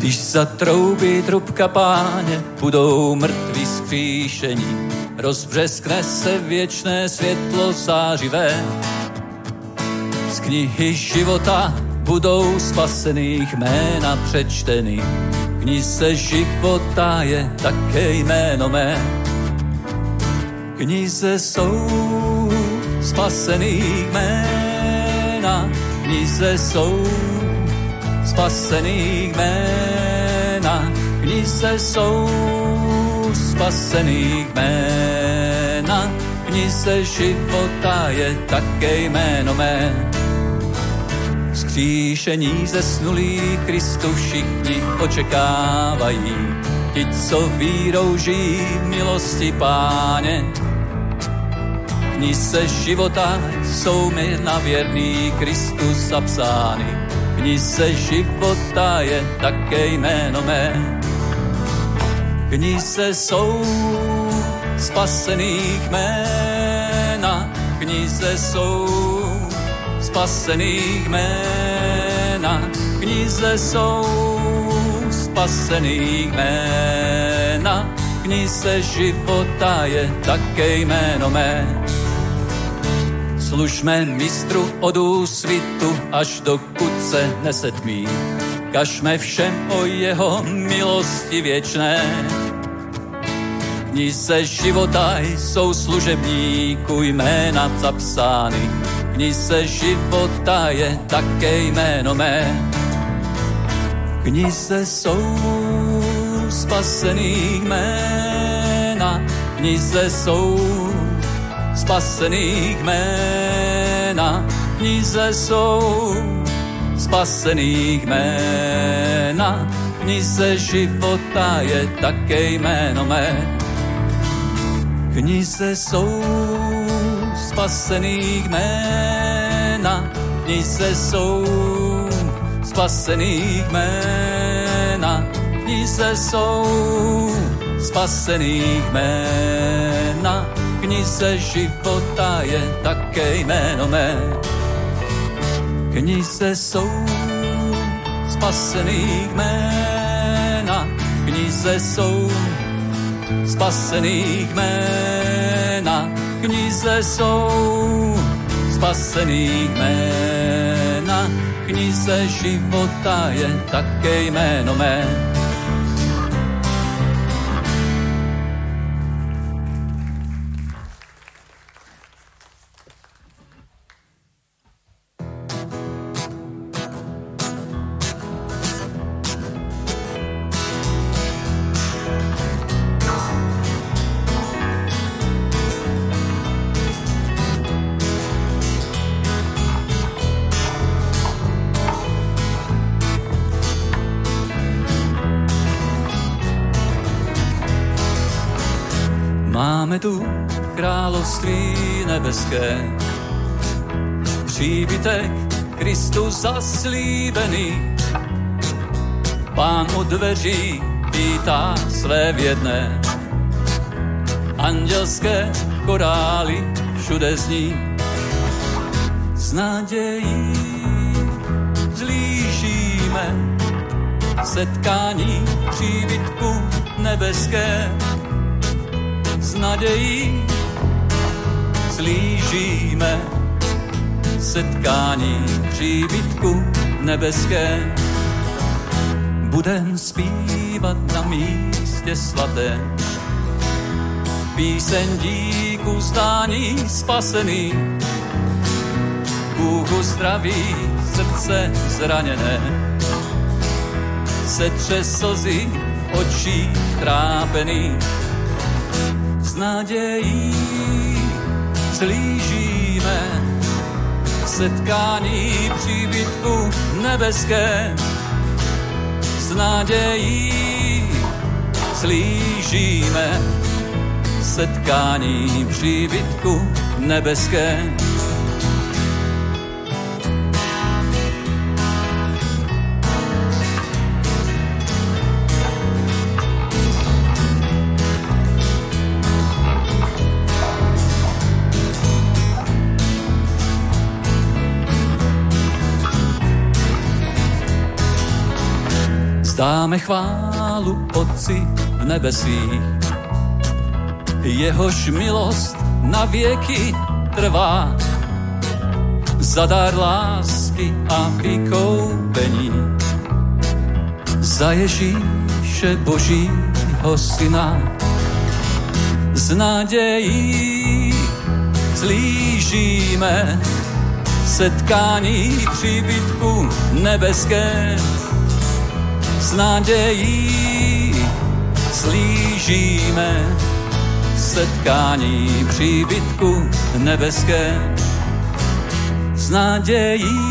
Když zatroubí trubka Páně, budou mrtví zkříšení, rozbřeskne se věčné světlo zářivé. Z knihy života budou spasených jména přečteny, v knize života je také jméno mé. V knize jsou spasených jména, v knize jsou spasených jména, v knize jsou spasených jména, v knize života je také jméno mé. Vzkříšení zesnulých Kristu všichni očekávají, ti, co vírou žijí v milosti Páně. V knize života jsou jména věrný Kristu zapsány, v knize života je také jméno mé. V knize jsou spasených jména, v knize jsou spasených jména, v knize jsou spasených jména, v knize života je také jméno mé. Služme mistru od úsvitu, až dokud se nesetmí, kažme všem o jeho milosti věčné. V knize života jsou služebníků jména zapsány, v knize života je také jméno mé. V knize jsou spasených jména, v knize jsou spasených jména, v knize jsou spasených jména, v knize života je také jméno mé. V knize jsou spasených jména, v knize jsou spasených jména, v knize jsou spasených jména, v knize života je také jméno mé. V knize jsou spasených jména, v knize jsou spasených jména, v knize jsou spasených jména, v knize života je také jméno mé. Máme tu království nebeské, příbytek Kristu zaslíbený. Pán u dveří vítá své věrné, andělské chorály všude zní. S nadějí zlížíme setkání příbytku nebeské. S nadějí slížíme setkání příbytku nebeské. Budem zpívat na místě svatém píseň díku zdání spasený. Bůh zdraví srdce zraněné, setře slzy v očích trápený. S nadějí slížíme setkání příbytku nebeské. S nadějí slížíme setkání příbytku nebeské. vzdáme chválu Otci v nebesích. Jehož milost na věky trvá, za dar lásky a vykoupení, za Ježíše Božího Syna. Z nadějí zlížíme setkání příbytku nebeské. Z nadějí zlížíme setkání příbytku nebeské. Z nadějí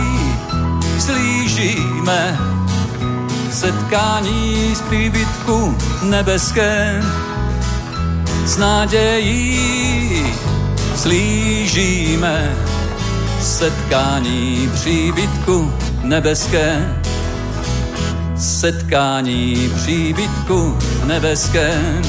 zlížíme setkání z příbytku nebeské. Z nadějí zlížíme setkání příbytku nebeské. Setkání příbytku nebeské.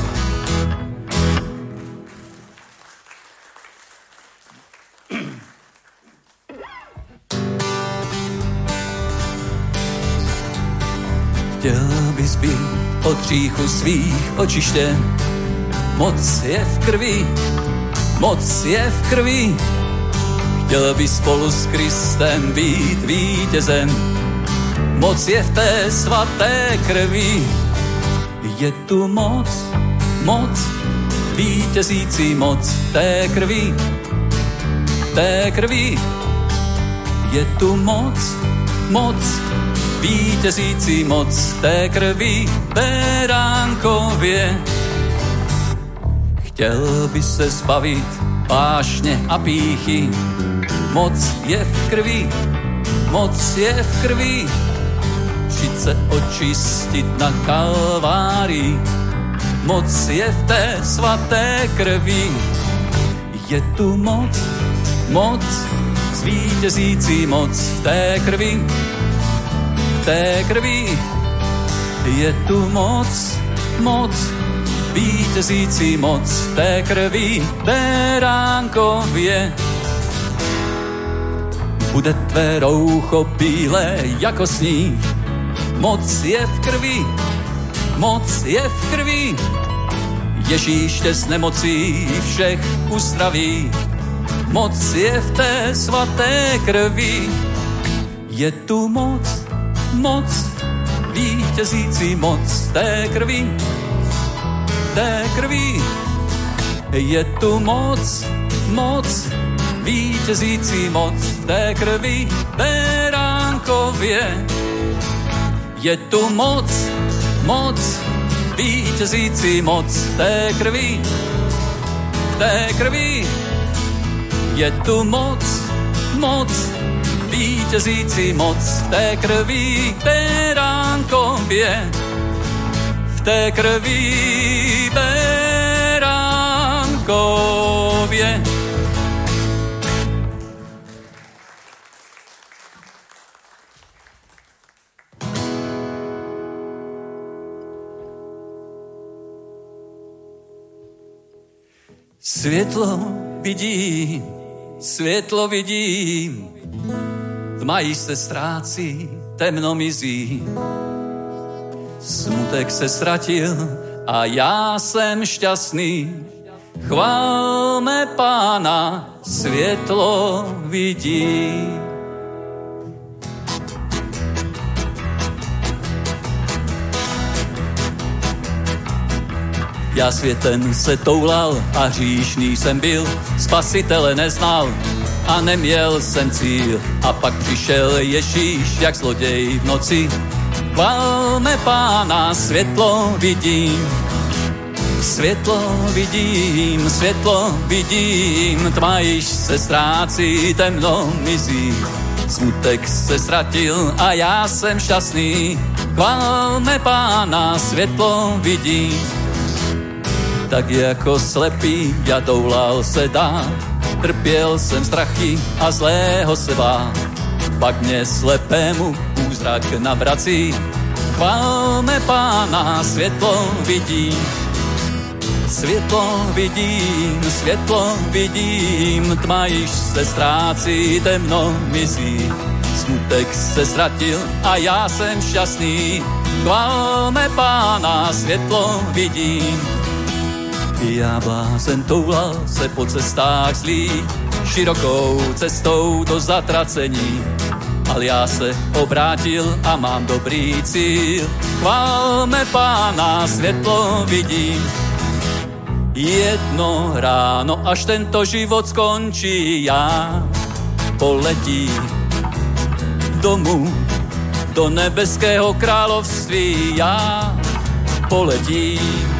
Chtěl bys být od hříchu svých očištěn. Moc je v krvi, moc je v krvi. Chtěl bys spolu s Kristem být vítězem. Moc je v té svaté krvi. Je tu moc, moc, vítězící moc té krvi. Té krvi. Je tu moc, moc, vítězící moc té krvi beránkově. Chtěl by se zbavit vášně a pýchy. Moc je v krvi, moc je v krvi. Přijď se očistit na Kalvárii. Moc je v té svaté krvi. Je tu moc, moc, zvítězící moc v té krvi. Té krvi. Je tu moc, moc, vítězící moc v té krvi beránkově. Bude tvé roucho bílé jako sníh. Moc je v krvi, moc je v krvi. Ježíš tě z nemocí všech uzdraví. Moc je v té svaté krvi. Je tu moc, moc, vítězící moc té krvi. Té krvi. Je tu moc, moc, vítězící moc té krvi beránkově. Je tu moc, moc, vítězící moc té krvi. Té krvi. Je tu moc, moc, vítězící moc v té krvi beránkově. V té krvi beránkově. Světlo vidím, světlo vidím, tma již se ztrácí, temno mizí. Smutek se ztratil a já jsem šťastný. Chválme Pána, světlo vidím. Já světem se toulal a hříšný jsem byl, Spasitele neznal a neměl jsem cíl. A pak přišel Ježíš jak zloděj v noci. Chválme Pána, světlo vidím. Světlo vidím, světlo vidím, tma již se ztrácí, temno mizí. Smutek se ztratil a já jsem šťastný. Chválme Pána, světlo vidím. Tak jako slepý já toulal se dál, trpěl jsem strachy a zlého se bál. Pak mě slepému úzrak navrací. Chválme Pána, světlo vidím. Světlo vidím, světlo vidím, tma již se ztrácí, temno mizí. smutek se ztratil a já jsem šťastný. Chválme Pána, světlo vidím. Já blázen toulal se po cestách zlých, širokou cestou do zatracení. Ale já se obrátil a mám dobrý cíl. Chválme Pána, světlo vidím. Jedno ráno, až tento život skončí, já poletím domů do nebeského království. Já poletím,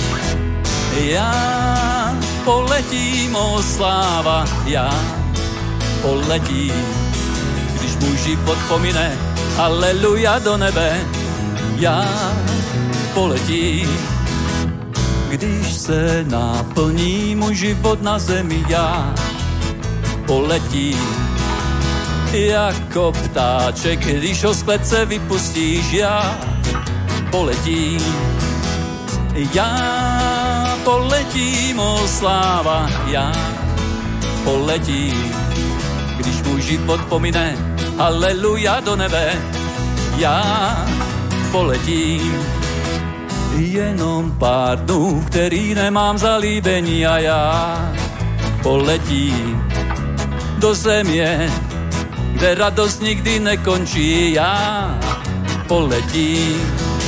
o sláva, já poletím. Když můj život pomine, haleluja, do nebe, já poletím. Když se naplní můj život na zemi, já poletím. Jako ptáček, když ho z klece vypustíš, já poletím. Já poletím, o sláva, já poletím. Když můj život pomine, haleluja, do nebe, já poletím. Jenom pár dnů, který nemám zalíbení, a já poletím do země, kde radost nikdy nekončí. Já poletím,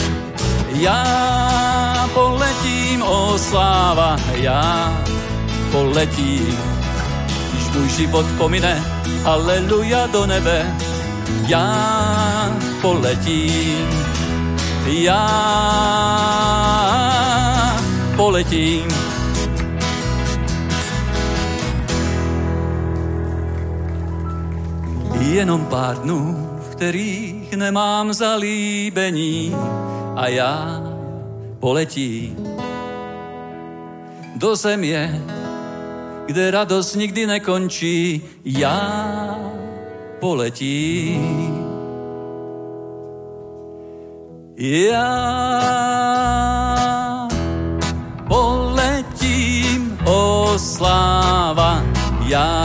o sláva, já poletím. Když můj život pomine, haleluja, do nebe, já poletím. Já poletím. Jenom pár dnů, v kterých nemám zalíbení, a já poletím do země, kde radost nikdy nekončí. Já poletím. Já poletím, o sláva, já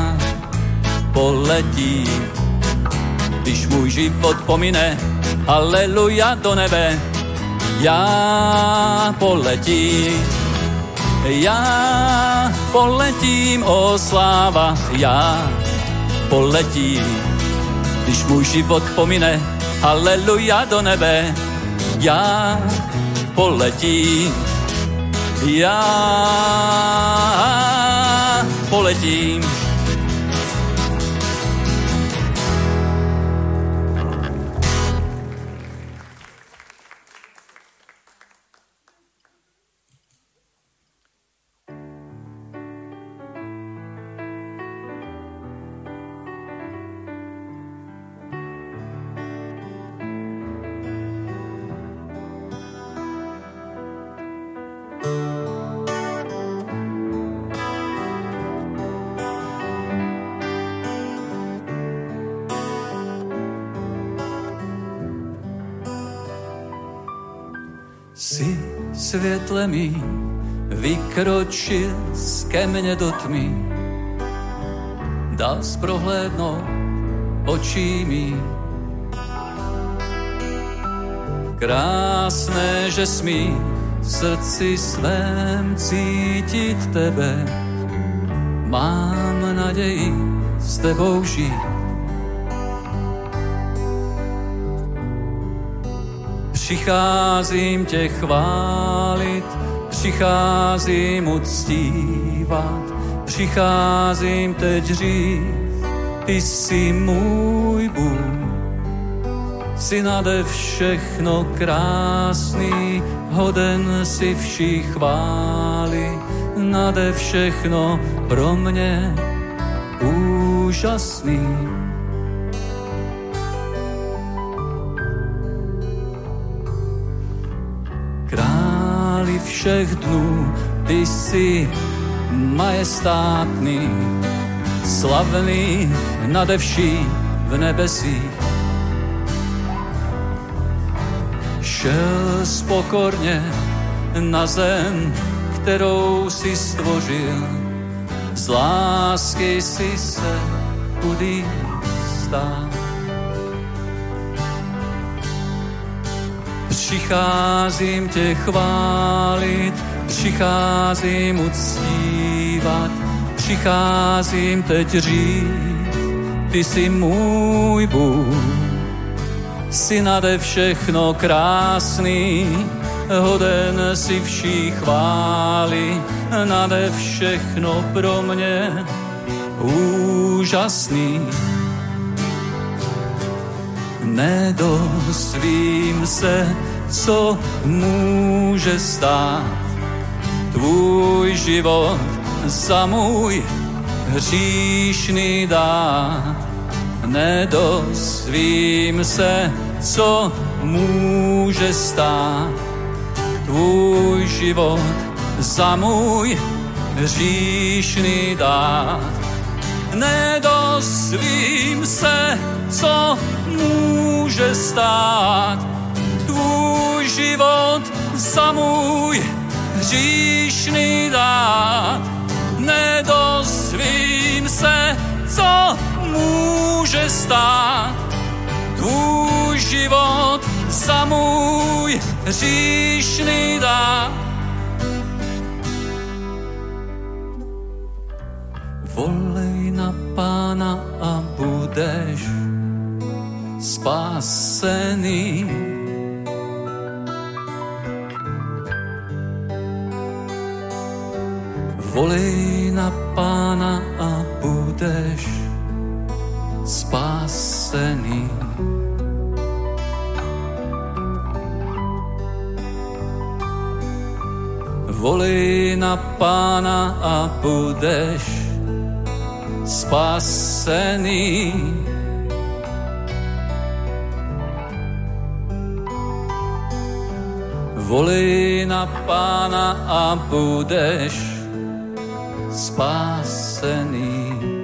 poletím. Když můj život pomine, haleluja, do nebe, já poletím. Já poletím, o sláva, já poletím. Když můj život pomine, haleluja, do nebe, já poletím. Já poletím. Si světle mý vykročil ke mně do tmy, dal zprohlédnout očí mý. Krásné, že smí v srdci svém cítit tebe, mám naději s tebou žít. Přicházím tě chválit, přicházím uctívat, přicházím teď říct, ty jsi můj Bůh. Jsi nade všechno krásný, hoden si vší chvály, nade všechno pro mě úžasný. Králi všech dnů, ty jsi majestátný, slavný nade vší v nebesích. Šel spokorně na zem, kterou si stvořil, z lásky si se chudý stál. Přicházím tě chválit, přicházím uctívat, přicházím teď říct, ty jsi můj Bůh. Jsi nade všechno krásný, hoden si vší chvály, nade všechno pro mě úžasný. Nedozvím se, co může stát, tvůj život za můj hříšný dát. Nedozvím se, co může stát, tvůj život za můj hříšný dát. Nedozvím se, co může stát, tvůj život za můj hříšný dát. Nedozvím se, co může stát, tvůj život za můj hříšný dát. Volej na Pána a budeš spasený. Volej na Pána a budeš spasený. Volej na Pána a budeš spasený. Volej na Pána a budeš spasený.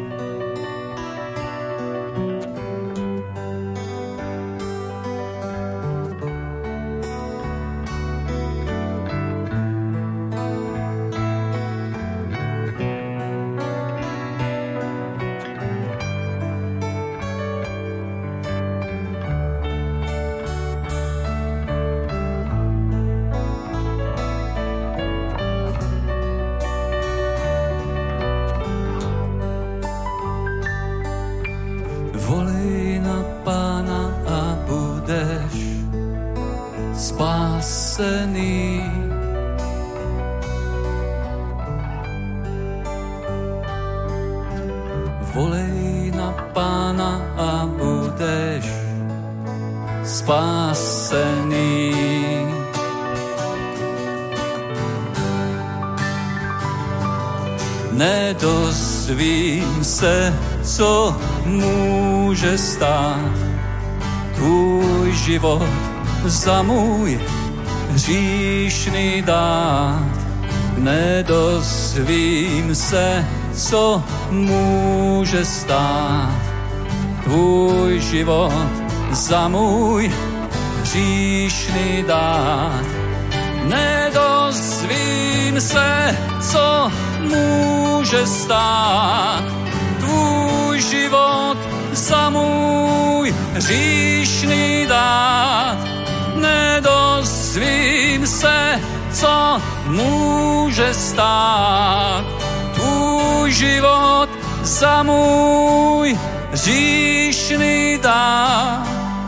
Volej na Pána a budeš spasený. Volej na Pána a budeš spasený. Nedozvím se, co může stát, tvůj život za můj hříšný dát. Nedozvím se, co může stát, tvůj život za můj hříšný dát. Nedozvím se, co může stát, tvůj život za můj hříšný dát. Nedozvím se, co může stát, tvůj život za můj hříšný dát.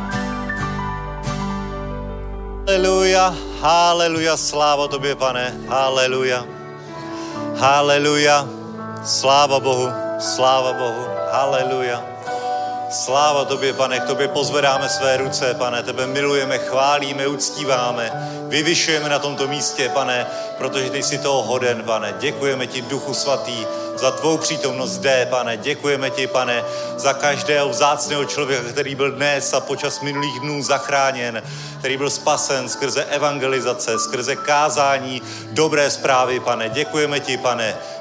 Haleluja, haleluja, sláva tobě, Pane, haleluja, haleluja, sláva Bohu, haleluja. Sláva tobě, Pane, k tobě pozvedáme své ruce, Pane, tebe milujeme, chválíme, uctíváme, vyvyšujeme na tomto místě, Pane, protože ty jsi toho hoden, Pane. Děkujeme ti, Duchu Svatý, za tvou přítomnost zde, Pane. Děkujeme ti, Pane, za každého vzácného člověka, který byl dnes a počas minulých dnů zachráněn, který byl spasen skrze evangelizace, skrze kázání dobré zprávy, Pane. Děkujeme ti, Pane,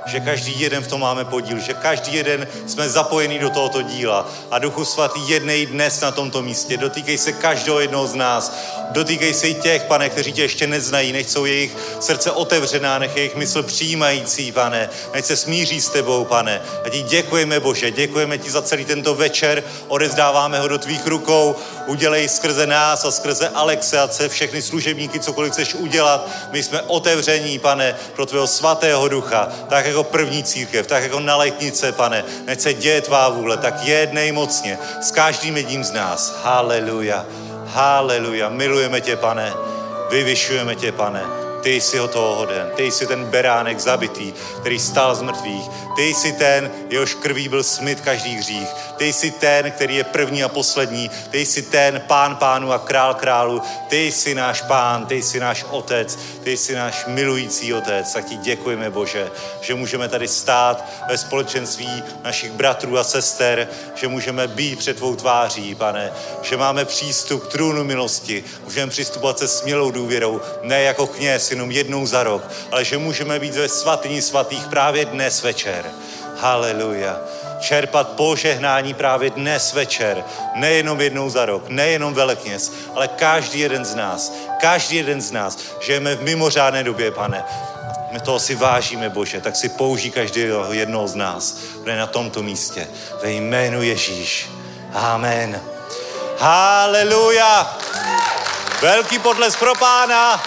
že každý jeden v tom máme podíl, že každý jeden jsme zapojení do tohoto díla. A Duchu Svatý, jednej dnes na tomto místě. Dotýkej se každého jednoho z nás. Dotýkej se i těch, Pane, kteří tě ještě neznají. Nech jsou jejich srdce otevřená, nech jejich mysl přijímající, Pane. Nech se smíří s tebou, Pane. A ti děkujeme, Bože, děkujeme ti za celý tento večer. Odevzdáváme ho do tvých rukou. Udělej skrze nás a skrze Alexe a všechny služebníky, cokoliv chceš udělat. My jsme otevření, Pane, pro tvého svatého ducha. Tak jako první církev, tak jako na letnice, Pane. Nech se děje tvá vůle, tak jednej mocně s každým jedním z nás. Haleluja. Haleluja. Milujeme tě, Pane. Vyvyšujeme tě, Pane. Ty jsi ho toho hoden. Ty jsi ten beránek zabitý, který stál z mrtvých. Ty jsi ten, jehož krví byl smyt každý hřích. Ty jsi ten, který je první a poslední. Ty jsi ten Pán pánů a král králů. Ty jsi náš Pán, ty jsi náš Otec, ty jsi náš milující Otec. Tak ti děkujeme, Bože, že můžeme tady stát ve společenství našich bratrů a sester, že můžeme být před tvou tváří, Pane, že máme přístup k trůnu milosti. Můžeme přistupovat se smělou důvěrou, ne jako kněz, jenom jednou za rok, ale že můžeme být ve svatyni svatých právě dnes večer. Haleluja. Čerpat požehnání právě dnes večer. Nejenom jednou za rok, nejenom velekněz, ale každý jeden z nás, žijeme v mimořádné době, Pane. My toho si vážíme, Bože, tak si použij každého jednoho z nás, kde na tomto místě. Ve jménu Ježíš. Amen. Haleluja. Velký potlesk pro Pána.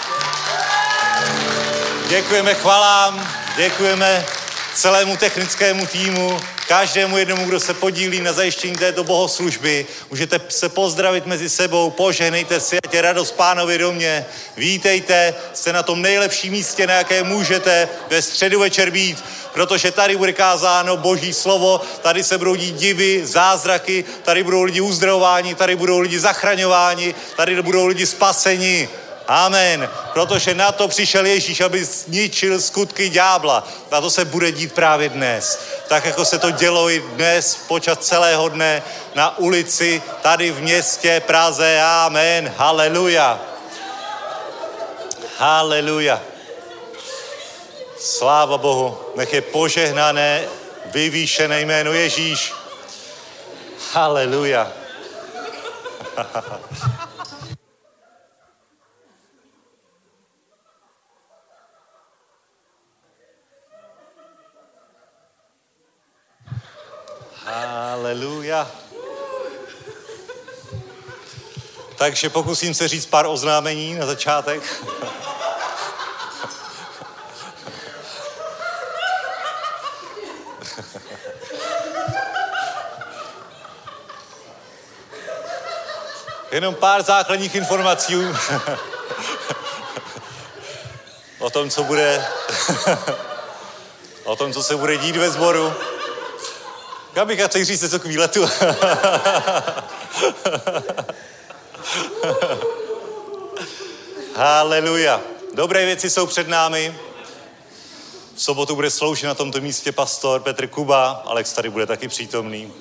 Děkujeme chvalám, děkujeme celému technickému týmu, každému jednomu, kdo se podílí na zajištění této bohoslužby. Můžete se pozdravit mezi sebou, požehnejte si, ať je radost Pánovi domě. Vítejte, jste na tom nejlepším místě, na jaké můžete ve středu večer být, protože tady bude kázáno Boží slovo, tady se budou dít divy, zázraky, tady budou lidi uzdravováni, tady budou lidi zachraňováni, tady budou lidi spaseni. Amen. Protože na to přišel Ježíš, aby zničil skutky ďábla. A to se bude dít právě dnes. Tak, jako se to dělo i dnes počas celého dne na ulici, tady v městě Praze. Amen. Haleluja. Haleluja. Sláva Bohu. Nech je požehnané, vyvýšené jméno Ježíš. Haleluja. Haleluja. Takže pokusím se říct pár oznámení na začátek. Jenom pár základních informací o tom, co bude, o tom, co se bude dít ve sboru. Já bych chtěl říct něco k výletu. Haleluja. Dobré věci jsou před námi. V sobotu bude sloužit na tomto místě pastor Petr Kuba. Alex tady bude taky přítomný.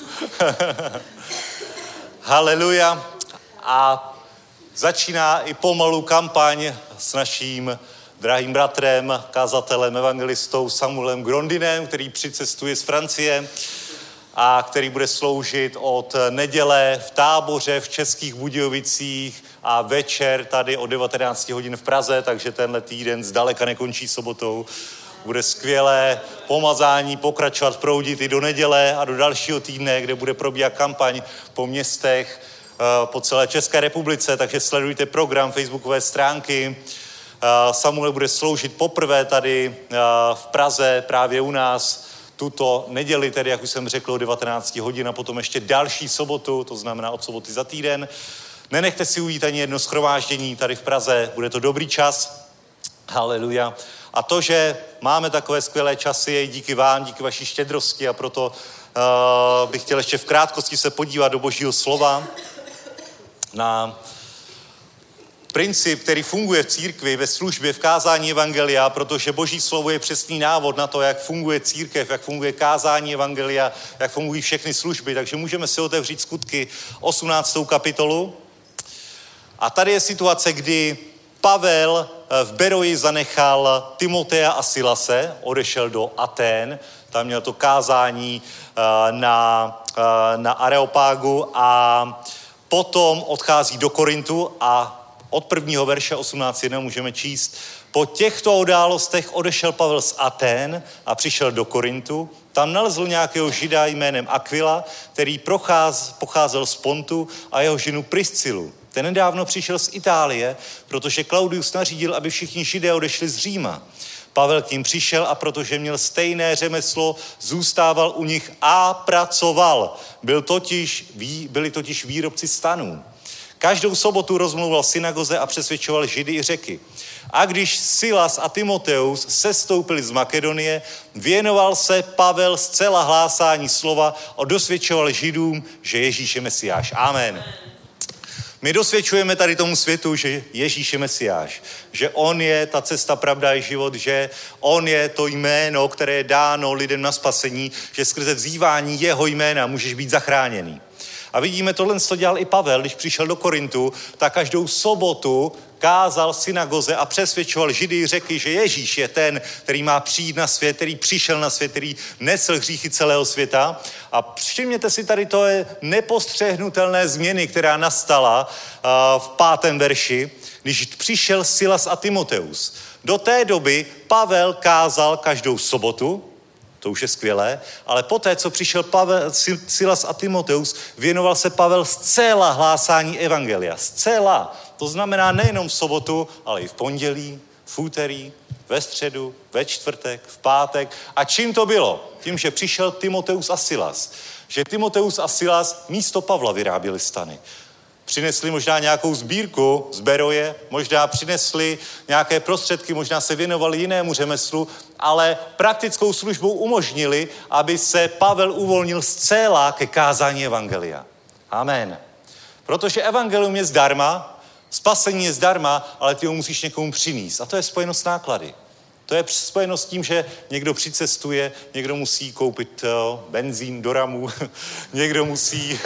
Haleluja. A začíná i pomalu kampaň s naším drahým bratrem, kazatelem, evangelistou Samuelem Grondinem, který přicestuje z Francie a který bude sloužit od neděle v Táboře v Českých Budějovicích a večer tady od 19 hodin v Praze, takže tenhle týden zdaleka nekončí sobotou. Bude skvělé pomazání, pokračovat, proudit i do neděle a do dalšího týdne, kde bude probíhat kampaň po městech, po celé České republice, takže sledujte program, facebookové stránky. Samuel bude sloužit poprvé tady v Praze, právě u nás, tuto neděli, tedy, jak už jsem řekl, o 19 hodin a potom ještě další sobotu, to znamená od soboty za týden. Nenechte si ujít ani jedno shromáždění tady v Praze, bude to dobrý čas. Haleluja. A to, že máme takové skvělé časy, je díky vám, díky vaší štědrosti a proto bych chtěl ještě v krátkosti se podívat do Božího slova na princip, který funguje v církvi, ve službě, v kázání evangelia, protože Boží slovo je přesný návod na to, jak funguje církev, jak funguje kázání evangelia, jak fungují všechny služby. Takže můžeme si otevřít Skutky 18. kapitolu. A tady je situace, kdy Pavel v Beroji zanechal Timotea a Silase, odešel do Atén, tam měl to kázání na Areopágu a potom odchází do Korintu a od prvního verše 18.1 můžeme číst: po těchto událostech odešel Pavel z Atén a přišel do Korintu. Tam nalezl nějakého žida jménem Aquila, který pocházel z Pontu, a jeho ženu Priscilu. Ten nedávno přišel z Itálie, protože Klaudius nařídil, aby všichni židé odešli z Říma. Pavel k ním přišel a protože měl stejné řemeslo, zůstával u nich a pracoval. Byli totiž výrobci stanů. Každou sobotu rozmlouval v synagoze a přesvědčoval Židy i Řeky. A když Silas a Timoteus sestoupili z Makedonie, věnoval se Pavel zcela hlásání slova a dosvědčoval Židům, že Ježíš je Mesiáš. Amen. My dosvědčujeme tady tomu světu, že Ježíš je Mesiáš, že on je ta cesta, pravda i život, že on je to jméno, které je dáno lidem na spasení, že skrze vzývání jeho jména můžeš být zachráněný. A vidíme, tohle co dělal i Pavel, když přišel do Korintu, tak každou sobotu kázal v synagoze a přesvědčoval Židy i Řeky, že Ježíš je ten, který má přijít na svět, který přišel na svět, který nesl hříchy celého světa. A všimněte si tady to je nepostřehnutelné změny, která nastala v 5. verši, když přišel Silas a Timoteus. Do té doby Pavel kázal každou sobotu, to už je skvělé, ale poté, co přišel Silas a Timoteus, věnoval se Pavel zcela hlásání evangelia. Zcela. To znamená nejenom v sobotu, ale i v pondělí, v úterý, ve středu, ve čtvrtek, v pátek. A čím to bylo? Tím, že přišel Timoteus a Silas. Že Timoteus a Silas místo Pavla vyráběli stany. Přinesli možná nějakou sbírku z Beroje, možná přinesli nějaké prostředky, možná se věnovali jinému řemeslu, ale praktickou službou umožnili, aby se Pavel uvolnil zcela ke kázání evangelia. Amen. Protože evangelium je zdarma, spasení je zdarma, ale ty ho musíš někomu přinést. A to je spojeno s náklady. To je spojeno s tím, že někdo přicestuje, někdo musí koupit benzín do ramu, někdo musí...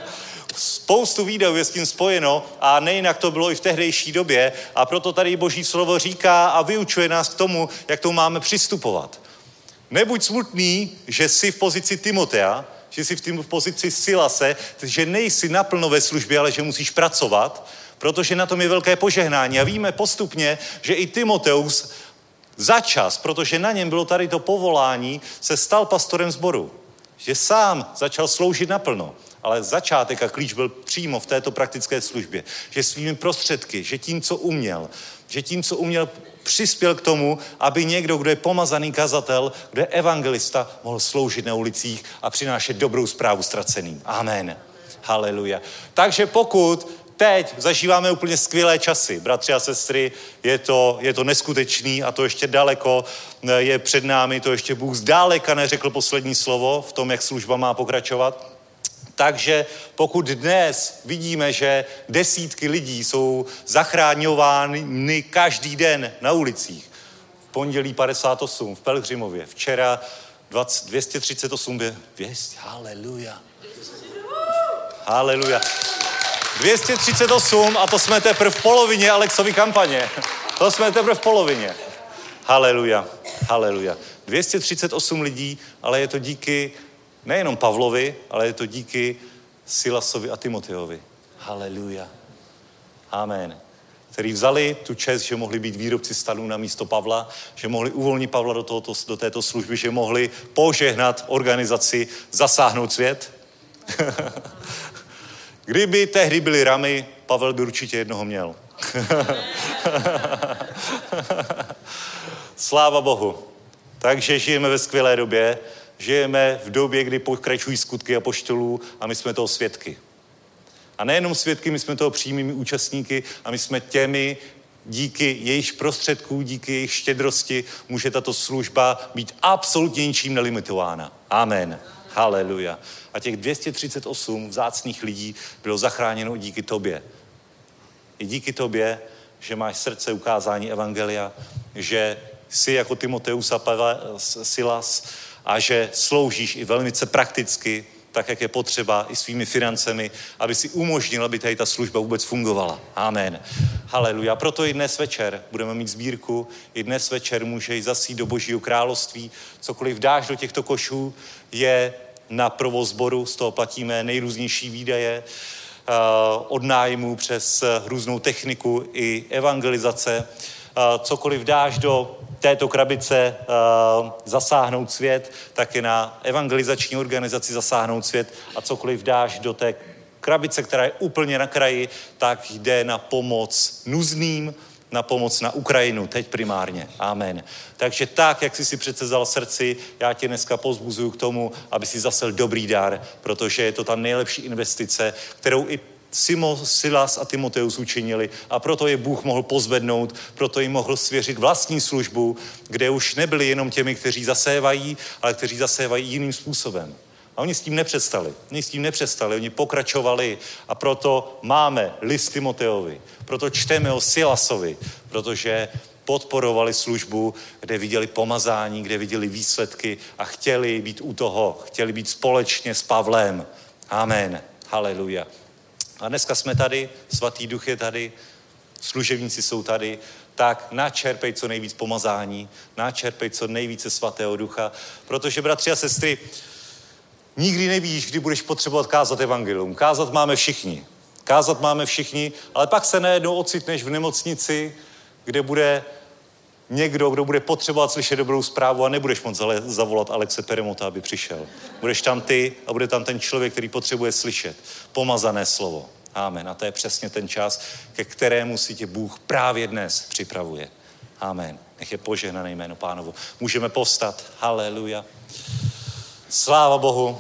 Spoustu výdajů je s tím spojeno a nejinak to bylo i v tehdejší době a proto tady Boží slovo říká a vyučuje nás k tomu, jak to máme přistupovat. Nebuď smutný, že jsi v pozici Timotea, že jsi v pozici Silase, že nejsi naplno ve službě, ale že musíš pracovat, protože na tom je velké požehnání. A víme postupně, že i Timoteus začas, protože na něm bylo tady to povolání, se stal pastorem sboru. Že sám začal sloužit naplno. Ale začátek a klíč byl přímo v této praktické službě. Že svými prostředky, že tím, co uměl, přispěl k tomu, aby někdo, kdo je pomazaný kazatel, kdo je evangelista, mohl sloužit na ulicích a přinášet dobrou zprávu ztraceným. Amen. Haleluja. Takže pokud teď zažíváme úplně skvělé časy, bratři a sestry, je to neskutečný a to ještě daleko je před námi, to ještě Bůh zdáleka neřekl poslední slovo v tom, jak služba má pokračovat. Takže pokud dnes vidíme, že desítky lidí jsou zachráňovány každý den na ulicích, v pondělí 58 v Pelhřimově, včera 238, haleluja, 238 a to jsme teprve v polovině Alexovy kampaně, haleluja, 238 lidí, ale je to díky nejenom Pavlovi, ale je to díky Silasovi a Timoteovi. Haleluja. Amen. Který vzali tu čest, že mohli být výrobci stanů na místo Pavla, že mohli uvolnit Pavla do této služby, že mohli požehnat organizaci, zasáhnout svět. Kdyby tehdy byly ramy, Pavel by určitě jednoho měl. Sláva Bohu. Takže žijeme ve skvělé době. Žijeme v době, kdy pokračují skutky apoštolů a my jsme toho svědky. A nejenom svědky, my jsme toho přímými účastníky a my jsme těmi, díky jejich prostředků, díky jejich štědrosti, může tato služba být absolutně ničím nelimitována. Amen. Haleluja. A těch 238 vzácných lidí bylo zachráněno díky tobě. I díky tobě, že máš srdce ukázání evangelia, že jsi jako Timoteus a Silas, a že sloužíš i velmi prakticky tak, jak je potřeba, i svými financemi, aby si umožnil, aby tady ta služba vůbec fungovala. Amen. Haleluja. Proto i dnes večer budeme mít sbírku, i dnes večer můžeš zasít do Božího království. Cokoliv dáš do těchto košů je na provoz sboru, z toho platíme nejrůznější výdaje, od nájmu přes různou techniku i evangelizace. Cokoliv dáš do této krabice Zasáhnout svět, tak je na evangelizační organizaci Zasáhnout svět, a cokoliv dáš do té krabice, která je úplně na kraji, tak jde na pomoc nuzným, na pomoc na Ukrajinu, teď primárně. Amen. Takže tak, jak jsi si přece vzal srdci, já tě dneska povzbuzuju k tomu, aby si zasel dobrý dar, protože je to ta nejlepší investice, kterou i Silas a Timoteus učinili, a proto je Bůh mohl pozvednout, proto jim mohl svěřit vlastní službu, kde už nebyli jenom těmi, kteří zasévají, ale kteří zasévají jiným způsobem. A oni s tím nepřestali, oni pokračovali, a proto máme list Timoteovi, proto čteme o Silasovi, protože podporovali službu, kde viděli pomazání, kde viděli výsledky a chtěli být u toho, chtěli být společně s Pavlem. Amen. Haleluja. A dneska jsme tady, Svatý Duch je tady, služebníci jsou tady, tak načerpej co nejvíc pomazání, načerpej co nejvíce Svatého Ducha, protože, bratři a sestry, nikdy nevíš, kdy budeš potřebovat kázat evangelium. Kázat máme všichni, ale pak se najednou ocitneš v nemocnici, kde bude někdo, kdo bude potřebovat slyšet dobrou zprávu, a nebudeš moc zavolat Alexe Peremota, aby přišel. Budeš tam ty a bude tam ten člověk, který potřebuje slyšet pomazané slovo. Amen. A to je přesně ten čas, ke kterému si tě Bůh právě dnes připravuje. Amen. Nech je požehnané jméno Pánovo. Můžeme povstat. Haleluja. Sláva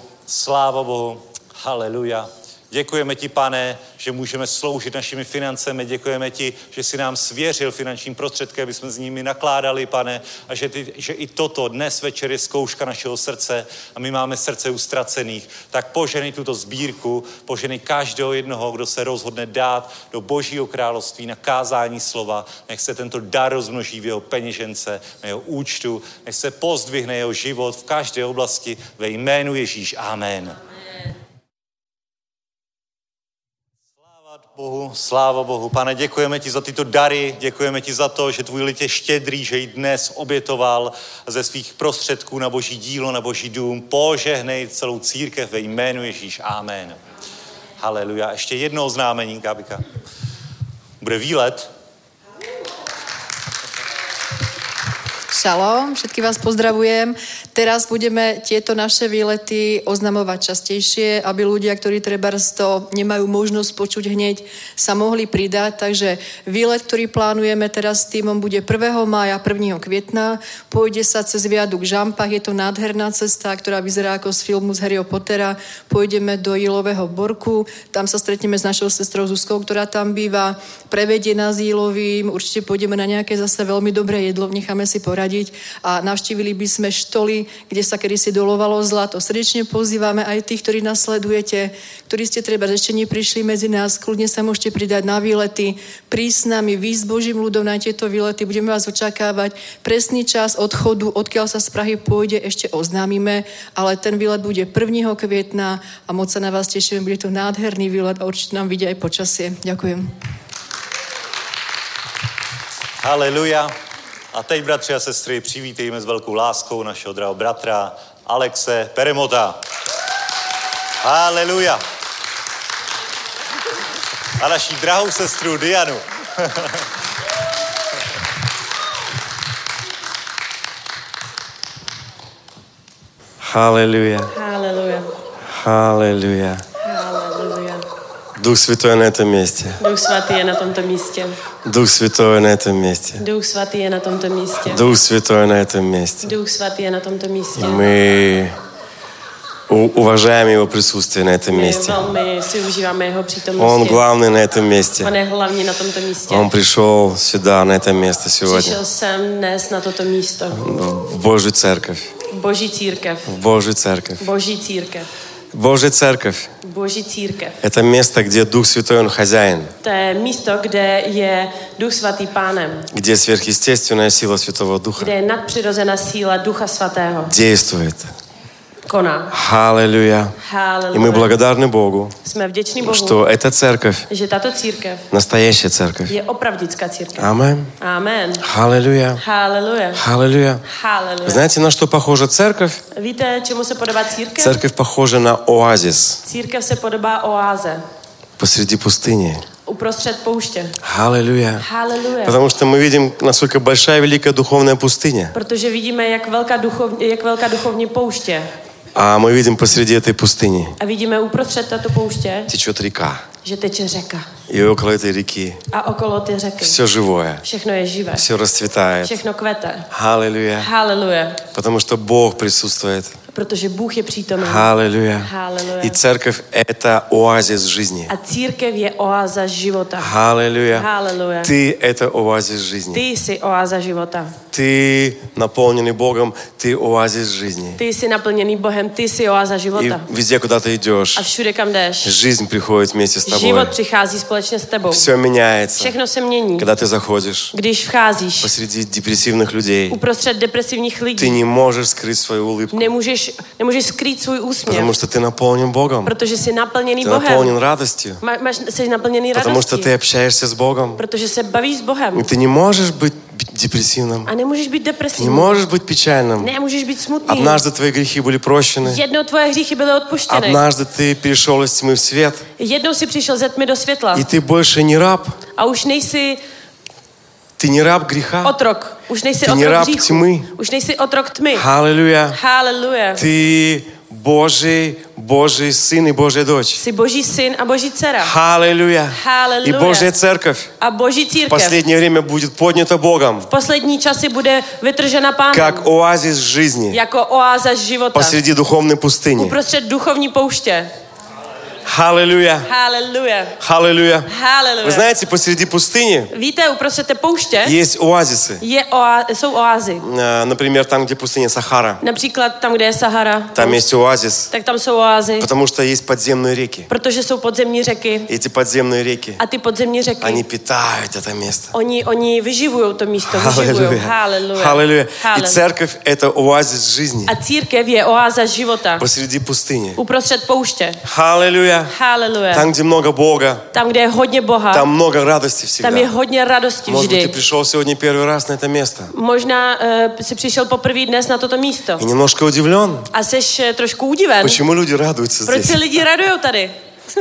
Bohu. Haleluja. Děkujeme ti, Pane, že můžeme sloužit našimi financemi. Děkujeme ti, že jsi nám svěřil finanční prostředky, aby jsme s nimi nakládali, Pane, a že i toto dnes večer je zkouška našeho srdce a my máme srdce ustracených. Tak poženej tuto sbírku, poženej každého jednoho, kdo se rozhodne dát do Božího království na kázání slova. Nech se tento dar rozmnoží v jeho peněžence, na jeho účtu, nech se pozdvihne jeho život v každé oblasti ve jménu Ježíš. Amen. Sláva Bohu. Pane, děkujeme ti za tyto dary, děkujeme ti za to, že tvůj lid je štědrý, že ji dnes obětoval ze svých prostředků na Boží dílo, na Boží dům. Požehnej celou církev ve jménu Ježíš. Amen. Haleluja. Ještě jedno oznámení, Gabika. Bude výlet. Šalom, všetky vás pozdravujem. Teraz budeme tieto naše výlety oznamovať častejšie, aby ľudia, ktorí trebárs to nemajú možnosť počuť hneď, sa mohli pridať. Takže výlet, ktorý plánujeme teraz s týmom, bude 1. mája, 1. května. Pôjde sa cez viaduk Žampach, je to nádherná cesta, ktorá vyzerá ako z filmu z Harryho Pottera. Pôjdeme do Jílového Borku, tam sa stretneme s našou sestrou Zuzkou, ktorá tam býva, prevedie nás Jílovým, určite pôjdeme na nejaké zase veľmi dobré jedlo, necháme si poradiť a navštívili by sme štoly, kde sa kedysi dolovalo zlato. Srdečne pozývame aj tých, ktorí nás sledujete, ktorí ste treba ešte neprišli medzi nás, kľudne sa môžete pridať na výlety, prísť s nami, výjsť s Božím ľudom na tieto výlety, budeme vás očakávať. Presný čas odchodu, odkiaľ sa z Prahy pôjde, ešte oznámime, ale ten výlet bude 1. května a moc sa na vás tešíme, bude to nádherný výlet a určite nám vidia aj počasie. Ďakujem. Haleluja. A teď, bratři a sestry, přivítejme s velkou láskou našeho drahého bratra Alexe Peremota. Haleluja. A naší drahou sestru Dianu. Haleluja. Haleluja. Haleluja. Haleluja. Дух Святой на этом месте. Duch svatý je na tomto místě. Дух Святой на этом месте. Duch svatý je na tomto místě. Дух Святой на этом месте. Duch svatý je na tomto místě. Мы уважаем Его присутствие на этом месте. My velmi si užíváme jeho Он přítomnosti. главный на этом месте. On je hlavní na tomto místě. Он пришел сюда, на это место сегодня. Přišel jsem dnes na toto místo. В Божью церковь. Boží církev. В Божью церковь. Boží církev. Божья церковь. Boží církev. Это место, где Дух Святой, Он хозяин. To je místo, kde je Duch svatý pánem. Где сверхъестественная сила Святого Духа Kde je nadpřirozená síla Ducha svatého. действует. koná. Аллилуйя. И мы Haleluja. благодарны Богу, Jsme vděční Bohu, что эта церковь, že tato církev настоящая церковь. je opravdická církev. Amen. Amen. Аллилуйя. Haleluja. Аллилуйя. Haleluja. Знаете, на что похожа церковь? Víte, čemu se podobá církev? Церковь похожа на оазис Církev se podobá oáze посреди пустыни. uprostřed pouště. Аллилуйя. Haleluja. Потому что мы видим, насколько большая и великая духовная пустыня. Protože vidíme, jak velká duchovní pouště. А мы видим посреди этой пустыни A vidíme uprostřed této pouště, течет река. že teče řeka. И около этой реки A okolo ty řeky все живое, všechno je živé. все расцветает. Všechno kvete. Аллилуйя. Haleluja. Потому что Бог присутствует. Protože Bůh je přítomen. Аллилуйя. Haleluja. И церковь – это оазис жизни. A církev je oáza života. Аллилуйя. Haleluja. Ты – это оазис жизни. Ty jsi oáza života. Ты, наполненный Богом, ты оазис жизни. Ty jsi naplněný Bohem, ty jsi oáza И života. везде, куда ты идешь, A všude, kam jdeš, жизнь приходит вместе с тобой. život přichází společně s tebou. Все меняется, Všechno se mění. когда ты заходишь Když vcházíš посреди депрессивных людей. uprostřed depresivních Ты lidí, не можешь скрыть свою улыбку, nemůžeš skrýt svůj úsměv, потому что ты наполнен Богом. protože jsi naplněný Ты Bohem. наполнен радостью, Jsi naplněný потому что radostí, ты общаешься с Богом. protože se bavíš s Bohem. И ты не можешь быть депрессивным, A nemůžeš být ты не depresivní. можешь быть печальным. Nemůžeš být smutný. Однажды твои грехи были прощены. Jednou tvoje hříchy byly odpuštěny. Однажды ты перешел из тьмы в свет. Jednou si přišel ze tmy do světla. И ты больше не раб. A už nejsi Ты не раб греха. otrok. Už nejsi Ty nie otrok rab hříchu. tmy. Už nejsi otrok tmy. Аллилуйя. Haleluja. Ты Божий сын и Божья дочь. Jsi Boží syn a Boží dcera. Аллилуйя. И Haleluja. Божья церковь A Boží в církev последнее время будет поднята Богом v poslední časy bude vytržena Pánem как оазис жизни jako oáza života. посреди духовной пустыни. Uprostřed duchovní pouště. Аллилуйя. Haleluja. Аллилуйя. Вы Haleluja. знаете, посреди пустыни Víte, uprostřed té pouště есть оазисы. jsou oázy. Например, там, где пустыня Сахара. Například tam, kde je Sahara, Там есть оазис, tak tam jsou oázy, потому что есть подземные реки. protože jsou podzemní řeky. Эти подземные реки, A ty podzemní řeky, они питают это место. oni vyživují to místo, vyživují. Haleluja. Аллилуйя. И Haleluja. церковь – это оазис жизни A církev je oáza života. посреди пустыни. Uprostřed pouště. Аллилуйя. Haleluja. Там, где много Бога, Tam, kde je hodně Boha, там много радости tam je всегда. hodně radosti Может быть, ты vždy. пришел сегодня первый раз на это место Možná jsi přišel poprvé dnes na toto místo и немножко удивлен, a jsi trošku udiven. почему люди радуются Proč se здесь. lidi radujou tady?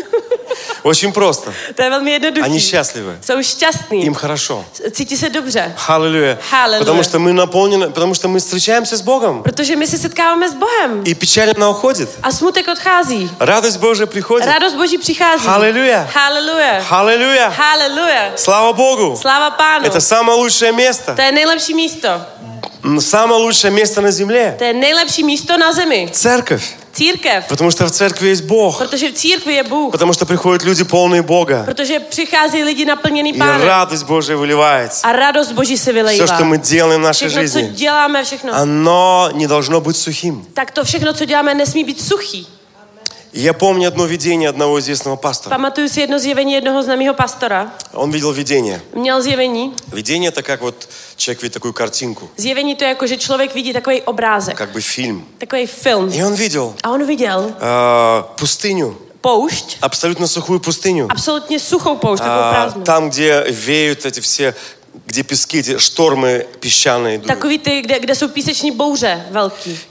Очень просто. To je velmi jednoduché. Они счастливы, Jsou šťastní. им хорошо. Cítí se dobře. Аллилуйя. Hallelujah. Потому что мы наполнены, потому что мы встречаемся с Богом. Protože my se setkáváme s Bohem. И печаль она уходит. A smutek odchází. Радость Божия приходит. Radost Boží přichází. Аллилуйя. Haleluja. Аллилуйя. Haleluja. Слава Богу. Sláva Pánu. Это самое лучшее место. To je nejlepší místo. Самое лучшее место на земле. To je nejlepší místo na zemi. Церковь. Církev. Потому что в церкви есть Бог. Protože v církvi je Bůh. Потому что приходят люди полные Бога. Protože přichází lidi naplněný И Pánem. радость Божия выливается. A radost Boží se Все, vylejvá. что мы делаем в нашей Všechno, co жизни, děláme, všechno. оно не должно быть сухим. Tak to všechno, co děláme, nesmí být suchý. И я помню одно видение одного известного пастора. Pamatuju si jedno zjevení jednoho známého pastora. Он видел видение. Měl zjevení. Видение – это как вот человек видит такую картинку, Zjevení to je jako, že člověk vidí takový obrázek. как бы фильм. Takový film. И он видел A on viděl пустыню, poušť, абсолютно сухую пустыню. absolutně suchou poušť, takovou prázdnou. Там, где веют эти все, где пески, эти штормы песчаные идут. Takový ty, kde jsou píseční bouře velký.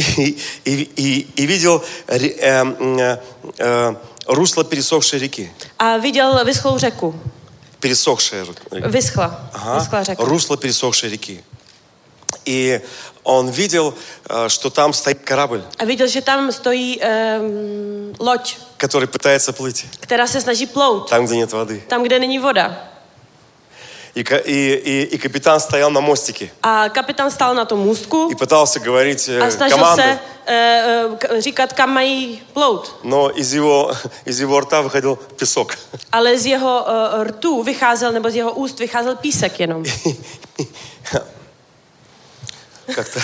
И видел русло пересохшей реки. A viděl vyschlou řeku. Пересохшая река. Vyschla. Vyschla řeka. Русло пересохшей реки. И он видел, что там стоит корабль, A viděl, že tam stojí loď, который пытается плыть. která se snaží plout. Там, где нет воды. Tam, kde není voda. И капитан стоял на мостике. A kapitán stál na tom můstku И пытался говорить a snažil команды. se říkat, kam mají plout. Но из его рта выходил песок. Ale z jeho rtu vycházel, nebo z jeho úst vycházel písek jenom. как-то.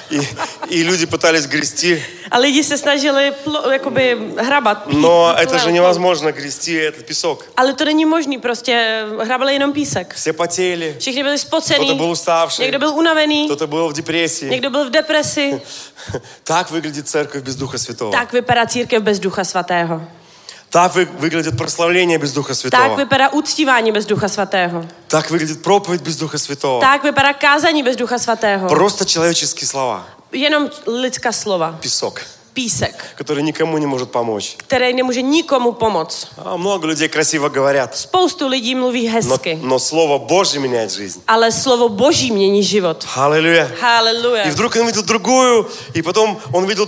И люди пытались грести. A lidi se snažili jakoby hrabat. Но это же невозможно грести этот песок. Ale to není možný, prostě hrabali jenom písek. Все потели. Všichni byli spocený. Кто-то был уставший. Někdo byl unavený. Кто-то был в депрессии. Někdo byl v depresi. Так выглядит церковь без Духа Святого. Tak vypadá církev bez Ducha Svatého. Так выглядит прославление без Духа Tak Святого. vypadá uctívání bez Ducha Svatého. Так выглядит проповедь без Духа Святого. Tak vypadá kázání bez Ducha Svatého. Просто человеческие слова. Jenom lidská slova. Песок, Písek, который никому не может помочь. který nemůže nikomu pomoct. А много людей красиво говорят. Spoustu lidí mluví hezky, Но Слово Божье меняет жизнь. ale slovo Boží mění život. Аллилуйя. Haleluja. И вдруг он видел другую, и потом он видел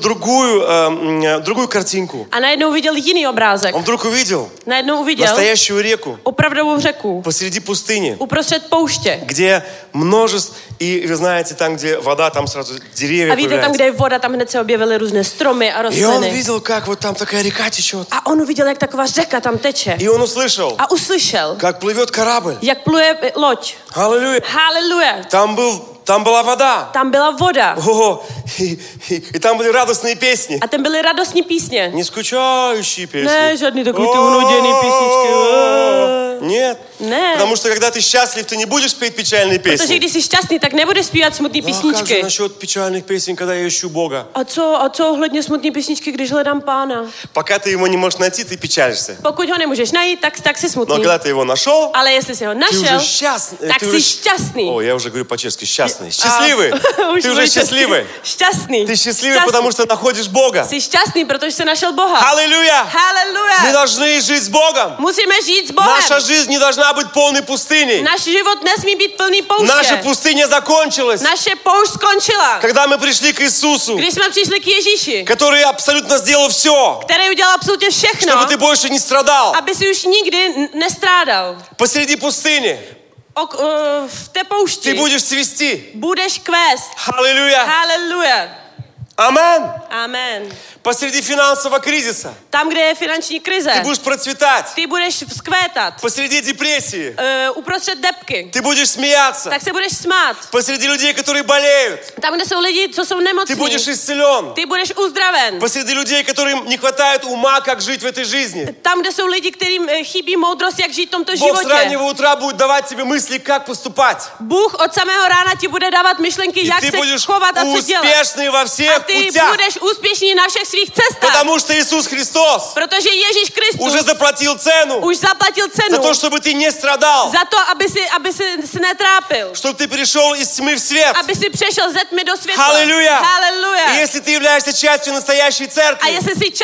другую картинку. A najednou viděl jiný obrázek. Он вдруг увидел Najednou uviděl настоящую реку opravdovou řeku посреди пустыни, uprostřed pouště. где множество, и вы знаете, там, где вода, там сразу деревья A víte, tam, появляются. kde je voda, tam hned se objevily různé stromy a И он rostliny. видел, как вот там такая река течет. A on uviděl, jak taková řeka tam teče. И он услышал, A uslyšel, как плывет корабль. jak pluje loď. Аллилуйя. Haleluja. Там была вода. Tam byla voda. Ого, и там были радостные песни. A tam byly radostní písně. Не скучающие песни. Ne, žádný takový ty unuděný písničky. Нет. Ne. Потому что когда ты счастлив, ты не будешь петь печальные Protože песни. když jsi šťastný, tak nebudeš zpívat smutné А как же písničky. насчет печальных песен, когда я ищу Бога? A co ohledně smutné písničky, když hledám Pána? Пока ты его не можешь найти, ты печалишься. Pokud ho nemůžeš najít, tak jsi Но smutný. когда ты его нашел, Ale jestli jsi ho ты našel, уже счастный. tak jsi šťastný. О, я уже говорю по-чешски, счастный. Счастливый. Ты уже счастливый. Šťastný. Ты счастливый, потому что находишь Бога. Jsi šťastný, protože jsi našel Boha. Аллилуйя! Мы Haleluja. должны жить с Богом. Musíme žít s Bohem. Наша жизнь не должна быть полной пустыней. Náš život nesmí být plný Наша pouště. пустыня закончилась, Naše poušť skončila. когда мы пришли к Иисусу, Když jsme přišli k Ježíši, который абсолютно сделал все, který udělal absolutně všechno, чтобы ты больше не страдал. aby si už nikdy nestrádal. Посреди пустыни V té ты poušti будешь цвести. budeš kvést. Аллилуйя! Haleluja. Амен! Amen. Посреди финансового кризиса Tam, kde je finanční krize, ты будешь процветать. ty budeš vzkvétat. Посреди депрессии Uprostřed depky, ты будешь смеяться. tak se budeš smát. Посреди людей, которые болеют, Tam, kde jsou lidi, co jsou ты nemocní, будешь исцелен. ty budeš uzdraven. Посреди людей, которым не хватает ума, как жить в этой жизни. Tam, kde jsou lidi, kterým chybí moudrost, jak žít v tomto Бог с životě. раннего утра будет давать тебе мысли, как поступать. Bůh od samého rána ti bude dávat myšlenky, И jak ты se будешь chovat a co dělat. успешный во A всех ty путях. budeš úspěšný na všech svých cestách. Потому что Иисус Христос Protože Ježíš Kristus уже заплатил цену už zaplatil за cenu то, чтобы ты не страдал. za to, aby si netrápil. Чтобы ты перешел из тьмы в свет. Aby si přešel ze tmy do světla. Аллилуйя! Haleluja. И если ты являешься частью настоящей A церкви, jestli jsi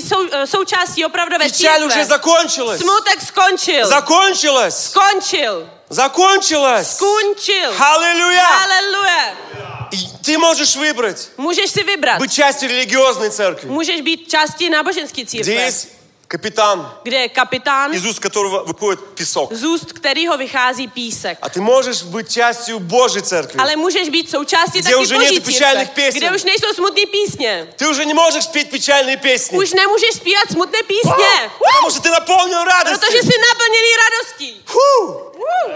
součástí opravdové печаль уже církve, закончилась. smutek skončil. Закончилась. Skončil. Закончилась. Skončil. Аллилуйя! Haleluja. И ты можешь выбрать Můžeš si vybrat. быть частью религиозной церкви, Můžeš být částí náboženské где církve, есть капитан, kde je kapitán, из уст которого выходит песок. z úst kterého vychází písek. А ты можешь быть частью Божьей церкви. Ale můžeš být součástí Kde taky už Boží нет pečálnych církve, pěsен. kde už nejsou smutné písně. Ты уже не можешь петь печальные песни, Už nemůžeš zpívat smutné písně, потому что ты наполнен protože радостью. jsi naplněný radostí. Фу!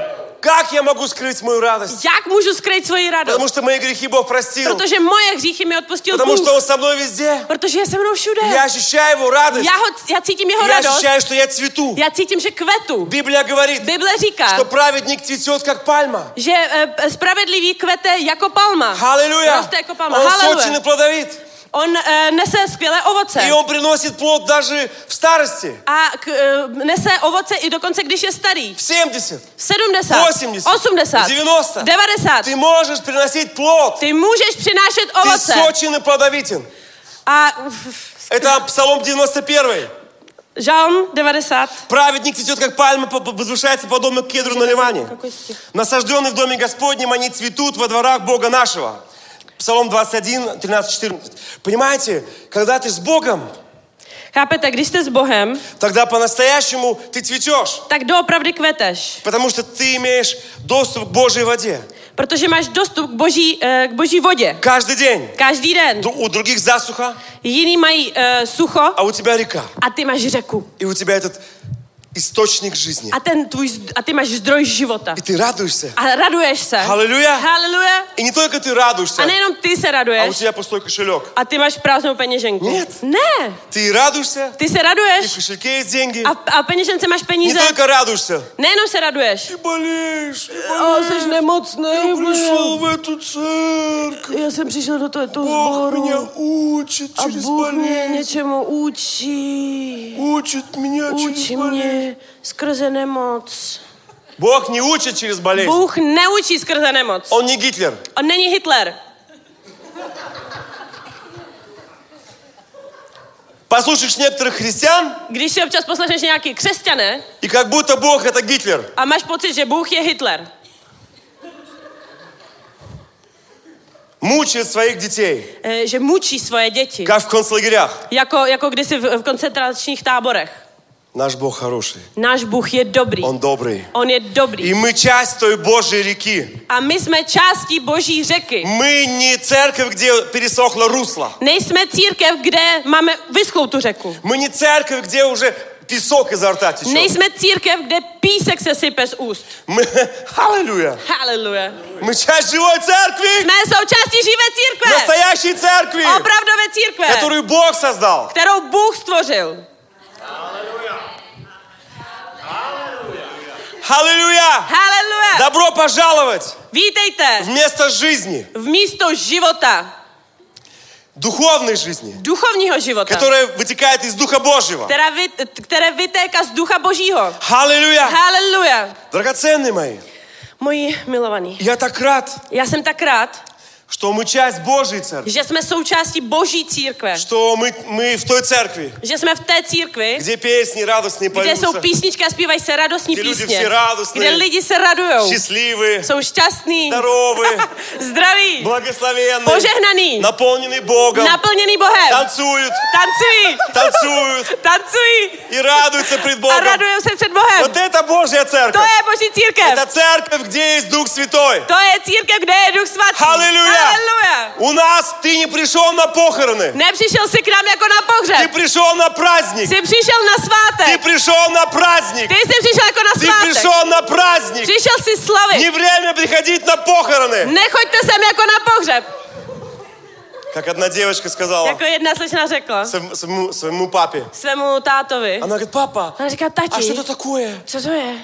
Как я могу скрыть мою радость? Jak můžu skrýt svoji radost? Потому что мои грехи Бог простил. Protože moje hříchy mi odpustil Потому Bůh. что Он со мной везде. Protože je se mnou všude. Я ощущаю Его радость. Já cítím jeho Я radost. ощущаю, что я цвету. Já cítím, že kvetu. Библия говорит, Bible říká, что праведник цветет, как пальма. že spravedlivý kvete jako palma. Аллилуйя! Roste jako palma. Он Haleluja. сочен и плодовит. On nese skvělé ovoce. И Он приносит плод даже в старости. A nese ovoce i dokonce, když je starý. В 70, 70, 80, 80, 90. 90. Ты можешь приносить плод. Ty můžeš přinášet Ты ovoce. сочен и плодовитен. A Это Псалом 91. Žalm 90. Праведник цветет, как пальма, возвышается подобно кедру на Ливане. Насажденный в доме Господнем, они цветут во дворах Бога нашего. Псалом 21, 13, 14. Понимаете, когда ты с Богом, Chápete, když jste s Bohem, тогда по-настоящему ты цветешь. tak doopravdy kveteš. Потому что ты имеешь доступ к Божьей воде. Protože máš dostup k boží vodě. Каждый день. Každý den. У других засуха, Jiní mají sucho а у тебя река. a ty máš řeku. И у тебя этот источник жизни. A ty máš zdroj života. И ты радуешься. A raduješ se. Аллилуйя. Haleluja. И не только ты радуешься, A nejenom ty se а у raduješ. тебя пустой кошелек. A ty máš prázdnou peněženku. Нет. Ne. Ты радуешься, Ty se и raduješ. в кошельке есть деньги. A v peněžence máš Не peníze. только радуешься. Nejenom se raduješ. Ты болеешь. Jsi nemocný. Пришел в эту церковь. Já jsem přišel do tohoto Бог меня sboru. учит A через Bůh mě болезнь. něčemu učí. Учит меня Učí через болезнь. mě skrze nemoc. Бог не учит через болезнь. Bůh neučí skrze nemoc. Он не Гитлер. On není Hitler. Послушаешь некоторых христиан, Když si občas poslechneš nějaký křesťané и как будто Бог это Гитлер. a máš pocit, že Bůh je Hitler. Мучает своих детей, Že mučí svoje děti. как v konцлагерях. Jako kdysi v koncentračních táborech. Наш Бог хороший. Náš Bůh je dobrý. Он добрый. On je dobrý. И мы часть той Божьей реки. A my jsme částí Boží řeky. Мы не церковь, где пересохло русло. Nejsme církev, kde máme vyschlou tu řeku. Мы не церковь, где уже песок изо рта течет. Nejsme církev, kde písek se sype z úst. Аллилуйя. Haleluja. Мы часть живой церкви. Jsme součástí živé církve. Настоящей церкви, Opravdové církve. которую Бог создал. Kterou Bůh stvořil. Аллилуйя. Haleluja. Добро пожаловать Vítejte в место жизни, v místo života. духовной жизни, Duchovního života. которая вытекает из Духа Божьего. Které vytéká z Ducha Božího. Аллилуйя. Haleluja. Драгоценные мои, Moji milovaní. я так рад, Já jsem tak rád, что мы часть Божьей церкви, že jsme součástí Boží církve. что мы в той церкви, Že jsme v té církvi, где песни radostные kde jsou поются, písničky a zpívají se radostní Kde lidi písně. vsi radostní, Kde lidi se radujou. счастливые, Jsou šťastní. здоровые, Zdraví. благословенные, Požehnaný. наполненные Богом, Naplněný Bohem. танцуют, Tancují. танцуют Tancují. и радуются пред A Богом. radujou se před Bohem. Вот это Божья To церковь. je Boží církev. Это церковь, где есть Дух Святой. To je církev, kde je Duch Svatý. Halleluja. Haleluja. У нас ты не пришел на похороны. Nepřišel jsi k nám jako na Ты pohřeb. пришел на праздник. Jsi přišel na Ты svátek. пришел на праздник. Ty jsi přišel jako na Ты svátek. пришел на праздник. Přišel jsi slavit. Не время приходить на похороны. Nechoďte sem jako na pohřeb. Как одна девочка сказала Jako jedna slečna řekla своему папе. svému tátovi. Она говорит, папа, Ona říká, а tati, что это такое? co to je?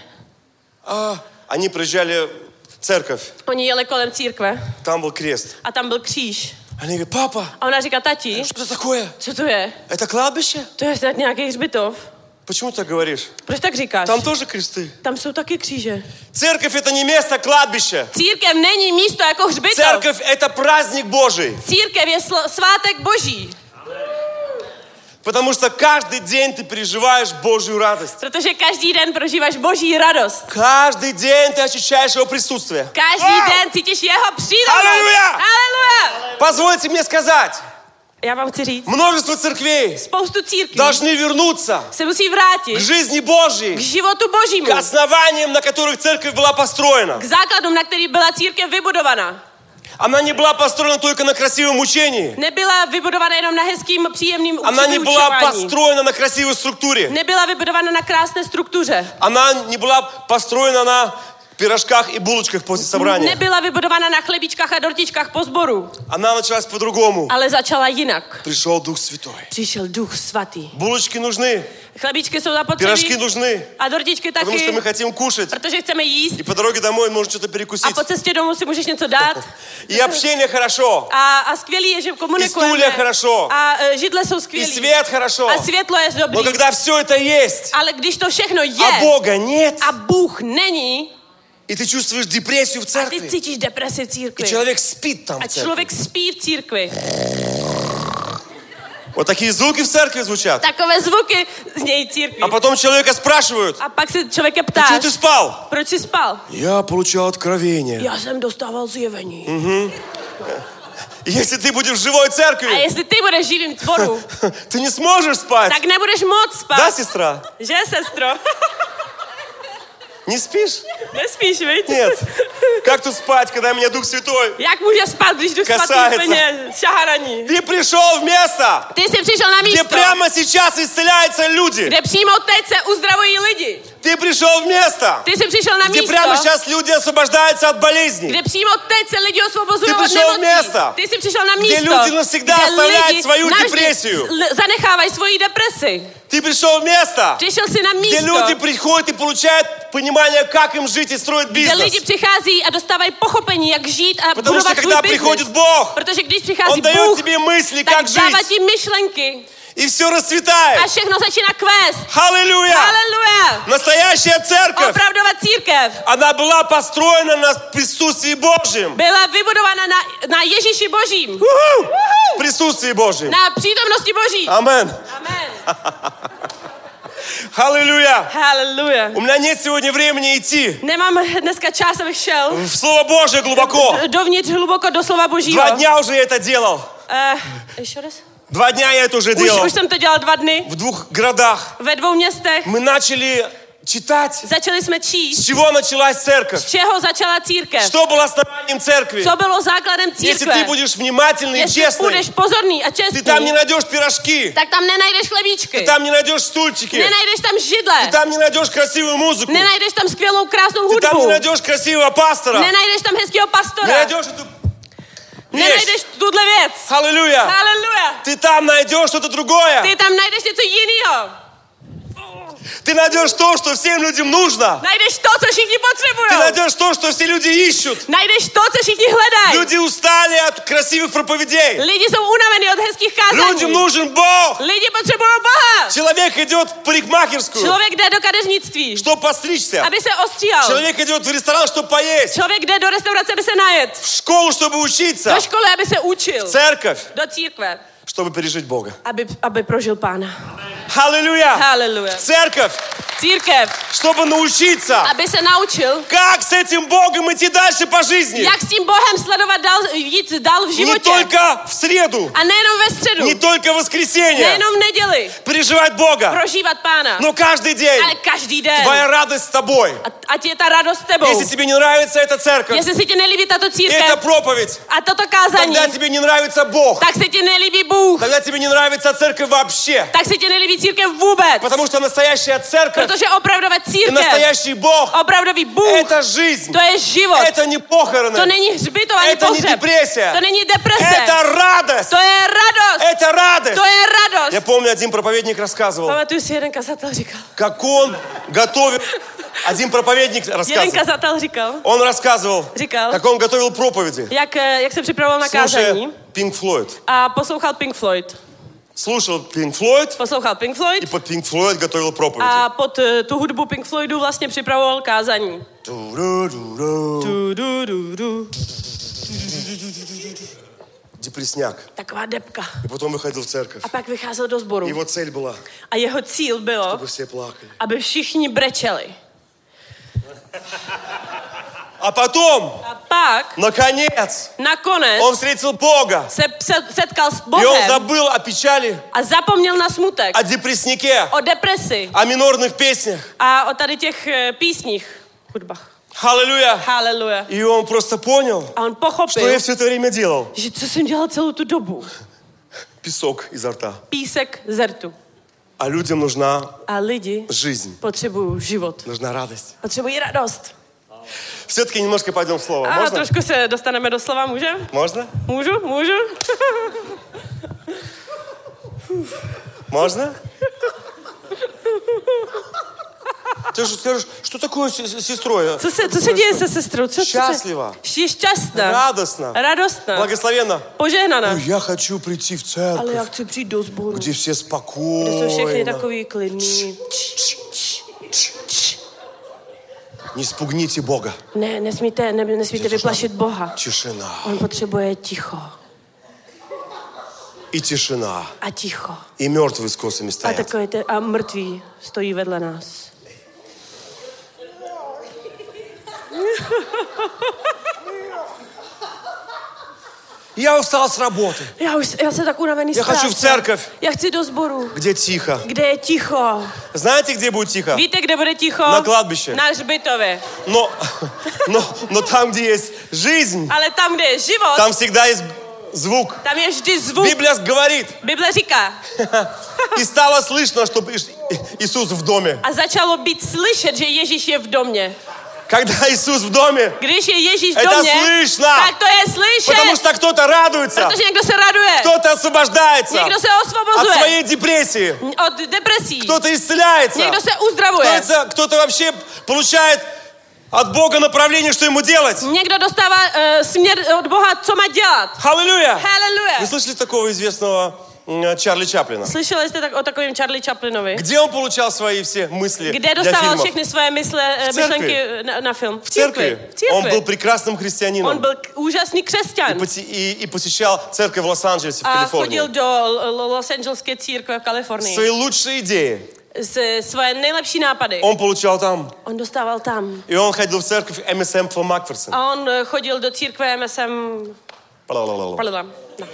Они приезжали в церковь. Oni jeli kolem církve Там был крест. a tam byl kříž. Они говорят, папа, A ona říká, tati, что это такое? co to je? Это кладбище? To je snad nějaký hřbitov. Почему ты так говоришь? Proč tak říkáš? Там тоже кресты. Tam jsou taky kříže. Церковь это не место кладбища. Církev není místo jako hřbitov. Церковь это праздник Божий. Církev je svátek Boží. Потому что каждый день ты переживаешь Божью радость. Protože každý den prožíváš Boží radost. Каждый день ты ощущаешь Его присутствие. Každý den cítíš jeho přítomnost. Haleluja! Haleluja! Позвольте мне сказать, Já vám chci říct, множество церквей spoustu církví должны вернуться se musí к vrátit жизни k Божьей, životu Božímu. к основаниям, на которых церковь была построена. K základům, na který byla církev vybudovaná. Она не была построена только на красивом учении. Nebyla vybudovaná jenom na hezkým, příjemným Она не была učování. построена на красивой структуре. Nebyla vybudovaná na krásné struktuře. Она не была построена на пирожках и булочках после собрания. Nebyla vybudovaná na chlebičkách a dortičkách po sboru. Она началась по-другому. Ale začala jinak. Пришел Дух Святой. Přišel Duch Svatý. Булочки нужны, Chlebičky jsou пирожки zapotřebí нужны, a dortičky потому что taky, мы хотим кушать. protože chceme jíst И по дороге домой можно что-то a перекусить. po cestě domů si můžeš něco dát. И общение хорошо, A skvělý je, že и komunikujeme. стулья хорошо, A židle jsou и skvělý. свет хорошо. A světlo je dobrý. Но когда все это есть, Ale když to všechno а je Бога нет, a Bůh není, и ты чувствуешь депрессию в a ty церкви, cítíš depresi v и církvi. человек спит там A в церкви. člověk spí v církvi. Вот такие звуки в церкви звучат. Takové zvuky znějí církvi. А потом человека spрашивают, A pak se člověka почему ptáš, ты спал? proč jsi spal? Я получал откровение. Já jsem dostával zjevení. Если ты будешь в живой A церкви, jestli ty budeš živým tvoru, ты не сможешь спать. tak nebudeš moc spát. Да, сестра? Že, sestro? Не спишь? Nespíš, viď? Нет. Как тут спать, когда меня Дух Святой Jak může spát, když Duch Svatý Касается. úplně šahá na ní? Ты пришел в место, Ty jsi přišel na где místo, прямо сейчас исцеляются люди. kde přímo teď se uzdravují lidi. Ты пришел в место, Ty jsi přišel na где místo, прямо сейчас люди освобождаются от болезней. kde přímo teď se lidi osvobozují Ty od přišel nemocí. města, Ty jsi přišel na kde místo, lidi навсегда kde оставляют lidi свою navždy депрессию. zanechávají svoji depresi. Ты пришел в место, Přišel jsi na где místo, люди приходят и получают понимание, как им жить и строить kde бизнес. lidi přichází a dostávají pochopení, jak žít a Потому что budovat svůj когда biznis. приходит Бог, Protože když přichází Он дает Bůh, тебе мысли, tak как dává жить. ti myšlenky И все расцветает. a všechno začíná kvést. Аллилуйя! Haleluja! Настоящая церковь, Opravdová církev она была построена на присутствии Божьем. byla vybudována na Ježíši Božím. В присутствии Божьем. Na přítomnosti Boží. Amen. Amen. Аллилуйя. Haleluja. У меня нет сегодня времени идти Nemám dneska čas, abych šel в Слово Божие глубоко. dovnitř hluboko do slova Božího. 2 дня уже я это делал. Ještě raz? 2 дня я это уже делал. Už jsem to dělal 2 dny В 2 городах. ve 2 městech. Мы начали читать. Začali jsme С číst, чего началась церковь? z čeho začala církev. Что было основанием церкви? Co bylo základem Если ты církve. будешь внимательный и Jestli честный, budeš pozorný a ты там не čestný, найдешь пирожки, tak tam nenajdeš chlebíčky. ты там не найдешь стульчики, Nenajdeš tam židle. ты там не найдешь красивую музыку, Nenajdeš tam skvělou, krásnou ты там не hudbu. найдешь красивого пастора, Nenajdeš tam hezkého не pastora. найдешь эту вещь. Nenajdeš tuhle věc. Аллилуйя! Haleluja. Ты там найдешь что-то другое. Ty tam najdeš něco jiného. Ты найдешь то, что всем людям нужно. Najdeš to, co všichni Ты potřebují. найдешь то, что все люди ищут. Najdeš to, co všichni hledají. Люди устали от красивых проповедей. Lidi jsou unavení od hezkých Людям kázání. нужен Бог. Lidi potřebují Boha. Человек идет в парикмахерскую, Člověk jde do kadeřnictví, чтобы постричься. aby se ostříhal. Человек идет в ресторан, чтобы поесть. Člověk jde do restaurace, aby se najet. В školu, чтобы учиться. Do školy, aby se učil. Церковь, Do církve, чтобы пережить Бога. aby prožil Pána. Аллилуйя! Haleluja. Церковь, Církev, чтобы научиться, aby se naučil, как с этим Богом идти дальше по жизни. jak s tím Bohem sledovat dál, jít dál v Не životě. только в среду, A nejenom ve středu, не только в воскресенье. nejenom v neděli, Переживать Бога. prožívat Pána, Но каждый день ale každý den. твоя радость с тобой. Ať je ta radost s tebou. Если тебе не нравится эта церковь, Jestli si ti nelíbí tato эта církev проповедь, a toto kázání, тогда тебе не нравится Бог. tak se ti nelíbí Bůh, Тогда тебе не нравится церковь вообще. tak se ti nelíbí církev vůbec. Потому что настоящая церковь Protože opravdová и církev, настоящий Бог opravdový Bůh, это жизнь. to je život. Это не похороны. To není hřbitov ani Это не pohřeb. депрессия. To není deprese. Это радость. To je radost. Это радость. To je radost. Я помню, один проповедник рассказывал, Pamatuju si, jeden kazatel říkal. как он готовил... Один проповедник Jeden рассказывал. kazatel říkal, Он рассказывал, Říkal. как он готовил проповеди, jak se připravoval na слушая kázání Pink Floyd. a poslouchal Pink Floyd. Слушал Pink Floyd Poslouchal Pink и Floyd под Pink Floyd готовил проповеди. a pod tu hudbu Pink Floydu vlastně připravoval kázání. Ту-ру-ру-ру. Du. Депресняк. Taková depka. И потом выходил в церковь. A pak vycházel do sboru. Его цель была, A jeho cíl bylo, чтобы все плакали. aby všichni brečeli. А потом, A pak, наконец, nakonec, он встретил Бога. se setkal s И он Bohem забыл о печали, a zapomněl na smutek, о депрессняке, o depresi о минорных песнях. a o tady těch písních, hudbách. Аллилуйя. Haleluja. И он просто понял, A on что pochopil, я все это время делал. že co jsem dělal celou tu dobu. Песок изо рта. Písek z rtu. А людям нужна A lidi жизнь, potřebují život. нужна радость. Potřebují radost. Все-таки немножко пойдем в слово. A Можно? trošku se dostaneme do slova, můžem? Можно? Můžu? Можно? Ты же скажешь, что такое с сестрой? Co se děje se sestrou? Šťastlivá. Je šťastná. Радостно. Radostná. Благословенно. Požehnaná. Ой, я хочу прийти в Ale já церковь, chci přijít do sboru, где все kde jsou všechny спокойно. takový klidný. Не спугните Бога. Ne, nesmíte vyplašit Boha. Тишина. On potřebuje ticho. И тишина. A ticho. И мертвые с косами A стоят. takové a mrtví stojí vedle nás. Я устал с работы. Já jsem tak unavený z Я хочу в práce. церковь, Já chci do sboru, где тихо. kde je ticho. Знаете, где будет тихо? Víte, kde bude ticho? Na kladbiště. Na hřbitově. Но там, где есть жизнь, Ale tam, kde je život, там всегда есть звук. tam je vždy zvuk. Библия говорит, Bible říká. и стало слышно, что Иисус в доме. A začalo být slyšet, že Ježíš je v domě. Когда Иисус в доме, Když je Ježíš v это domě, слышно. tak to je slyšet. Потому что кто-то радуется, Protože někdo se raduje. кто-то освобождается Někdo se от osvobozuje своей депрессии, od depresí. кто-то исцеляется, Někdo se uzdravuje. кто-то вообще получает от Бога направление, что ему делать. Někdo dostává směr od Boha, co má dělat. Аллилуйя! Haleluja. Вы слышали такого известного Чарли Чаплина? Slyšeli jste tak o takovém Charlie Chaplinovi? Где он получал свои все мысли Kde для dostával фильмов? všechny své myšlenky na film? В церкви. V církvi. Он был прекрасным On христианином byl úžasný křesťan. и посещал церковь в Лос-Анджелесе, в A Калифорнии. chodil do Los Angeleské církve v Kalifornii. Свои лучшие идеи Svoje nejlepší nápady. он получал там. On dostával tam. И он ходил в церковь МСМ Фил Макферсон. A on chodil do církve MSM. Pardon. No.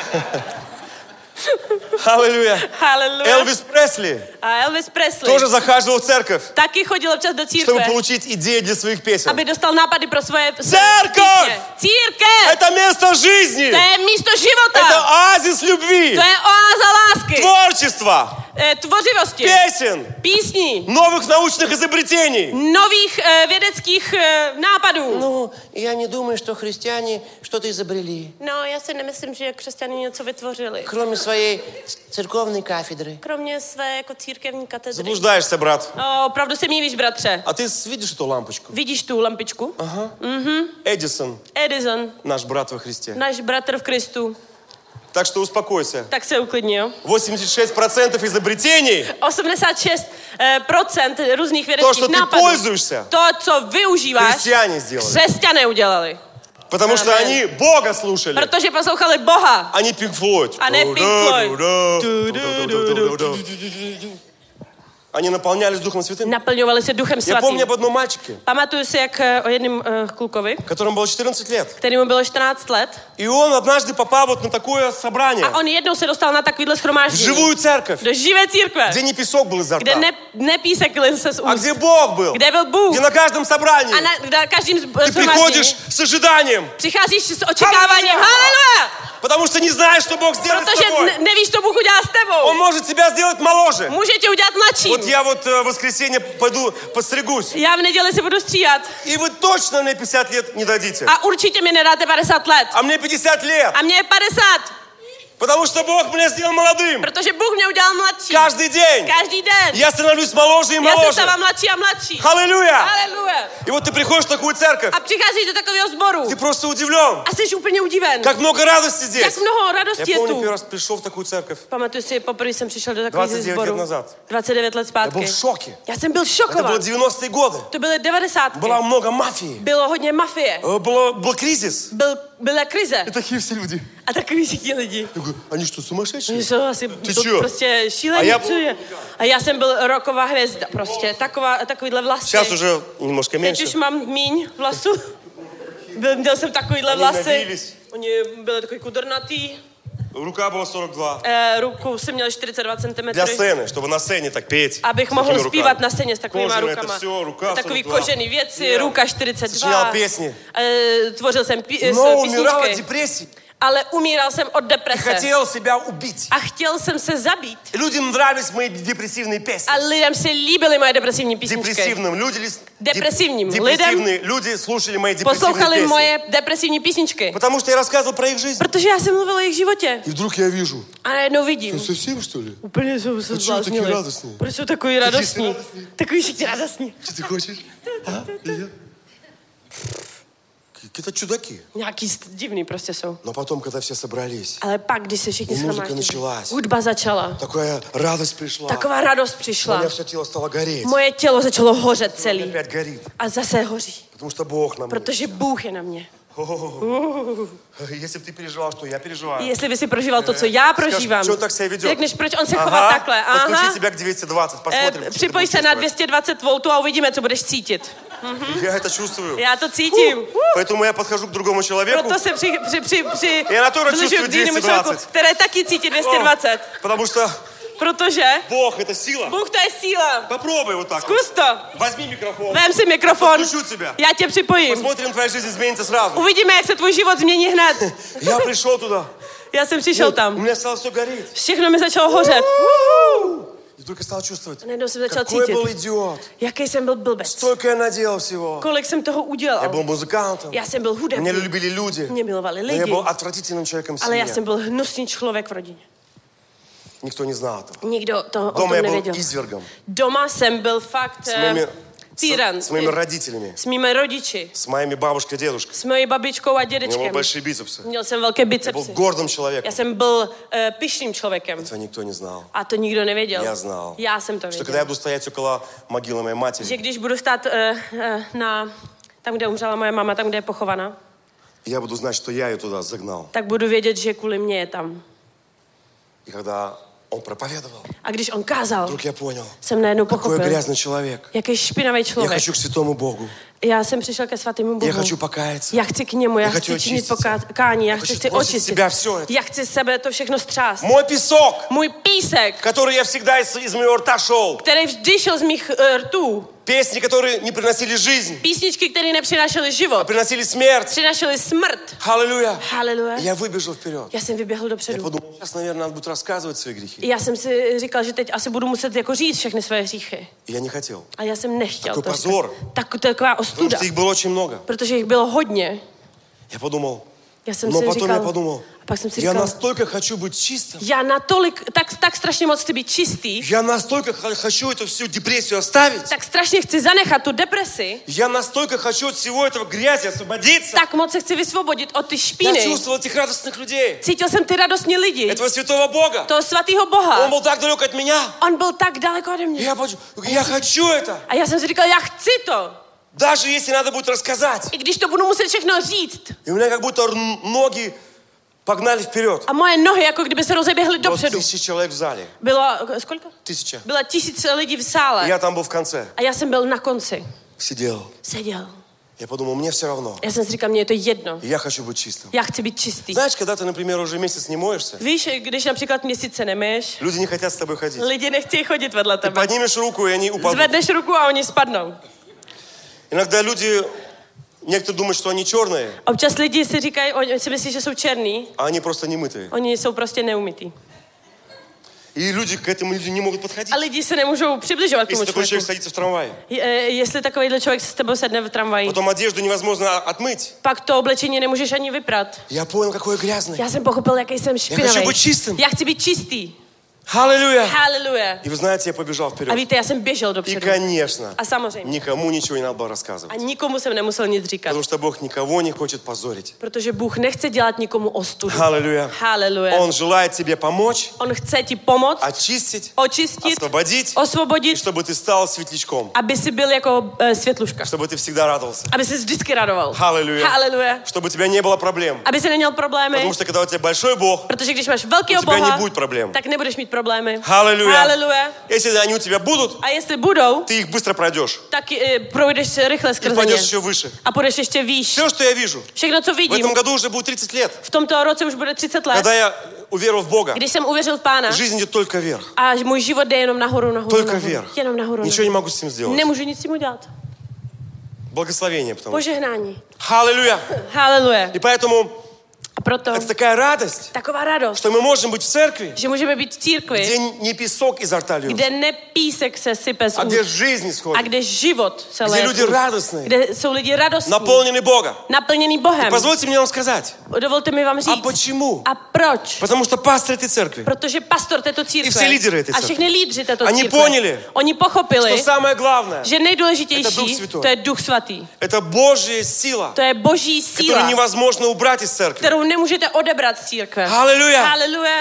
Аллилуйя. Haleluja. Элвис Пресли A Elvis Presley тоже захаживал в церковь, taky chodil občas do чтобы církve, получить идеи для своих песен. aby dostal nápady pro svoje Церковь! písně. Církev! Это место жизни. To je místo Это života. оазис любви, To je oáza lásky. творчества, Tvořivosti. песен, Písní. новых научных изобретений. Nových vědeckých nápadů. Ну, я не думаю, что христиане что-то изобрели, No, já si nemyslím, že křesťané něco vytvořili. кроме своей церковной кафедры. Kromě své jako církevní katedry. Заблуждаешься, брат. Opravdu se mívíš, bratře. А ты видишь эту лампочку? Vidíš tu lampičku? Эдисон, Edison, наш брат во Христе. náš bratr v Kristu. Так что успокойся. Tak se uklidni, jo? 86% изобретений, 86% různých то, vědeckých что ты nápadů. пользуешься, To, co využíváš, христиане сделали. křesťané udělali. Потому что Amen. они Бога слушали, Protože poslouchali Boha. а не Pink Floyd. A ne Pink Floyd. Они наполнялись Духом Святым. Naplňovali se Duchem Я помню Svatým. об одном мальчике, Pamatuju si, jak o jednom klukovi, которому было 14 лет. kterému bylo 14 let, И он однажды попал вот на такое собрание, a on jednou se dostal na takovýhle в shromáždění. живую церковь, Do živé církve, где не песок был изо kde рта, ne písek lil se z а úst, где Бог был, kde byl Bůh. где на каждом собрании A na každém ты приходишь shromáždění с ожиданием, přicházíš s očekáváním. Haleluja! потому что не знаешь, что Бог сделает с Protože тобой. nevíš, co Bůh udělá s Он tebou. может тебя сделать моложе. Může tě udělat mladším. Вот я вот в воскресенье пойду постригусь. Já v neděli si budu stříhat. И вы точно мне 50 лет не дадите. A určitě mi nedáte 50 let. А мне 50 лет. A mě je 50. Потому что Бог меня сделал молодым. Protože Bůh mě udělal mladší. Каждый день. Každý den. Я становлюсь моложе и Já se моложе. stávám mladší a mladší. Аллилуйя. Haleluja. И вот ты приходишь в такую церковь. A přicházíš do takového sboru. Ты просто удивлен. A jsi úplně udiven. Как много радости здесь. Jak mnoho Я radosti je помню, tu. первый раз пришел в такую церковь. Pamatuju si, poprvé jsem přišel do takového 29 sboru. let nazad. 29 let Я был zpátky. в šoke. Já jsem byl Это было šokovat. 90-е годы. To byly 90. Было много мафии. Bylo hodně mafie. Был кризис. Byla krize. И такие все люди. A takový všichni lidi. Я говорю, они что, сумасшедшие? Oni jsou asi čo? prostě šílení. A já- Co je? A já jsem byl roková hvězda. Prostě takovýhle vlasy. Сейчас уже немножко Teď меньше. už mám míň vlasů. Měl jsem takovýhle Oni vlasy. nabíjeli. Oni byli takový kudrnatý. Ruka была 42. Ruku jsem měl 42 cm. Для сцены, чтобы на сцене так петь. Abych с mohl такими zpívat руками. na scéně s takovýma Кожаное rukama. это все, ruka Takový 42. kožený věci, Jo. ruka 42. Sčítal pěsně. Tvořil jsem Но умирал от písničky. депрессии. Ale umíral jsem od И deprese. хотел себя убить. A chtěl jsem se zabít. И людям нравились мои депрессивные песни. A lidem se líbily moje depresivní písničky. Депрессивным. Депрессивным Депрессивные люди слушали мои депрессивные Poslouchali песни. moje depresivní písničky. Потому что я рассказывал про их жизнь. Protože já jsem mluvil o jejich životě. И вдруг я vижу. A najednou vidím. Совсем, что ли? Úplně jsou se Proč jsou taky zbláznili. radostní? Proč jsou takový radostní? Takový všichni radostní. Что ты хочешь? А? И я? Какие-то чудаки. Nějaký divný prostě jsou. Но потом, когда все собрались, Ale pak, když se všichni Muzika shromáždili, началась. hudba začala. такая радость пришла. Taková radost У přišla. меня все тело стало гореть. Moje tělo začalo hořet celý. Опять горит. A zase hoří. Потому что Бог на мне. Protože Bůh je na mě. Если бы ты переживал, что я переживаю. Jestli by si prožíval to, co já prožívám, Скажешь, что он так себя ведет? řekneš, proč on se chová takhle. Подключи Aha. себя к 220, посмотрим. что ты Připoj будешь se na чувствовать. 220 V a uvidíme, co budeš cítit. Я это чувствую. Já to cítím. Поэтому я подхожу к другому человеку. Proto se Я на тоже чувствую k jinému člověku, 220. které taky cítí 220. Потому что Protože Бог это сила. Bůh to je síla. Попробуй вот так. Zkus to. Возьми микрофон. Vem si mikrofon. Подключу тебя. Já tě připojím. Посмотрим, твоя жизнь изменится сразу. Uvidíme, jak se tvůj život změní hned. Я пришел туда. Já jsem přišel У tam. меня стало все гореть. Všechno mi začalo hořet. И только стал чувствовать, Najednou jsem začal какой cítit, был идиот. jaký jsem byl blbec. Столько я наделал всего. Kolik jsem toho Я udělal. был музыкантом. Já jsem byl Меня hudebník. любили люди. Mě milovali Но я lidi. был отвратительным человеком в Ale já семье. jsem byl hnusný člověk v rodině. Никто не знал этого. Nikdo to o tom Дома я был nevěděl. извергом. Doma jsem byl fakt týran. С моими родителями. S mými rodiči. С моими бабушкой и дедушкой. S mojí babičkou a У меня были dědečkem. большие бицепсы. Měl jsem velké Я был bicepsy. гордым Já человеком. jsem byl pyšným člověkem. Этого никто не знал. A to nikdo nevěděl. Я знал. Já jsem to Что когда я věděl. буду стоять около могилы моей Že матери, když budu stát tam, kde umřela moje máma, tam, kde je pochovaná, я буду знать, что я ее туда загнал. tak budu vědět, že kvůli mě je tam. И когда он проповедовал, A když on kázal, вдруг я понял, jsem najednou какой pochopil, грязный человек. jaký špinavý Я člověk. хочу к святому Богу. Já jsem přišel ke svatému Я Bohu. хочу покаяться. Já chci k němu, já Já chci chci činit očistit se. pokání, já Já chci chci si sbrostit očistit. себя всё это. Já chci sebe to všechno střást. Мой песок, Můj písek, который я всегда из моего рта шел. který vždy šel z mých rtů. Песни, которые не приносили жизнь, Písničky, které nepřinášely život, приносили смерть. přinášely smrt. Аллилуйя. Haleluja. Я выбежал вперед. Já jsem vyběhl Я dopředu. подумал, сейчас, наверное, надо будет рассказывать свои грехи. Já jsem si říkal, že teď asi budu muset jako říct všechny své hříchy. И я не хотел. A já jsem nechtěl Takový to pozor. říkat. Taková Потому ostuda. что их было очень много. Protože jich bylo hodně. Я подумал, Já jsem но si потом я říkal, подумал, a pak jsem si я říkal, настолько хочу быть чистым. já natolik, tak strašně moc chci být čistý, Я настолько хочу эту всю депрессию оставить. tak strašně chci zanechat tu depresi, Я настолько хочу от всего этого грязи освободиться. tak moc se chci vysvobodit od ty Я špíny. чувствовал этих радостных людей. Cítil jsem ty radostní lidi, Этого святого Бога. toho svatého Он Boha. был так далек от меня. On byl tak daleko ode mě. Я хочу это. A já jsem si říkal, já chci to. Даже если надо будет рассказать. I když to budu muset všechno říct. И у меня как будто ноги погнали вперед. A moje nohy jako kdyby se rozeběhly Вот dopředu. 1000 человек в зале. Bylo, kolik? 1000. Bylo 1000 lidí v sále. Я там был в конце. A já jsem byl na konci. Сидел. Seděl. Я подумал, мне все равно. Já jsem si říkal, mně je to jedno. Я хочу быть чистым. Já chci být čistý. Знаешь, когда ты, например, уже месяц не моешься, Víš, když například měsíce nemyš, люди не хотят с тобой ходить. lidi nechtějí chodit vedle Ты tebe. поднимешь руку, и они упадут. Zvedneš ruku a oni spadnou. Иногда люди, некоторые думают, что они черные, Občas lidi si říkají, oni si myslí, že jsou černý, а они просто немытые. oni jsou prostě neumytý. И люди к этому люди не могут подходить. A lidi se nemůžou přibližovat k Если tomu такой человек člověku. садится в трамвае, Jestli takovýhle člověk s tebou sedne v tramvaji, потом одежду невозможно отмыть. pak to oblečení nemůžeš ani vyprat. Я понял, какой я грязный. Já jsem pochopil, jaký jsem špinavý. хочу быть чистым. Já chci být čistý. Аллилуйя! Haleluja. И вы знаете, я побежал A вперед. víte, já jsem běžel И, dopředu. конечно, A samozřejmě. никому ничего не надо было A рассказывать. nikomu jsem nemusel nic říkat. Потому что Бог никого не хочет позорить. Protože Bůh nechce dělat nikomu ostudu. Аллилуйя! Haleluja. Он желает тебе помочь, On chce ti pomoct, очистить, očistit, освободить, и osvobodit, чтобы ты стал светлячком, aby si byl jako světluška. чтобы ты всегда радовался. Aby se vždycky radoval. Аллилуйя! Haleluja. Чтобы у тебя не было проблем. Aby se neměl problémy. Потому что когда у тебя большой Бог, Protože když máš velkého u тебя Boha, не будет проблем. tak nebudeš mít problémy. Аллилуйя! Haleluja. Если они у тебя будут, A jestli budou, ты их bystро пройдешь. tak projdeš se rychle И skrze ně. пойдешь еще выше. A půjdeš ještě výš. Все, что я вижу, Všechno, co в vidím, этом году уже будет 30 лет. v tomto roce už bude 30 let, Когда я уверовал в Бога, když jsem uvěřil v Pána жизнь идет только вверх. a můj život jde jenom nahoru, nahoru, Только nahoru. вверх. Jenom nahoru, Ничего не nahoru. могу с этим сделать. Nemůžu nic s tím udělat. Благословение, потому что. Požehnání. Аллилуйя! Haleluja. И поэтому A proto это такая радость, taková radost, что мы можем быть в церкви, že můžeme být v církvi, где не песок изо рта льется, kde ne písek se sype z а где úst, жизнь a исходит, kde život se где leje z люди úst, радостные, kde jsou lidi radostní, наполнены Бога. naplněný Bohem. Позвольте мне вам сказать, Dovolte mi vám а říct. почему? A proč? Потому что пастор этой церкви, Protože pastor této církve I vsi lídři té a všechny lídři této Oni církve, poněli, oni pochopili, что самое главное, že Это Дух nejdůležitější Svatý. to je Duch Svatý. это Божья сила, To je boží которую síla, невозможно убрать из церкви. kterou nemůžete odebrat z církve. Аллилуйя! Haleluja.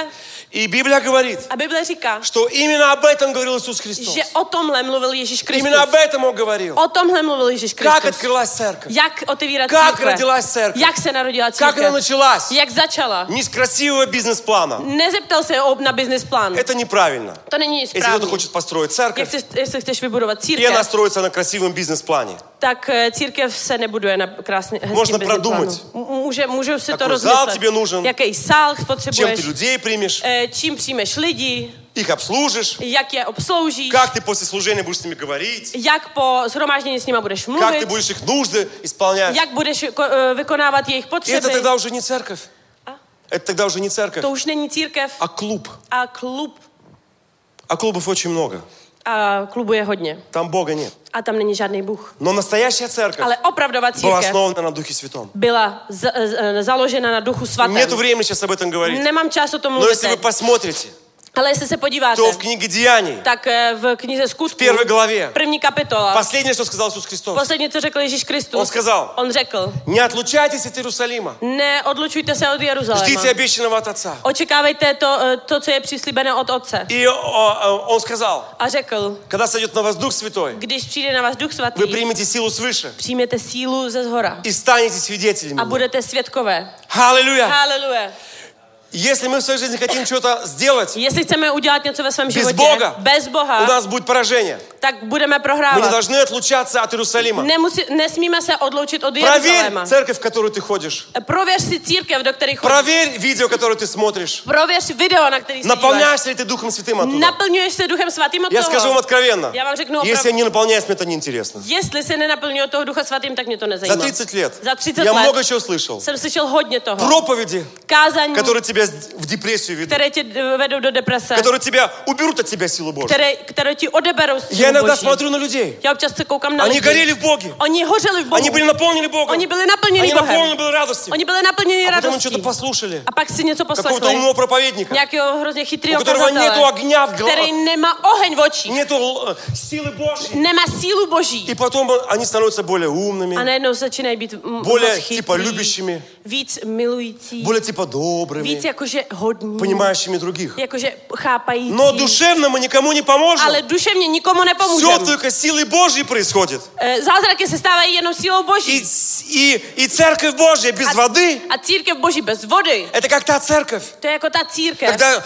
И Библия говорит, A Bible říká, что именно об этом говорил Иисус Христос. že o tomhle mluvil Ježíš Kristus. Именно об этом Он говорил. O tomhle mluvil Ježíš Как Kristus. открылась церковь? Jak otevírat Как církve? родилась церковь? Jak se narodila Как она církev? началась? Jak začala? Не с красивого бизнес-плана. Nezeptal se na business plán. Это неправильно. To není Если кто-то správně. хочет построить церковь, Jestli chceš vybudovat и она církev, строится на красивом бизнес-плане. tak církev se nebuduje na krásně hezkým Можно business продумать. plánu. Můžu si to Какой зал rozmyslet. тебе нужен? Jaký sál Чем potřebuješ? ты людей примешь? Čím přijmeš lidi? Их обслужишь? Jak je obsloužíš? Как ты после служения будешь с ними говорить? Jak po shromáždění s nima budeš Как ты mluvit? будешь их нужды исполнять? Jak budeš vykonávat jejich И это potřeby? тогда уже не церковь. Это тогда уже не церковь, To už není církev а клуб. a klub. А клубов очень много. A klubu je hodně. Там Бога нет. A tam není žádný Bůh. Но настоящая церковь Ale opravdová была církev основана на Духе Святом. byla založena na Duchu Svatém. Нету времени сейчас об этом говорить. Nemám čas o tom Но mluvit. если вы посмотрите, Ale jestli se podíváte, то в книге Деяний, tak v knize Skutků, v 1. главе, první kapitola, последнее, что сказал Иисус Христос, poslední, co řekl Ježíš Kristus, Он сказал, on řekl, не отлучайтесь от Иерусалима, neodlučujte se od Jeruzaléma. ждите обещанного от Отца. Očekávejte to, co je přislíbeno od Otce. И Он сказал, A řekl, когда сойдет на вас Дух Святой, když přijde na vás Duch Svatý, вы примете силу свыше přijměte sílu ze zhora и станете свидетелями. a budete svědkové. Аллилуйя! Haleluja. Если мы в своей жизни хотим что-то сделать Jestli chceme udělat něco ve svém без životě Бога, bez у Boha, нас будет поражение. tak budeme Мы не prohrávat. должны отлучаться от Иерусалима. Nesmíme se odloučit od Проверь Jeruzaléma. церковь, в которую ты ходишь. Prověř si církev, do kterých chodíš. Проверь видео, которое ты смотришь. Prověř video, na který se díváš. Наполняешься ли ты Духом Святым оттуда? Naplňuješ se Duchem Svatým od Я скажу вам toho. откровенно. Já vám řeknu Если я opravdu. не наполняюсь, мне это неинтересно. Jestli se nenaplňuje toho Ducha Svatým, tak mě to За nezajímá. 30 лет Za 30 я let много чего слышал. jsem slyšel hodně toho. Проповеди, Kázání, которые тебя в депрессию ведут. které tě vedou do deprese, Которые тебя уберут от тебя силу Божью. které ti odeberou Я sílu иногда Boží. смотрю на людей. Já občas se koukám na Они lidi. горели в Боге. Oni hořeli v Bohu. Они были наполнены Богом. Oni byli naplněni Они Bohem. наполнены были радостью. Oni byli naplněni А потом они radostí. что-то послушали. A pak si něco Какого-то poslechli. умного проповедника. Nějakého hrozně chytrýho У которого нету kazatele, огня в který голове. nemá oheň v očích. Нету силы Божьей. Nemá sílu Boží. И потом они становятся более A умными, najednou začínají být более moc типа chytrý, любящими, víc milující, более типа víc добрыми, jakože hodní, понимающими других. jakože chápající. Но dушевно мы никому не поможем. Ale duševně nikomu Все nepomůžeme. только силой Божьей происходит. Zázraky se stávají jenom sílou Boží. И церковь Божья без воды, A církev Boží bez vody, это как та церковь, to je jako ta církev, когда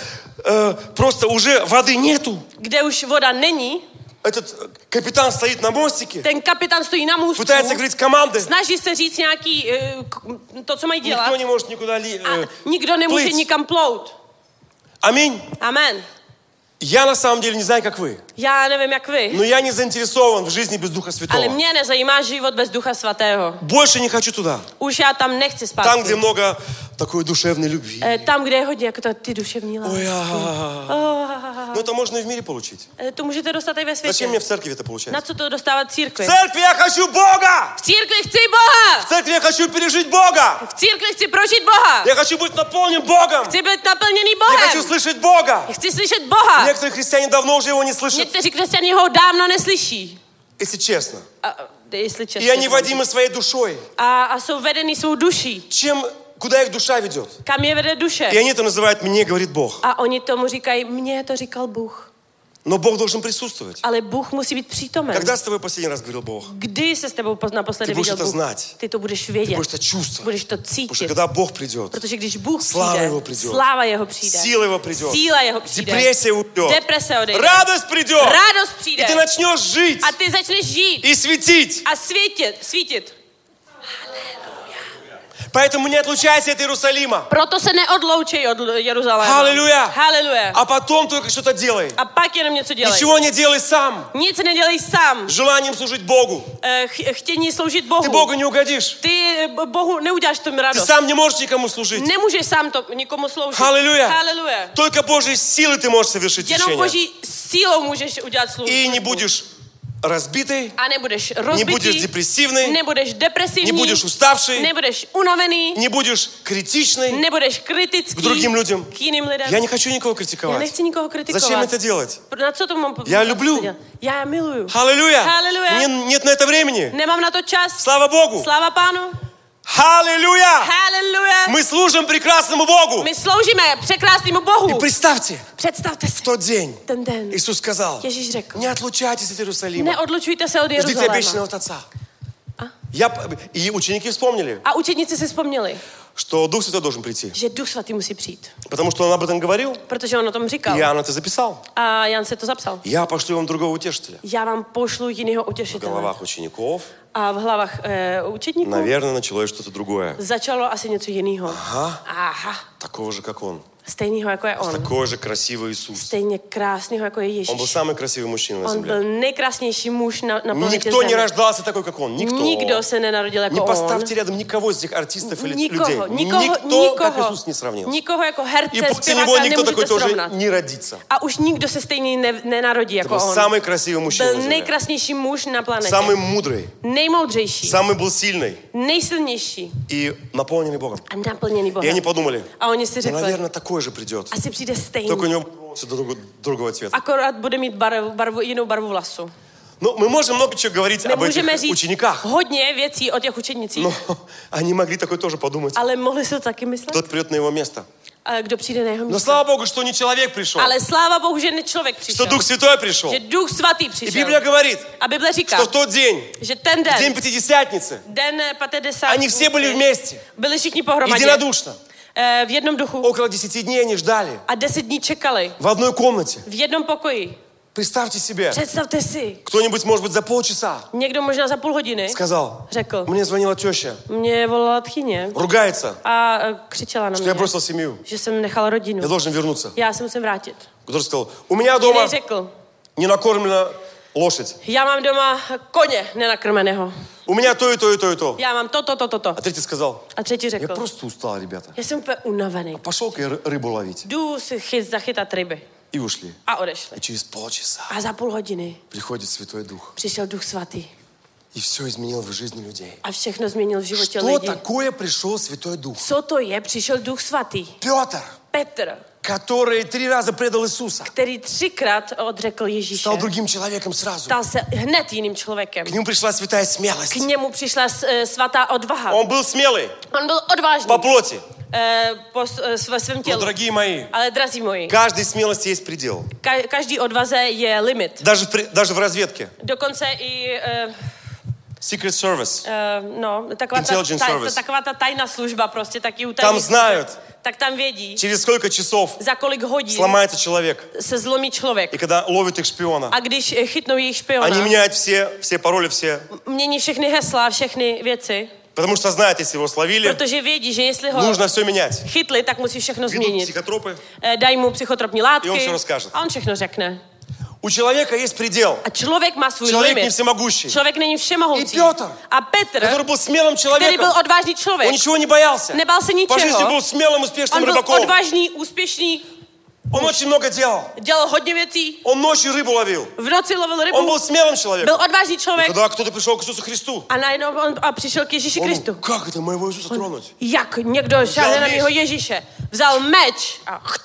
просто уже воды nету. kde už voda není. Этот капитан стоит на мостике, Ten kapitán stojí na můstku, пытается говорить команды. snaží se říct nějaký, to, co mají dělat. Никто не может никуда A nikdo nemůže плыть. nikam plout. Аминь. Amen. Я на самом деле не знаю, как вы, Já nevím, jak vy, но я не заинтересован в жизни без Духа ale Святого. mě nezajímá život bez Ducha Svatého. Больше не хочу туда. Už já tam nechci spát. Там, где много такой душевной любви. Tam, kde je hodně jako ty duševní lásky. Ой, ну это можно и в мире получить. To můžete dostat i ve Зачем světě. мне в церкви это Na получается? co to dostávat В církvi? церкви я хочу Бога! V církvi chci Boha! В церкви я хочу пережить Бога! V církvi chci prožít Boha! Я хочу быть наполнен Богом! Chci být naplněný Я хочу Bohem! слышать Бога! Chci slyšet Boha! Некоторые христиане давно уже его не слышат, Někteří křesťané ho dávno neslyší. если честно. Jestli И они čestně. водимы своей душой. A jsou vedení svou duší. Куда их душа ведет? Kam je vede duše? И они это называют «мне говорит Бог». A oni tomu říkají, mně to říkal Bůh. Но Бог должен присутствовать. Ale Bůh musí být přítomen. Когда с тобой последний раз говорил Бог? Kdy se s tebou naposledy Ty budeš viděl to Bůh? znát. Ty to budeš Ты vědět. будешь это чувствовать. Budeš to Потому что cítit. когда Бог придет, Protože když Bůh Sláva přijde, jeho přijde. sláva jeho přijde. сила его придет, Síla jeho přijde. депрессия уйдет, Deprese odejde. радость придет, Radost и přijde. ты начнешь жить A ty začneš žít и светить. a svítit. Поэтому не отлучайся от Иерусалима. Proto se neodloučej od Jeruzaléma. Halleluja. Haleluja. А потом только что-то делай. A pak jenom něco dělej. Ничего не делай сам. Nic nedělej sám. Желанием служить Богу. Chtění sloužit Bohu. Ты Богу не угодишь. Ty Bohu neuděláš tomu Ты radost. сам не можешь никому служить. Nemůžeš sám to nikomu sloužit. Halleluja. Haleluja. Только Божьей силой ты можешь совершить Jenom течение. Boží sílou můžeš udělat službu. И не будешь разбитый, A nebudeš не rozbitý, будешь депрессивный, nebudeš depresivní, не будешь уставший, nebudeš unavený, не будешь критичный nebudeš kritický к другим людям. k jiným lidem. Я не хочу никого Já критиковать. nechci nikoho kritikovat. Зачем это делать? Na co to mám Já люблю. Já je miluju. Аллилуйя! Halleluja. Нет на это времени. Nemám na to čas. Слава Богу! Sláva Pánu. Аллилуйя! Haleluja! Мы служим прекрасному Богу. My sloužíme překrásnému Bohu. И представьте, Představte в si, тот день ten den Иисус сказал, Ježíš řekl, не отлучайтесь от Иерусалима, neodlučujte se od ждите Jeruzaléma. обещанного от Отца. И ученики вспомнили, A učedníci si vzpomněli, что Дух Святой должен прийти. že Duch Svatý musí přijít. Потому что Он об этом говорил, Protože on o tom říkal. и Иоанн это записал. A Jan se to zapsal. Я пошлю вам другого утешителя. Já vám pošlu jinýho В utěšitele. головах учеников, A v hlavách učedníků наверное, началось что-то другое. začalo asi něco jiného. Aha. Такого же, как Он. Stejného jako je on. Такой же красивый Иисус. Stejně krásného jako je Он был Ježíš. самый красивый мужчина на On byl земле. nejkrásnější muž na planetě Никто не Zemi. рождался такой, как Он. Никто. Nikdo se nenarodil Не jako on. поставьте рядом никого из этих артистов или людей. Nikoho, Никто, как Иисус, не сравнился. Nikoho jako И herce, после Него zpěváka никто такой nemůžete тоже srovnat. не родится. A už nikdo se stejný nenarodí Это jako был on. самый красивый мужчина на Byl земле. nejkrásnější muž na planetě. Самый mудрый. Nejmoudřejší. Самый был сильный. Nejsilnější. И наполненный Богом. A naplněný И Bohem. они подумали, A oni si ну, řekli, наверное, такой же придет. asi přijde stejný. Только у него волосы другого цвета. Akorát bude mít jinou barvu vlasu. Ну, мы можем много чего говорить My об můžeme этих říct учениках. hodně věcí o těch učednicích, Но они могли такое тоже подумать. ale mohli si to taky myslet, Кто-то придет на его место. kdo přijde na jeho Но místo. слава Богу, что не человек пришел, Ale sláva Bohu, že ne člověk что přišel. Дух Святой пришел. Že Duch Svatý И přišel. Библия говорит, A Bible říká, что в тот день, že ten в день den, Пятидесятницы, den Patedesátnice, они все были вместе, byli všichni pohromadě. единодушно. V jednom duchu. Около 10 дней они ждали A 10 dní čekali. в одной комнате. V jednom pokoji. Представьте себе, Představte si. кто-нибудь, может быть, за полчаса Někdo možná za půl hodiny сказал, řekl, мне звонила теща, mě volala tchyně ругается, a křičela na что я mě, бросил семью, že jsem nechal rodinu. я должен вернуться. Já se musím vrátit. Который сказал, у меня дома Jiný řekl, не накормлена лошадь, já mám doma koně nenakrmeného. у меня то и то и то и то. Já mám to. А третий сказал, A třetí я řekl, просто устал, ребята. já jsem úplně unavený. Пошел-ка я рыбу ловить. Jdu si zachytat ryby. И ушли. A odešli. И через полчаса A za půl hodiny приходит Святой Дух. přišel Duch Svatý. И все изменил в жизни людей. A všechno změnil v životě Что lidí. такое пришел Святой Дух? Co to je? Přišel Duch Svatý. Петр, Petr, который 3 раза предал Иисуса, který 3krát odřekl Ježíše. стал другим человеком сразу. Stal se hned jiným člověkem. К нему пришла святая K смелость. němu přišla svatá odvaha. Он был смелый On byl odvážný по плоти. po svém Но, tělu. дорогие мои, Ale drazí moji, каждой смелости есть предел. každý odvaze je limit. Даже в разведке. Dokonce i Secret Service. Intelligence service. taková ta tajná služba prostě taky Там utají. знают, Tak tam vědí, через сколько часов za kolik hodin сломается человек. se zlomí člověk. И когда ловят их шпиона, A když chytnou jejich špiona, они меняют все пароли, все. mění všechny hesla, všechny věci, Потому что знают, если его словили, protože vědí, že jestli ho нужно все менять. chytli, tak musí všechno Ведут změnit. психотропы. Dají mu psychotropní látky I on všechno rozkáže. a on všechno řekne. У человека есть предел. A člověk má svůj Человек не limit. всемогущий. Člověk není všemohoucí. I Petr, A Petr, Который был смелым který byl человеком. odvážný člověk, Он ничего не боялся. nebál se По жизни ničeho. был смелым, успешным On byl рыбаком. odvážný, úspěšný, Он очень много делал. dělal hodně věcí, Он ночью рыбу ловил. v noci lovil Он rybu, был смелым byl человеком. odvážný člověk Когда кто-то пришел к Иисусу Христу, a najednou on přišel k Ježíši он, Kristu. как это моего Иисуса тронуть? Jak někdo šáhne na meč. mého Ježíše, vzal meč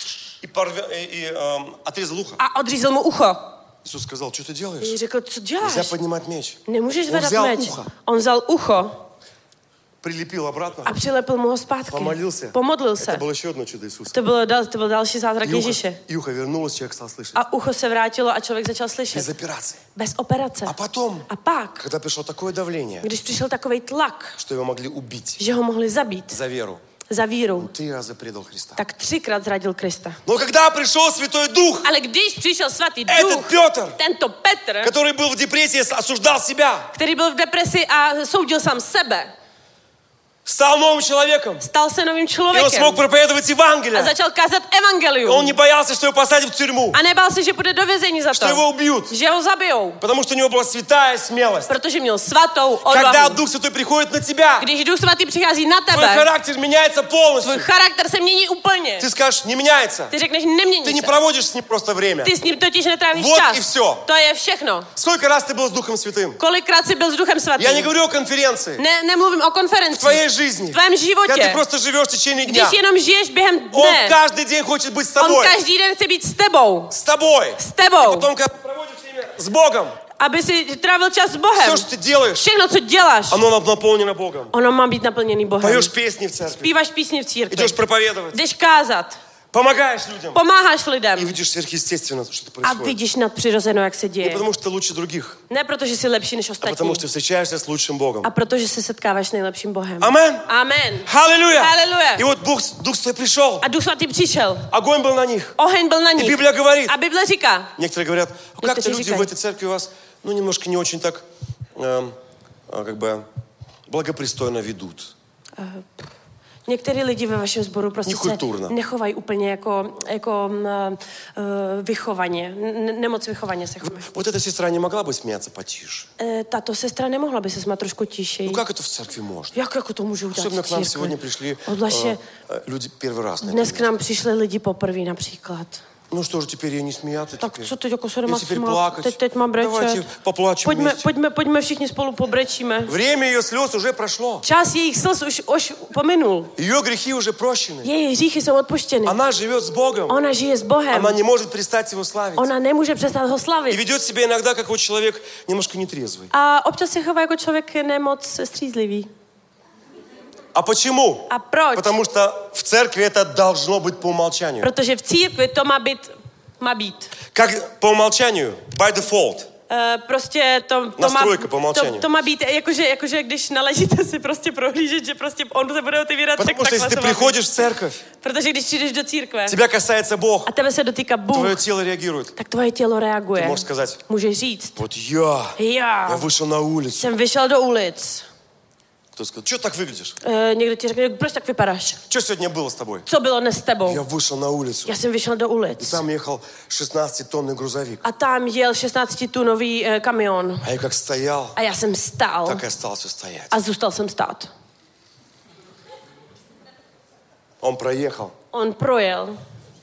И отрезал ухо. a odřízl mu ucho. Иисус сказал, что ты делаешь? Ježíš řekl, co děláš? Nельзя поднимать меч. Nemůžeš On zvedat vzal meč. ucho. On vzal ucho Прилепил обратно. a přilepil mu ho zpátky. Помолился. Pomodlil Это se. было еще одно чудо Иисуса. To byl další zázrak Ježíše. И ухо вернулось, человек стал слышать. A ucho se vrátilo a člověk začal slyšet. Без операции. Bez operace. А потом, A pak, когда пришло такое давление, když přišel takovej tlak, что его могли убить že ho mohli zabít за веру, za víru, 3 раза предал Христа. tak 3krát zradil Krista. Но когда пришел Святой Дух, Ale když přišel svatý этот duch, Петр, tento Petr, который был в депрессии, осуждал себя, který byl v depresi a soudil sám sebe, стал новым человеком. stal se novým И он člověkem смог проповедовать a Евангелие. začal kázat Он evangelium. не боялся, что его посадят в тюрьму, A nebál se, že půjde do vězení za что его to, убьют, že ho zabijou, потому что у него была святая смелость. protože měl svatou Когда odvahu. Дух Святой приходит на тебя, Když Duch Svatý přichází na твой tebe, характер меняется tvůj полностью. charakter se mění úplně. Ты скажешь, не меняется. Ty řekneš, Ты nemění не se. проводишь с ним просто время. Ty s ním totiž netrávíš Вот čas. и всё. To je všechno. Сколько раз ты был с Духом Святым? Kolikrát jsi byl s Duchem Svatým? Я не говорю о конференции. Nemluvím o В konferenci. твоей жизни. V tvém Когда ты životě. просто живешь в течение дня. Když jenom žiješ během Он dne. каждый день хочет быть с On тобой. každý den chce být s tebou. С тобой. S tebou. И потом, когда ты проводишь время с Богом, aby si trávil čas s Bohem. Все, что ты делаешь, Všechno, co děláš, оно наполнено Богом. ono má být naplněný Bohem. Поешь песни в церкви, Zpíváš písně v církvi, идешь проповедовать, jdeš kázat, помогаешь людям. pomáháš И lidem видишь сверхъестественно, что a происходит. vidíš nadpřirozeno, jak se Не děje. потому, что ты лучше других, Ne protože jsi lepší než а потому, ostatní, что встречаешься с лучшим Богом. a protože se setkáváš s nejlepším Bohem. Амен. Amen. Аллилуйя. Аллилуйя. И вот Дух Святой пришел, A Duch Svatý přišel. огонь был на них. Oheň byl na И nich. Библия говорит, A Bible říká, некоторые говорят, как-то Некоторые люди říkají. в этой церкви у вас, ну, немножко не очень так, как бы, благопристойно ведут. některý lidi ve vašem sboru prostě se Nekulturno. nechovají úplně jako vychovaně. Nemoc vychovaně se chovají. Вот эта сестра не могла бы смеяться потише. Tato sestra nemohla by se smát trošku tišeji. Ну, как это в церкви можно? Jak jako to může udělat Особенно v к нам církvi? сегодня пришли Odlaště люди первый раз на dnes это k nám přišli lidi poprvé například. Ну что же, теперь ей не смеяться? Tak теперь? co teď jako se И nemá теперь smát? плакать? Teď mám Давайте brečet. поплачем вместе. Pojďme všichni spolu pobrečíme. Время ее слез уже прошло. Čas jejich slz už pominul. Ее грехи уже прощены. Její hříchy jsou odpuštěny. Она живет с Богом. Ona žije s Bohem. Она не может перестать его славить. Ona nemůže přestat ho И slavit. ведет себя иногда, как вот человек немножко нетрезвый. A občas se chová jako člověk nemoc střízlivý. А почему? A proč? Потому что в церкви это должно быть по умолчанию. Protože v církvi to má být. Как по умолчанию, by default. Prostě to Nastrojka po umlčení. to má být, jakože když naležíte si prostě prohlížet, že prostě on se bude otevírat, tak Потому что если takhle ты to má být. приходишь в церковь, Protože když přijdeš do církve тебя касается Бог, a tebe se dotýká Bůh, твое тело реагирует. tak tvoje tělo Ты reaguje. можешь сказать, Můžeš říct, вот я já вышел на улицу. jsem vyšel do ulic. Кто сказал, что так выглядишь? Někdo ti řekne, proč tak vypadáš? Что сегодня было с тобой? Co bylo dnes s tebou? Я вышел на улицу. Já jsem vyšel do И ulic. там ехал 16-тонный грузовик. A tam jel 16-tunový kamion. А я как стоял, A já jsem stál так и остался стоять. a zůstal jsem stát. Он проехал, On projel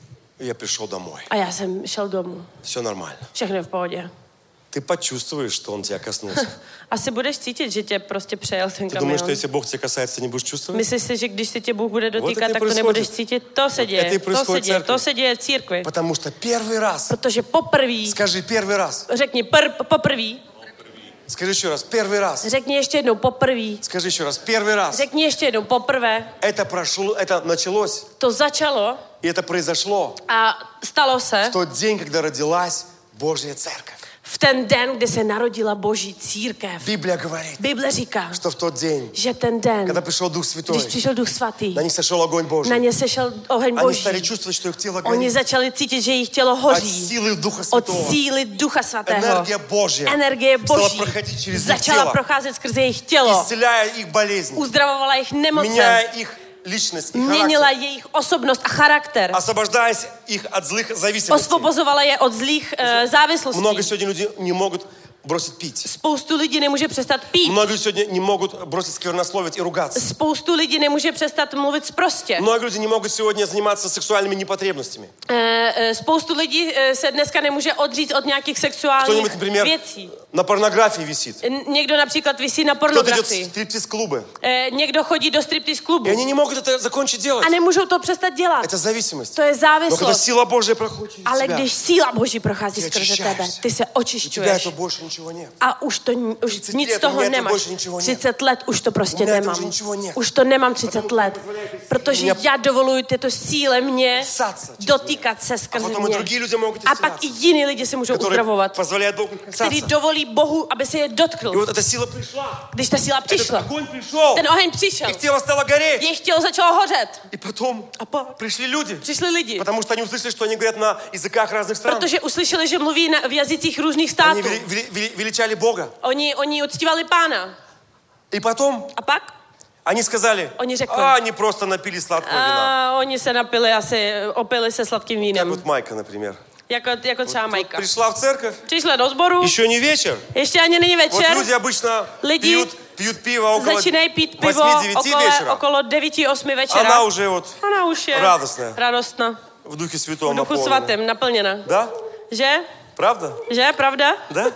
и я пришел домой. a já jsem šel domů. Все нормально. Všechno je v pohodě. Ты почувствуешь, что он тебя коснулся. Asi budeš cítit, že tě prostě přejel ten Ты думаешь, kamion. что если Бог тебя касается, ты не будешь чувствовать? Myslíš si, že když se tě Bůh bude dotýkat, это и tak to происходит. nebudeš cítit? To se это и děje, происходит в церкви. to se děje v církvi. Потому что первый раз, Protože poprvé, скажи первый раз, řekni poprvé, скажи еще раз, первый раз, řekni ještě jednou poprvé, скажи еще раз, первый раз. řekni ještě jednou poprvé, Это прошло, это началось, to začalo и это произошло a stalo se в тот день, когда родилась Божья Церковь. v ten den, kdy se narodila Boží církev. Библия говорит, Bible říká, что в тот день, že ten den, когда пришел Дух Святой, když přišel Duch Svatý, на них сошел огонь na Божий. ně sešel oheň Они Boží. стали чувствовать, что их тело Oni горит začali cítit, že jejich tělo от hoří. силы Духа Od Святого. síly Ducha Svatého. Энергия Божья Energie стала Boží проходить через их začala тело, procházet skrze jejich tělo. исцеляя их болезни, Uzdravovala jejich nemoce. меняя их личность и Měnila характер, jejich osobnost a charakter. освобождаясь их от злых зависимостей. Osvobozovala je od zlých závislostí. Много сегодня людей не могут бросить пить. Spoustu lidí nemůže přestat pít. Много людей сегодня не могут бросить сквернословить и ругаться. Spoustu lidí nemůže přestat mluvit sprostě. Много людей не могут сегодня заниматься сексуальными непотребностями. Spoustu lidí se dneska nemůže odříct od nějakých Кто-нибудь, sexuálních например, věcí. на порнографии висит. Někdo například visí na Кто-то идет в pornografii. стриптиз-клубы. Někdo chodí do striptease И klubu. они не могут это закончить делать. A nemůžou to přestat dělat. Это зависимость. To je Но когда závislost. сила Божья проходит через Ale тебя, když síla Boží prochází ty skrze tebe, očišťuješ. ty se у тебя očišťuješ. этого больше ничего нет. A už 30 nic let, z toho у меня этого nemáš. больше ничего нет. 30 let už to prostě У меня этого nemám. уже ничего нет. Už to nemám 30 let. Protože Меня já dovoluji této síle mě касаться через dotýkat se А skrze потом и mě. другие люди могут A pak i исцеляться, jiní lidi se můžou которые uzdravovat, позволяют Богу který касаться. dovolí Bohu, aby se je И dotkl. вот эта сила пришла. Když ta síla Этот přišla, огонь пришел. ten oheň přišel, Их тело стало гореть. jejich tělo začalo hořet. И потом A pak пришли люди. přišli lidi, Потому что они услышали, что они говорят на языках разных стран. protože uslyšeli, že mluví v jazycích různých Они států. величали Бога. Oni uctívali Pána. И потом A pak они сказали, Они řekli. они просто напили сладкого вина. a oni se napili opili se sladkým Как vínem. вот Майка, например. Jako třeba Majka. Пришла в церковь, Přišla do sboru, еще не вечер. ještě ani není Вот večer, люди обычно Lidi пьют пиво около začínají pít pivo 8-9 вечера. okolo 9-8 večera. Она уже вот Ona už je радостная, radostná, в Духе v Святом Duchu наполнена. Svatém, naplněna. Да? Že? Правда? Že? Pravda? Да?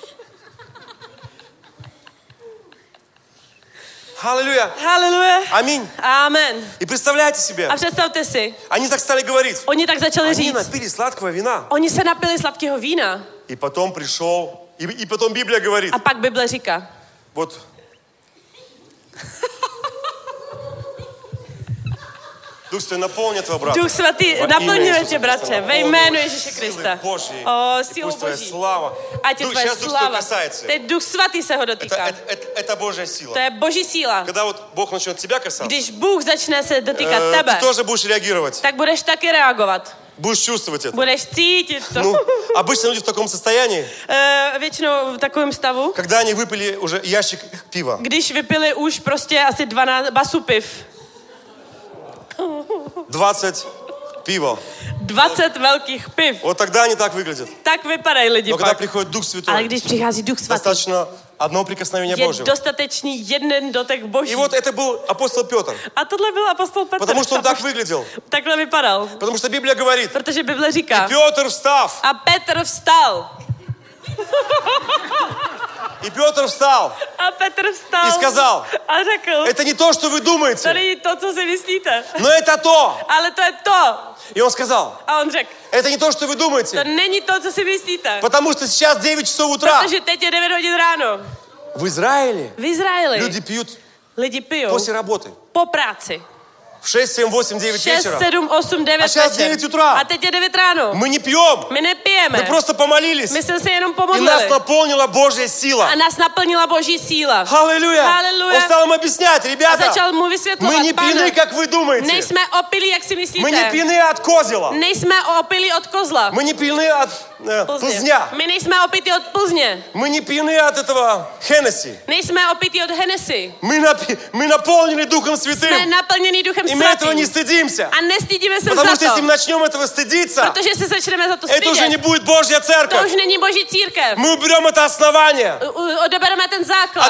Аллилуйя. Haleluja. Аминь. Amen. И представляете себе, A představte si, они так стали говорить. oni tak začali Они říct, напили сладкого вина. oni se napili sladkého vína И потом пришел И потом Библия говорит, A pak Bible říká, вот, Дух Святой наполнит твоего брата. Duch Svatý Во naplňuje имя tě, Иисуса bratře, Христа, ve jménu Ježíše Krista. Божьей. O, И sílu пусть твоя Boží. слава. Ať je tvoje Сейчас Дух Святой slava. касается. Teď Duch Svatý se ho dotýká. Это Божья сила. To je Boží síla. Когда вот Бог начнет тебя касаться, Když Bůh začne se dotýkat ты tebe, тоже будешь реагировать. tak budeš taky reagovat. Будешь чувствовать это. Budeš cítit to. Ну, обычно люди в таком состоянии, Většinou v takovém stavu, когда они выпили уже ящик пива. když vypili už prostě asi 12 basu piv. 20 пива. 20 velkých piv. Вот тогда они так выглядят. Tak vypadají lidi Но когда pak. приходит Дух Ale Святой, když přichází Duch Svatý, достаточно одного прикосновения je Божьего. dostatečný jeden dotek Boží. И вот это был апостол Петр. A tohle byl apostol Petr. Потому что он так выглядел. Takhle vypadal. Потому что Библия говорит, Protože Bible říká. Петр встав. A Petr vstal. И Петр встал. A Petr vstal. И сказал, A řekl. это не то, что вы To думаете, není to, co si myslíte. но это то. Ale to je to. И он сказал, A on řekl. это не то, что вы To думаете, není to, co si myslíte. потому что сейчас 9 часов утра. Protože teď je 9 hodin ráno. В Израиле V Izraeli люди пьют lidi pijou после работы. po práci. В 6, 7, 8, 9 6, вечера. 7, 8, 9 A сейчас večer. 9 утра. A teď je 9 ráno. Мы не пьем. My nepijeme. Мы просто помолились. My jsme se jenom И нас pomodlili. наполнила Божья сила. A nás naplnila Boží síla. Аллилуйя. Аллилуйя. Он стал им объяснять, A ребята, začal mu мы vysvětlovat, не pane, пьяны, как вы думаете. nejsme opilí, jak si Мы не myslíte. пьяны от козела. Nejsme opilí od kozla. Мы не пьяны от Плзня. My nejsme opití od Plzně. Мы не пьяны от этого Хеннесси. Nejsme opití od Hennessy. Мы наполнены Духом Jsme Святым. naplněný Duchem И мы этого не Svatým. стыдимся. A nestydíme se Потому za что если мы to. начнем этого стыдиться, Protože se začneme za to это уже не stydět. будет Божья To церковь. už není Boží církev. Мы уберем это основание, Odebereme ten základ,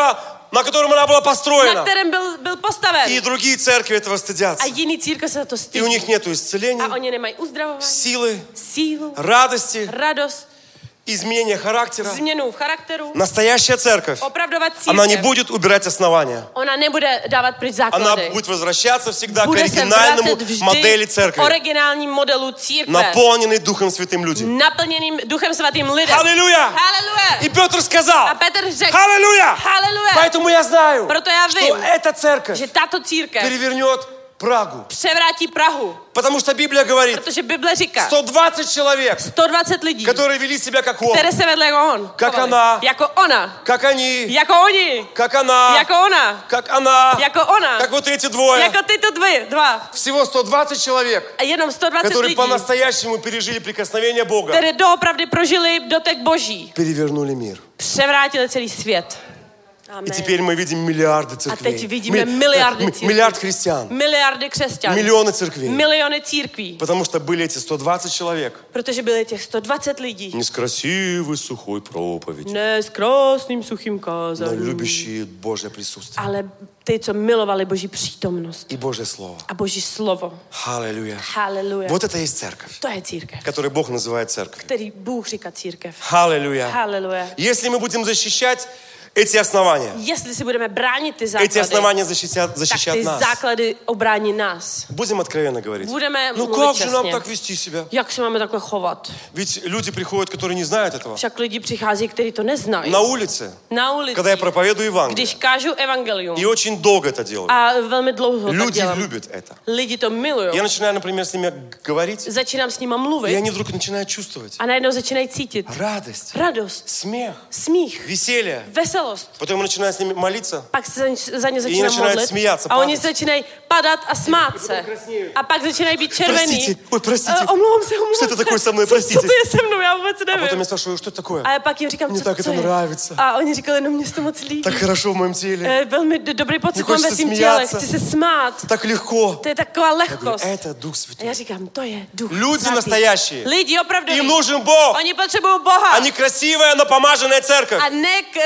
на котором она была na построена. kterém byl postaven. И другие церкви этого A стыдятся. jiný církev se za to И у stydí. них нет A исцеления, oni nemají uzdravování, силы, sílu, радости, radost, изменения характера. změnu v charakteru. Настоящая церковь, Opravdová она не církev. будет убирать основания. Ona nebude dávat pryč Она základy. будет возвращаться всегда к Bude se оригинальному vracet vždy модели k церкви, originálním modelu církve. наполненной Духом Святым люди. Naplněným Duchem Svatým lidem. Аллилуйя! Haleluja! И Петр A сказал, Petr řekl, аллилуйя! haleluja! Поэтому я знаю, Proto já что vím, эта церковь že tato církev перевернет Прагу. převrátí Prahu. Потому что Библия говорит, Protože Bible říká, 120 человек, 120 lidí, которые вели себя как он, které se vedle jako on. Jak chovali. ona. Jako ona. как они, Jako oni. как она, Jako ona. как она, Jako ona. как вот эти двое. Jako tyto dva. Всего 120 человек, A jenom 120 которые lidí, по-настоящему пережили прикосновение Бога, které doopravdy prožili dotek Boží. перевернули мир. Převrátili celý svět. Amen. И теперь мы видим миллиарды A teď церквей, vidíme miliardy církví. миллиард христиан, Miliardy křesťanů. миллионы церквей. Miliony církví. Потому что были эти 120 человек. Protože byly těch 120 lidí. Не с красивой сухой проповедью, Ne s krásným suchým но kázáním. любящие Божье присутствие Ale ty, co milovali Boží přítomnost и Божье Слово. a Boží slovo. Аллилуйя. Haleluja. Вот это и есть церковь, To je církev, которую Бог называет церковью. který Bůh říká církev. Аллилуйя. Haleluja. Если мы будем защищать эти основания, Jestli si budeme bránit ty эти základy, основания tak защищат ty нас. základy obrání nás. Будем откровенно говорить. Budeme Ну mluvit как же нам čestně. так вести себя? Jak se máme takhle chovat? Ведь люди приходят, которые не знают этого. Však lidi přichází, kteří to neznají. На улице, Na ulici, когда я проповедую Евангелие. když kážu evangelium. И очень долго это делаю. A velmi dlouho tak Люди dělám. любят это. Lidi to milují. Я начинаю, например, с ними говорить, Začínám s nima и mluvit они вдруг начинают чувствовать a najednou začínají cítit радость, radost, смех, smích, веселье. veselost. Потом я начинаю с ними молиться, Pak se za ně oni začínám začínají modlit smíjat se, a oni padat. začínají padat a smát se. A pak začínají být červený. Простите, ой, простите. Omlouvám se. Что это такое со мной, Co простите? to je se mnou, já vůbec А потом nevím. я спрашиваю, что это такое? A já pak jim říkám, Mně co tak to to je. nравится. A oni říkali, no mně se to moc líbí. Так хорошо в моем теле, Velmi dobrý pocit Mně mám ve хочется svým těle. смеяться. Chci se smát. так легко. To je taková Я говорю, lehkost. это Дух A Святой. já říkám, to je duch Люди svatý. настоящие. Lidi opravdu. Им нужен Бог, Oni potřebují Boha. а не красивая, но помаженная церковь. A ne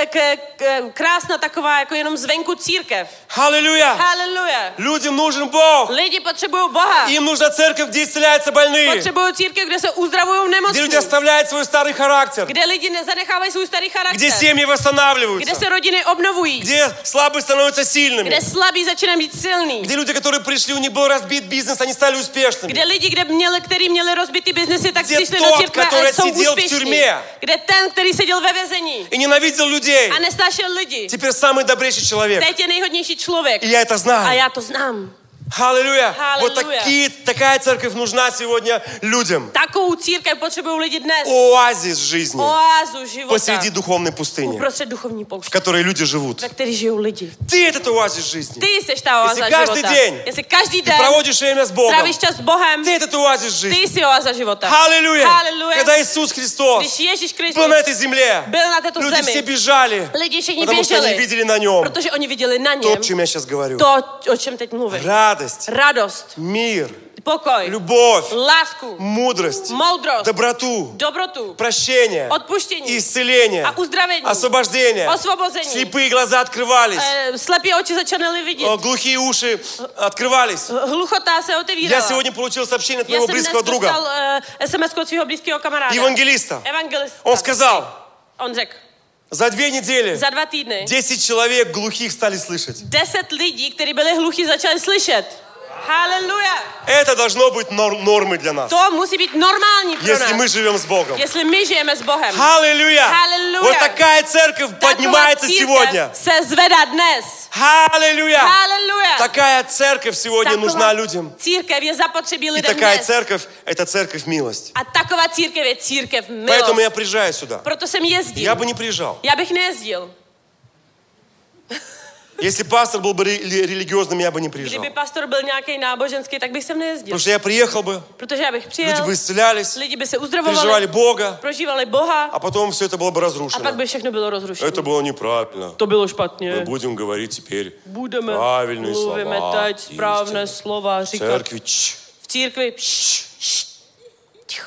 krásná taková jako jenom zvenku církev. Аллилуйя! Haleluja. Людям нужен Бог. Lidi potřebují Boha. Им нужна церковь, где исцеляются больные. Potřebují církev, kde se uzdravují Где nemocní. люди оставляют свой старый характер. Kde lidi nezanechávají svůj starý charakter. Где семьи восстанавливаются. Kde se rodiny obnovují. Где slabые становятся сильными. Kde slabí začínají být silný. Где люди, которые пришли, у них был разбит бизнес, они стали успешными. Kde lidi, kteří měli rozbitý biznesy, tak Kde přišli tот, do církve který a jsou seděl v úspěšní. tюрьме. Kde ten, který seděl ve vězení И ненавидел людей. a nesnášel lidi. Теперь самый добрейший человек. Teď je nejhodnější člověk. И я это A знаю. já to znám. Аллилуйя. Вот Аллилуйя. такая церковь нужна сегодня людям. Takovou církev potřebují lidi dnes. Оазис жизни. Oázu života. Посреди духовной пустыни, Uprostřed duchovní в pouště, которой люди живут. ve které žijou lidi. Ты этот оазис жизни. Ty jsi ta oáza Jestli každý života. den Jestli každý Ты den проводишь время с Богом. trávíš čas s Bohem, Ты этот оазис ty жизни. jsi oáza života. Аллилуйя. Haleluja. Когда Иисус Христос Když Ježíš был Kristus на этой земле, byl na této люди все zemi, бежали, lidi všichni потому что они běželi, видели на нем protože oni viděli na то, něm о чем я сейчас говорю. to, o čem teď mluvím. Радость, Radost, мир, pokoj, любовь, lásku, мудрость, moudrost, доброту, dobrotu, прощение, odpuštění, исцеление, a uzdravení, освобождение. osvobození. Слепые глаза открывались, Slepí oči začaly vidět. глухие уши открывались. Hluchota se Я otevírala. сегодня получил сообщение от Já моего jsem dnes близкого друга, dostal SMS od svého blízkého kamaráda. евангелиста. Evangelista. Он сказал, On řekl, за 2 недели za 2 týdny 10 человек глухих стали слышать. 10 lidí, kteří byli hluchí, začali slyšet. Haleluja. Это должно быть нормой для нас, To musí být normální pro если мы nás. живем с Богом. Jestli my žijeme s Bohem. Аллилуйя! Аллилуйя! Вот такая церковь поднимается církev сегодня. se zvedá dnes. Аллилуйя! Haleluja. Такая церковь сегодня нужна людям. Církev je zapotřebí И lidem такая dnes. церковь – это церковь милость. A taková církev je církev Поэтому я milost. приезжаю сюда. Proto jsem jezdil. Я бы не приезжал. Já bych nejezdil. Если пастор был бы религиозным, я бы не приезжал. Kdyby pastor byl nějaký náboženský, tak bych sem nejezdil. Потому что я приехал бы, Protože já bych люди přijel, бы исцелялись, lidi by se переживали uzdravovali, Бога, prožívali Boha а потом все это было бы a pak разрушено. by všechno bylo rozrušeno. Это было неправильно. To bylo Мы špatně. будем говорить теперь Budeme, правильные mluvíme слова. teď správné истины. slova В říkat. церкви V církvi. Ticho.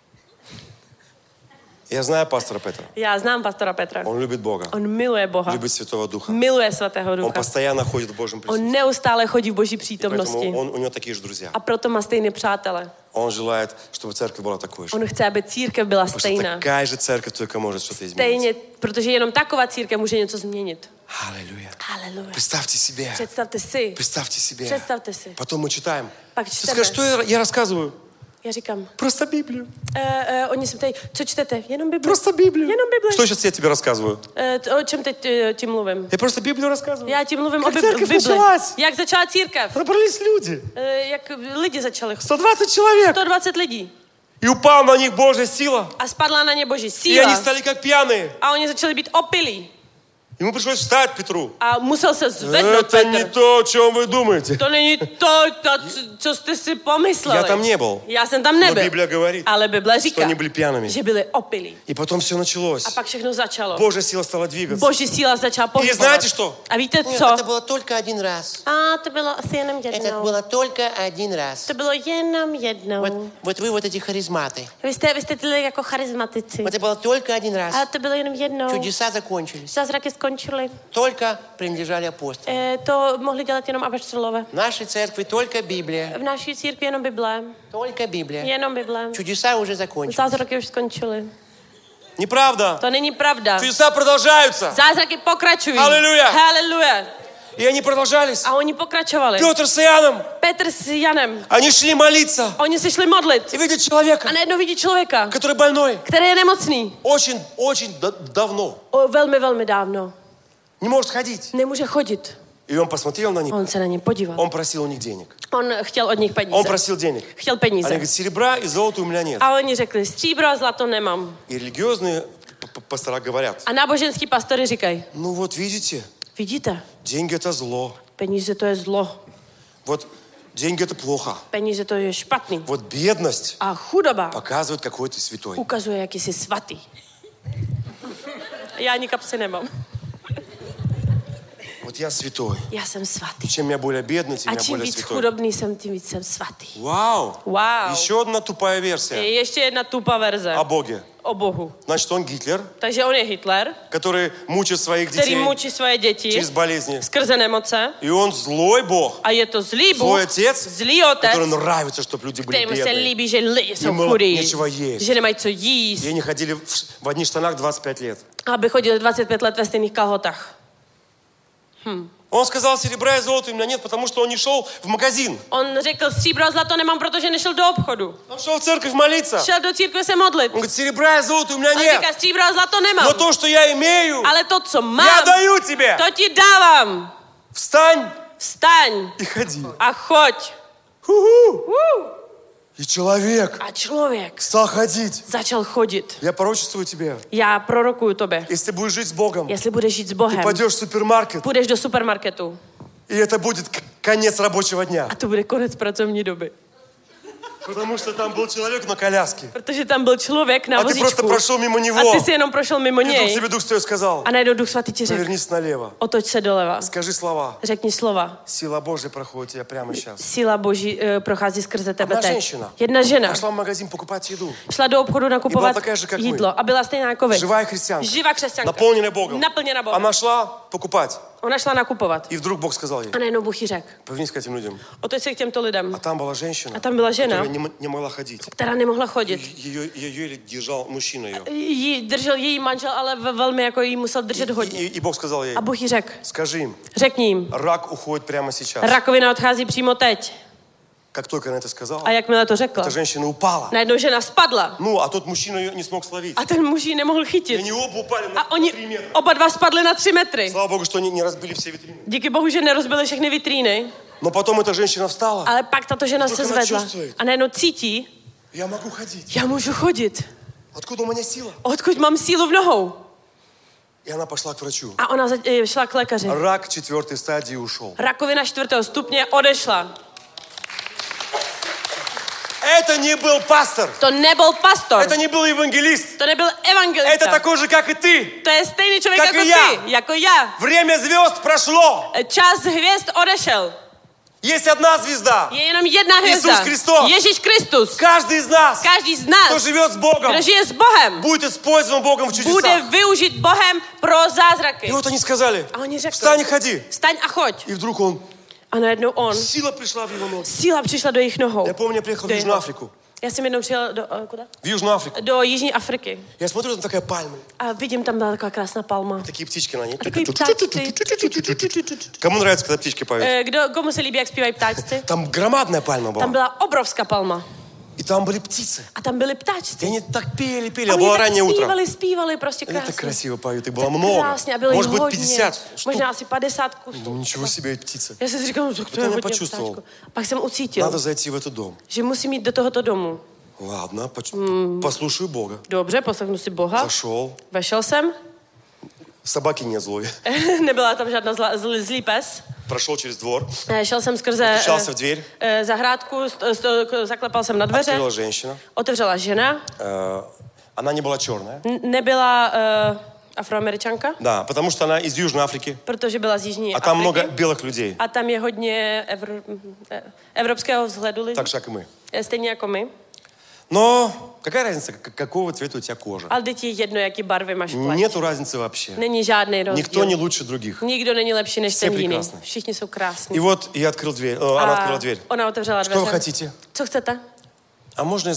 Я знаю пастора Петра. Já znám pastora Petra. Он любит Бога, On miluje Boha. любит Святого Духа. Miluje Svatého Он Ducha. постоянно ходит в Божьем присутствии. On neustále chodí v Boží Поэтому přítomnosti. у него такие же друзья. A proto má stejné přátele. Он желает, чтобы церковь была такой же. On chce, aby církev byla Потому что stejná. такая же церковь только может что-то изменить. Stejně, protože jenom taková církev může něco změnit. Аллилуйя. Haleluja. Представьте себе. Představte si. Представьте себе. Představte si. Потом мы читаем. Pak Ты čteme. скажешь, что я рассказываю? Já říkám, Просто Библию. oni se ptají, co čtete? Jenom Bibli. Просто Библию. Jenom Bibli. Что сейчас я тебе рассказываю? O čem teď ti mluvím? Я просто Библию рассказываю. Já ti mluvím Как o церковь Bibli. началась? Jak začala církev? Собрались люди. Jak lidi začali. 120 человек. 120 lidí. И упала на них Божья сила. A spadla na ně Boží И síla. они стали как пьяные. A oni začali být opilí. Ему пришлось встать Петру. A musel se zvednout Это не Petr. то, о чем вы думаете. To není to, co jste si pomysleli. Я там не был. Já jsem tam Но nebyl. Библия говорит, Ale Bible что říká, они были пьяными. že byli opilí. И потом все началось. A pak všechno začalo. Божья сила стала двигаться. Boží síla začala И pohybovat. знаете что? A víte Нет, co? это было только один раз. A to bylo asi jenom Это jednou. было только один раз. To bylo jenom jednou. Вот вы вот эти харизматы. Vy jste tyhle jako charizmatici. Это было только один раз. Ale to bylo jenom jednou. Чудеса закончились. Zázraky skončily. Только принадлежали апостолам. To mohli dělat jenom apoštolové. В нашей церкви только Библия. V naší církvi jenom Bible. Только Библия. Jenom Bible. Чудеса уже закончились. Zázraky už skončily. Неправда. To není pravda. Чудеса продолжаются. Zázraky pokračují. Haleluja. Haleluja. И они продолжались. A oni pokračovali. Петр с Иоанном, Petr s Janem. они шли молиться. Oni se šli modlit. И видят человека, A najednou vidí člověka, который больной. který je nemocný. Очень давно. Velmi, velmi dávno. Не может ходить. Nemůže chodit. И он посмотрел на них. On se na ně podíval. Он просил у них денег. On chtěl od nich Он peníze. просил денег. Chtěl Они peníze. говорят, серебра и золота у меня нет. A oni řekli, stříbro a zlato nemám. И религиозные пастора говорят, A náboženský pastory říkají, ну вот видите, vidíte, деньги это zlo. peníze to je zlo. Вот деньги это плохо. Peníze to je špatný. Вот бедность A chudoba показывает, какой ты святой. ukazuje, jak jsi svatý. Já ani kapsy nemám. Вот я святой. Já jsem svatý. Чем я более бедный, тем A я čím более víc святой. chudobný jsem, tím víc jsem svatý. Вау! Wow. Еще одна тупая версия Ještě jedna tupa verze о Боге. o Bohu. Значит, он Гитлер, Takže on je Hitler, который мучит своих který детей mučí svoje děti через болезни. skrze nemoce. И он злой Бог, A je to zlý zlой Bůh, отец, zlý otec, которому нравится, чтобы люди были kterému se бедные. líbí, že lidi jsou Jim bylo chudí, něčeho jíst. že nemají co jíst, И они ходили в одних штанах 25 лет. aby chodili 25 let ve stejných kalhotách. Он сказал, серебра и золота у меня нет, потому что он не šel в магазин. On řekl, stříbro a zlato nemám, protože nešel do obchodu. Он šel в церковь молиться. Šel do církve se modlit. Он говорит, серебра и золота у меня On нет. říká, stříbro a zlato nemám. Но то, что я имею, Ale to, co я mám, даю тебе. to ti dávám. Встань Vstaň и ходи. a choď. Ху-ху. И человек A člověk стал ходить. začal chodit. Я пророчествую тебе. Já prorokuju tobě. Если ты будешь жить с Богом, Jestli budeš žít s ты Bohem, пойдешь в супермаркет, půjdeš do supermarketu и это будет конец рабочего дня. a to bude konec pracovní doby. Потому что там был человек на коляске. Protože tam byl člověk na А ты просто vozíčku прошел мимо a него. ty si jenom prošel mimo И вдруг něj тебе Дух Святой сказал, a najednou Duch Svatý ti řekl, повернись налево. otoč se doleva, Скажи слова. řekni slova. Сила Божья проходит тебя прямо сейчас. Síla Boží prochází skrze tebe Одна teď. женщина Jedna žena пошла в магазин покупать еду. šla do obchodu nakupovat такая же, как мы. jídlo a byla stejná jako vy. Живая христианка. Živá křesťanka. Наполненная Богом. Naplněna Bohem. Она шла покупать. Ona šla nakupovat. И вдруг Бог сказал ей, A najednou Bůh jí řekl, повернись к этим людям. otoč se k těmto lidem. А там была женщина, A tam byla žena, которая не могла ходить. která nemohla chodit. Ее еле держал мужчина ее. Jí držel její manžel, ale velmi jako jí musel držet hodně. И Бог сказал ей, A Bůh jí řekl, скажи им, řekni jim, рак уходит прямо сейчас. rakovina odchází přímo teď. Как только она это сказала, A jakmile to řekla, эта женщина упала. najednou žena spadla. Ну, а тот мужчина ее не смог словить. A ten muž ji nemohl И chytit. они оба упали на A oni 3 метра. oba dva spadli na 3 metry. Слава Богу, что они не разбили все витрины. Díky Bohu, že nerozbili všechny vitríny. Но потом эта женщина встала. Ale pak tato žena se ona zvedla čувствuje. a najednou cítí, Я могу ходить. já můžu chodit. Откуда у меня сила? Odkud mám sílu v nohou? И она пошла к врачу. A ona šla k lékaři. Рак 4 стадии ушел. Rakovina 4. stupně odešla. Это не был пастор. To nebyl pastor. Это не был евангелист. To nebyl evangelista. Это такой же, как и ты. To je stejný člověk Jak jako i já. ty, jako já. Время звезд прошло. Čas hvězd odešel. Есть одна звезда. Je jenom jedna hvězda. Иисус Христос. Ježíš Kristus. Каждый из нас, Každý z кто nás, живет с Богом, kdo žije s Bohem, будет использован Богом в bude чудесах. využit Bohem pro zázraky. И вот они сказали, A oni řekli, встань и ходи. vstaň a choď. И вдруг он, A najednou on, сила пришла в его ноги. síla přišla do jejich nohou. Я помню, я приехал в Do Южную jeho- Африку. Já jsem jednou přijel do, kuda? В Южную Африку. Do Jižní Afriky. Я смотрю, там такая пальма. A vidím, tam byla taková krásná palma. Такие птички на ней. A takový ptáčci. Кому нравится, когда птички поют? Komu se líbí, jak zpívají ptáčci? Там громадная пальма Tam была. byla obrovská palma. И там были птицы. A tam byli И ptáčci. они так pели, A а oni было tak раннее утро. zpívali prostě Они так krásně. красиво поют, их было Tak много. krásně a bylo jich Может быть, hodně. 50 штук. Možná asi 50 kusů. Думаю, ничего себе, эти птицы. Já jsem si říkal, že to Потом je я hodně почувствовал. ptáčku. Pak jsem ucítil, Надо зайти в этот дом. že musím jít do tohoto domu. Ладно, послушаю Бога. Dobře, poslechnu si Boha. Zашел. Vešel jsem. Собаки не злой. Nebyla tam žádná zlý pes. Прошел через двор. Šel jsem skrze Постучался в дверь. zahrádku, zaklepal jsem na dveře. Открыла женщина. Otevřela žena. Она не была черная. Nebyla Afroameričanka, Да, потому что она из Южной Африки. protože byla z Jižní А там много Afriky. белых людей. A tam je hodně evropského vzhledu lidí. Так же, как и мы. Stejně jako my. Но какая разница, какого цвета у тебя кожа? Ale teď je jedno, jaký barvy máš pleť. Нету разницы вообще. Není žádný rozdíl. Никто не лучше других. Nikdo není lepší než Vše ten jiný. прекраsné. Všichni jsou krásní. И вот я открыл дверь. Она открыла дверь. Ona otevřela Что вы dveře. хотите? Co chcete? А можно я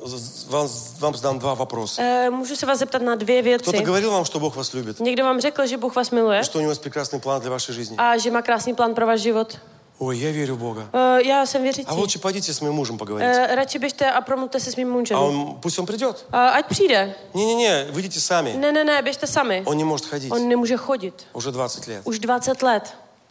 вам задам 2 вопроса? Můžu se vás zeptat na 2 věci. Кто-то говорил vám, что Бог вас любит? Někdo vám řekl, že Bůh vás miluje Что у него есть прекрасный план для вашей жизни? a že má krásný plán pro váš život? Ой, я верю в Бога. Já jsem věřící. А лучше пойдите с моим мужем поговорить. Radši běžte a promluvte se s mým mužem. Пусть он придет. Ať přijde. Не-не-не, выйдите сами. Ne, běžte sami. Он не может ходить. On nemůže chodit. Уже 20 лет. Už 20 let.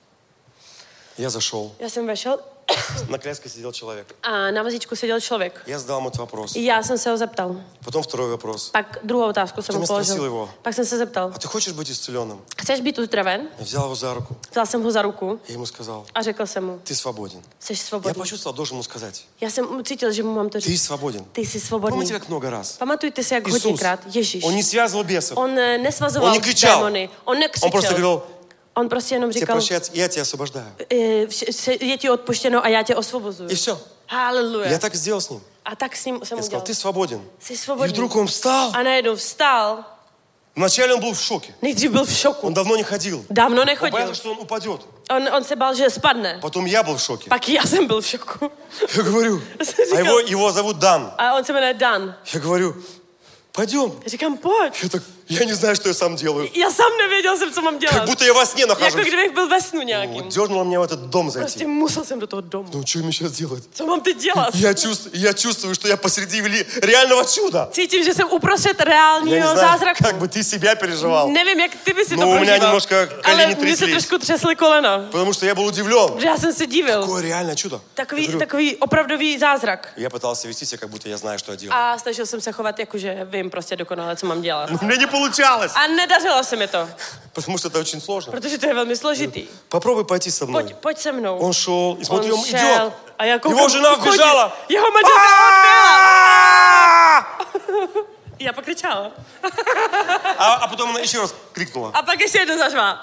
Я zашел. Já jsem vešel На коляске сидел человек. a na vozíčku seděl člověk. Я задал ему этот вопрос. Já jsem se ho zeptal. Потом второй вопрос. Pak druhou otázku jsem Потом mu я спросил položil. его, Pak jsem se zeptal. а ты хочешь быть исцеленным? Chceš být uzdraven? Я взял его за руку. Vzal jsem ho za ruku Я ему сказал, a řekl jsem mu, ты свободен. jsi Я svobodný. почувствовал, должен ему сказать, Já jsem cítil, že mu mám to ты říct. свободен. Ty jsi svobodný. Помните, как много раз? Pamatujte si, jak Иисус, hodněkrát Ježíš. он не связывал бесов. On nesvazoval On nekřičal. démony. On Он просто nekřičel. говорил, On prostě jenom Тебе říkal, прощается, я тебя освобождаю. je ti odpuštěno a já tě osvobozuju. И все. Haleluja. Я так и сделал с ним. A tak s ním jsem Я сказал, udělal. ты свободен. Jsi И svobodný. вдруг он встал. A najednou vstal. Вначале он был в шоке. Nejdřív byl v šoku. Он давно не ходил. Dávno Он nechodil. боялся, что он упадет. On se bál, že spadne. Потом я был в шоке. Pak já jsem byl v šoku. Я говорю, а его зовут Дан. A on se jmenuje Dan. Я говорю, пойдем. Já říkám, pojď. Я не знаю, что я сам делаю. Já sám nevěděl jsem, co mám Как dělat. будто я во сне Jako нахожусь. kdybych byl ve snu nějakým. Дернуло меня в этот дом зайти. Prostě musel jsem do toho domu. Ну, что мне сейчас делать? Co mám teď dělat? Я чувствую, что я посреди реального чуда. Cítím, že jsem uprostřed Я не reálního знаю, zázraku. как бы ты себя переживал. Nevím, jak ty by si to No, u mě prožíval. немножко Ale koleni mně se тряслись. trošku třesly kolena. Потому что я был удивлен. Protože já jsem se divil. Какое реальное чудо. Takový opravdový zázrak. Я пытался вести себя, как будто я знаю, что я делаю. A snažil jsem se chovat jako, že vím prostě dokonale, co mám dělat. Но мне не получалось. A nedařilo se mi to, Потому что это очень сложно. protože to je velmi složitý. Попробуй пойти со мной. Pojď se mnou. Он шел, и смотри, он šel идет. a já koukám, Его žena chodí. вбежала. Jeho manželka odběhla. Já pak kričala. А потом она еще раз крикнула. A pak ještě jednou zařvala.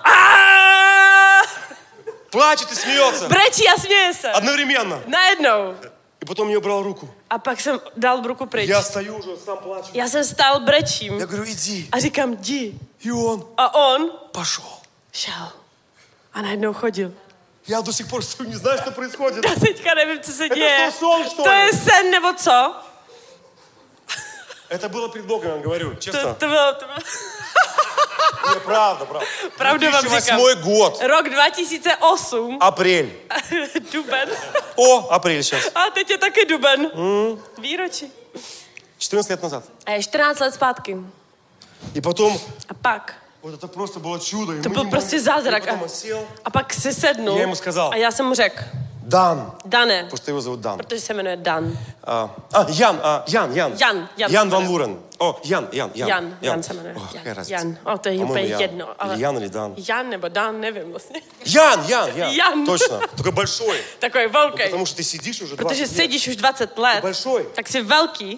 Плачет и смеется. Brečí a směje se. Одновременно. Najednou. И потом я убрал руку. A pak jsem dal ruku pryč. Я стою уже, сам плачу. Já jsem stál brečím Я говорю, иди. a říkám, jdi. И он A on пошел. šel. A najednou chodil. Я до сих пор стою, не знаю, что происходит. Já teďka nevím, co se děje. to сон, что To ли? je sen, nebo co? Это было пред Богом, я говорю, честно. To bylo... Не, правда. Pravdu vám říkám. 2008 год. Rok 2008. Апрель. Duben. О, апрель сейчас. A teď je taky duben. Výročí. 14 лет назад. A je 14 let zpátky. И потом, A pak. вот это просто было чудо. И To мы byl не prostě могли. zázrak. И потом он сел. A pak si sednul. Já mu сказал. A já jsem mu řekl. Дан. Dane. Потому что его зовут Дан. Protože se jmenuje Dan. Ян Ван Вурен. О, Ян. Jan se jmenuje. О, какая разница? Jan. O, to je По-моему, úplně Ян. jedno. Или Ян, или Дан. Jan nebo Dan, nevím vlastně. Ян. Ян. Точно. Такой большой. Takový velký. Потому что ты сидишь уже 20 Protože лет. sedíš už 20 let, Большой. tak jsi velký.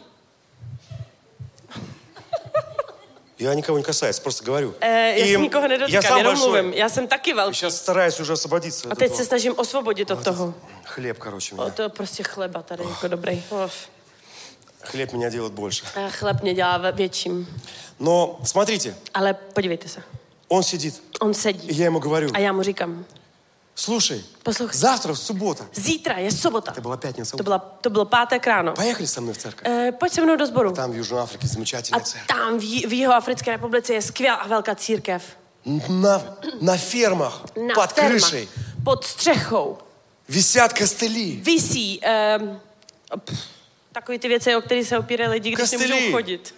Я никого не касаюсь, просто говорю. Já se nikoho я nedotýkám, сам jenom большой. mluvím. Já jsem taky velký. Сейчас стараюсь уже освободиться A от teď этого. se snažím osvobodit od toho. Хлеб, короче, O, меня. to je prostě chleba tady, jako dobrý. Хлеб меня делает больше. A chleb mě dělá větším. Но смотрите, Ale podívejte se. он сидит. On И sedí. я ему говорю, A já mu říkám, слушай, poslouchej, завтра в суббота. zítra je sobota. Это была пятница. To bylo pátek ráno. Поехали со мной в церковь. Pojď se mnou do sboru. Там в Южной Африке A замечательная церковь. tam v Jihoafrické republice je skvělá a velká církev. На фермах, Na под fermách, крышей pod střechou висят костыли. visí takový ty věci, o které se opírají lidi, když Kostely. nemůžou chodit.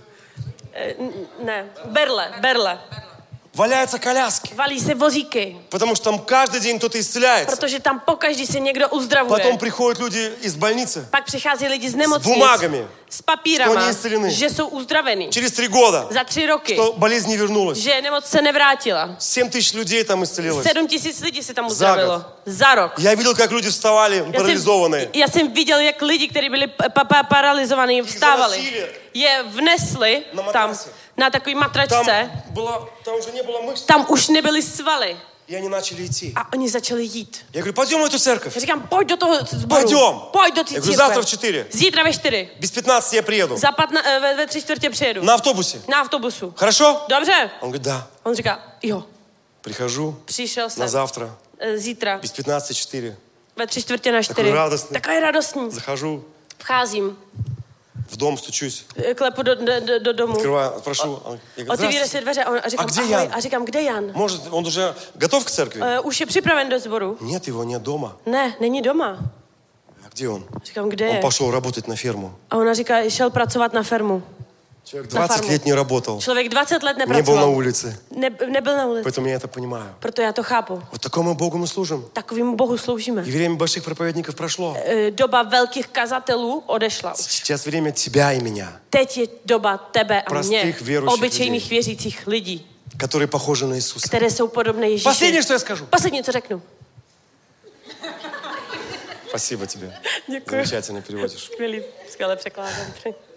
Ne, berle. Валяются коляски. Valí se vozíky, Потому что там каждый день кто-то исцеляется. protože tam pokaždý se někdo uzdravuje. Потом приходят люди из больницы. Pak přichází lidi z nemocnic бумагами, s papírama, что они исцелены. že jsou uzdravení. Через 3 года, Za 3 roky, что болезнь не вернулась. že nemoc se nevrátila. 7 тысяч людей там исцелилось. 7 000 lidí se tam uzdravilo. Za rok. Я видел, как люди вставали парализованные. Já jsem viděl, jak lidi, kteří byli paralizovaní, vstávali. заносили Je vnesli na tam matrase. na takový matračce. Там уже не было мышц. Tam už nebyly svaly. И они начали идти. A oni začali jít. Я говорю, пойдем в эту церковь. Já říkám, pojď do toho sboru. Pojďom. Pojď do té Já говорю, církve. завтра в 4. Zítra ve 4. Без 15 я приеду. Ve 3/4 přijedu. На автобусе. Na autobusu. Хорошо? Dobře. Он говорит, да. On říká, jo. Прихожу Přišel на jsem. завтра. Zítra. Без 15:04. Ve 3/4 Takový radostný. Takový radostný. Захожу Vcházím. в дом, стучусь. Klepu do domu. Открываю, прошу. Я говорю, Otevíre si здравствуйте. dveře a říkám, A kde ahoj. Jan? A říkám, kde Jan? Может, он уже готов к церкви? Už je připraven do sboru? Нет, его нет дома. Ne, není doma. А где он? Říkám, kde Он je? пошел работать на ферму. A ona říká, šel pracovat na fermu. Человек На 20 фарму. лет не работал. Člověk 20 let Не был на nepracoval. улице. Nebyl na ulici. Поэтому я это понимаю. Proto já to chápu. Вот такому Богу мы служим. Takovému Bohu sloužíme. И время больших проповедников прошло. Doba velkých kazatelů odešla. Сейчас время тебя и меня, Teď je doba tebe a mě, Prostých věrujících obyčejných lidí. věřících lidí, которые похожи на Иисуса. které jsou podobné Ježíši. Последнее, что я скажу. Poslední, co řeknu. Спасибо тебе. Děkuji. Замечательно переводишь. Skvělý, skvěle překládám.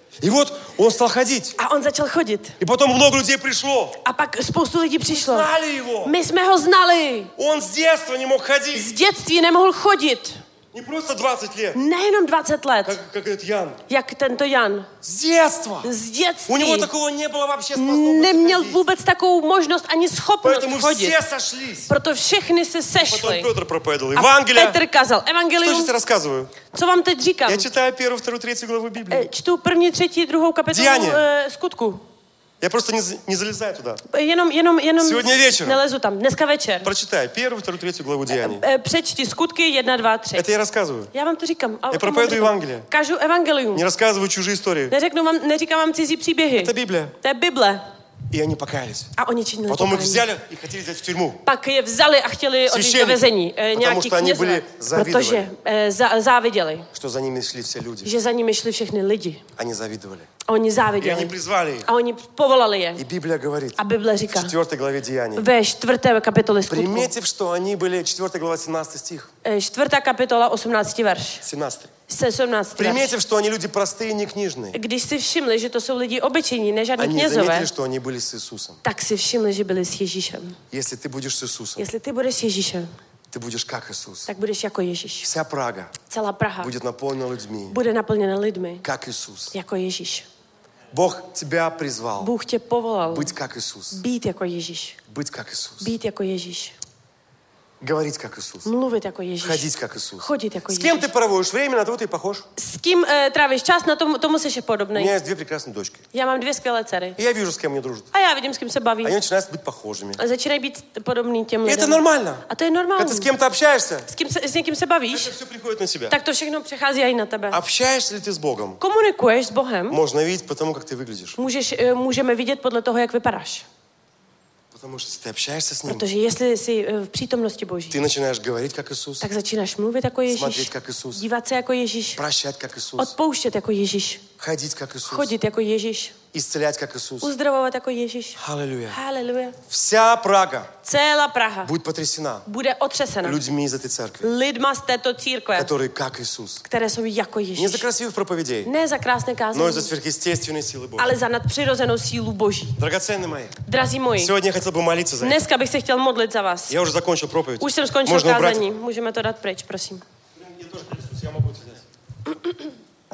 И вот он стал ходить. A on začal chodit. И потом много людей пришло. A pak spoustu lidí přišlo. Знали его. My jsme ho znali. Он с детства не мог ходить. Z dětství nemohl chodit. Не просто 20 лет, Nejenom 20 let, как этот Ян. jak tento Jan. С детства. Z У него dětství такого не было вообще способности neměl ходить. vůbec takovou možnost ani schopnost Поэтому chodit. все сошлись. Proto všechny se Потом sešli. Петр проповедовал A Евангелие. Petr kazal Что evangelium. сейчас рассказываю? Co vám teď říkám? Я читаю 1, 2, 3 главу Библии. Čtu 1., 3., 2. kapitolu Dějání. Skutku. Я просто не залезаю туда. Jenom Сегодня вечером. nelezu tam. Dneska večer. Прочитай 1, 2, 3 главу Деяний. Přečti Skutky 1, 2, 3. Это я рассказываю. Já vám to říkám. Já проповедую Евангелие. Kažu evangelium. Не рассказываю чужие истории. Neříkám vám cizí příběhy. Это Библия. To je Bible. И они покаялись. A oni činili Потом их pokání. взяли и хотели взять в тюрьму. Pak je vzali a chtěli odjít do vězení. Nějaký что они kněžové. были завидовали. Protože záviděli. Что за ними шли все люди. Že za nimi šli všechny lidi. Они завидовали. A oni И они záviděli. призвали их. A oni povolali je. И Библия говорит A Bible в říká 4 главе Деяний. ve 4. kapitole Skutku. Приметив, что они были, 4 глава, 17 стих. 4. kapitola, 18. verš. 17. 17. verš. Приметив, что они люди простые, не книжные. Když si všimli, že to jsou lidi obyčejní, ne žádní Они knězové, заметили, что они были с Иисусом. tak si všimli, že byli s Ježíšem. Если ты будешь с Иисусом, Jestli ty budeš s Ježíšem, ты будешь как Иисус. tak budeš jako Ježíš. Вся Прага Celá Praha будет наполнена людьми, bude naplněna lidmi как Иисус. jako Ježíš. Бог тебя призвал Bůh tě povolal быть как Иисус. být jako Ježíš. Быть как Иисус. Být jako Ježíš. Говорить как Иисус. Mluvit jako Ježíš. Ходить как Иисус. Chodit jako С кем Ježíš. ты проводишь время, на того ты похож. S kým trávíš čas, na tomu seš У podobnej. меня есть 2 прекрасные дочки. Já mám 2 skvělé dcery. И я вижу, с кем они дружат. A já vidím, s kým se baví. Они начинают быть похожими. A začínají být podobný těm И это lidem. нормально. A to je Когда normální. ты с кем-то общаешься, S někým se bavíš, это все приходит на себя. tak to všechno přechází i na tebe. Общаешься ли ты с Богом? Komunikuješ s Bohem, Можно видеть по тому, как ты выглядишь. můžeme vidět podle toho, jak vypadáš. Потому что если ты общаешься с Ним, Protože jestli jsi v přítomnosti Boží, ты начинаешь говорить как Иисус, tak začínáš mluvit jako Ježíš, смотреть как Иисус, dívat se jako Ježíš, прощать как Иисус, odpouštět jako Ježíš, ходить как Иисус, chodit jako Ježíš, исцелять как Иисус. uzdravovat jako Ježíš. Аллилуйя. Haleluja. Вся Прага Celá Praha будет потрясена bude otřesena людьми из этой церкви, lidma z této církve, которые как Иисус. které jsou jako Не Ježíš. за красивых проповедей, Ne za krásné но и kázání, за сверхъестественной силы Бога. ale za nadpřirozenou sílu Boží. Драгоценные мои, Drazí moji, сегодня я хотел бы молиться за это. dneska bych se chtěl modlit za vás. Я уже закончил проповедь. Už jsem skončil Можно убрать. kázání. Můžeme to dát pryč, prosím. Я тоже Иисус, я могу это взять.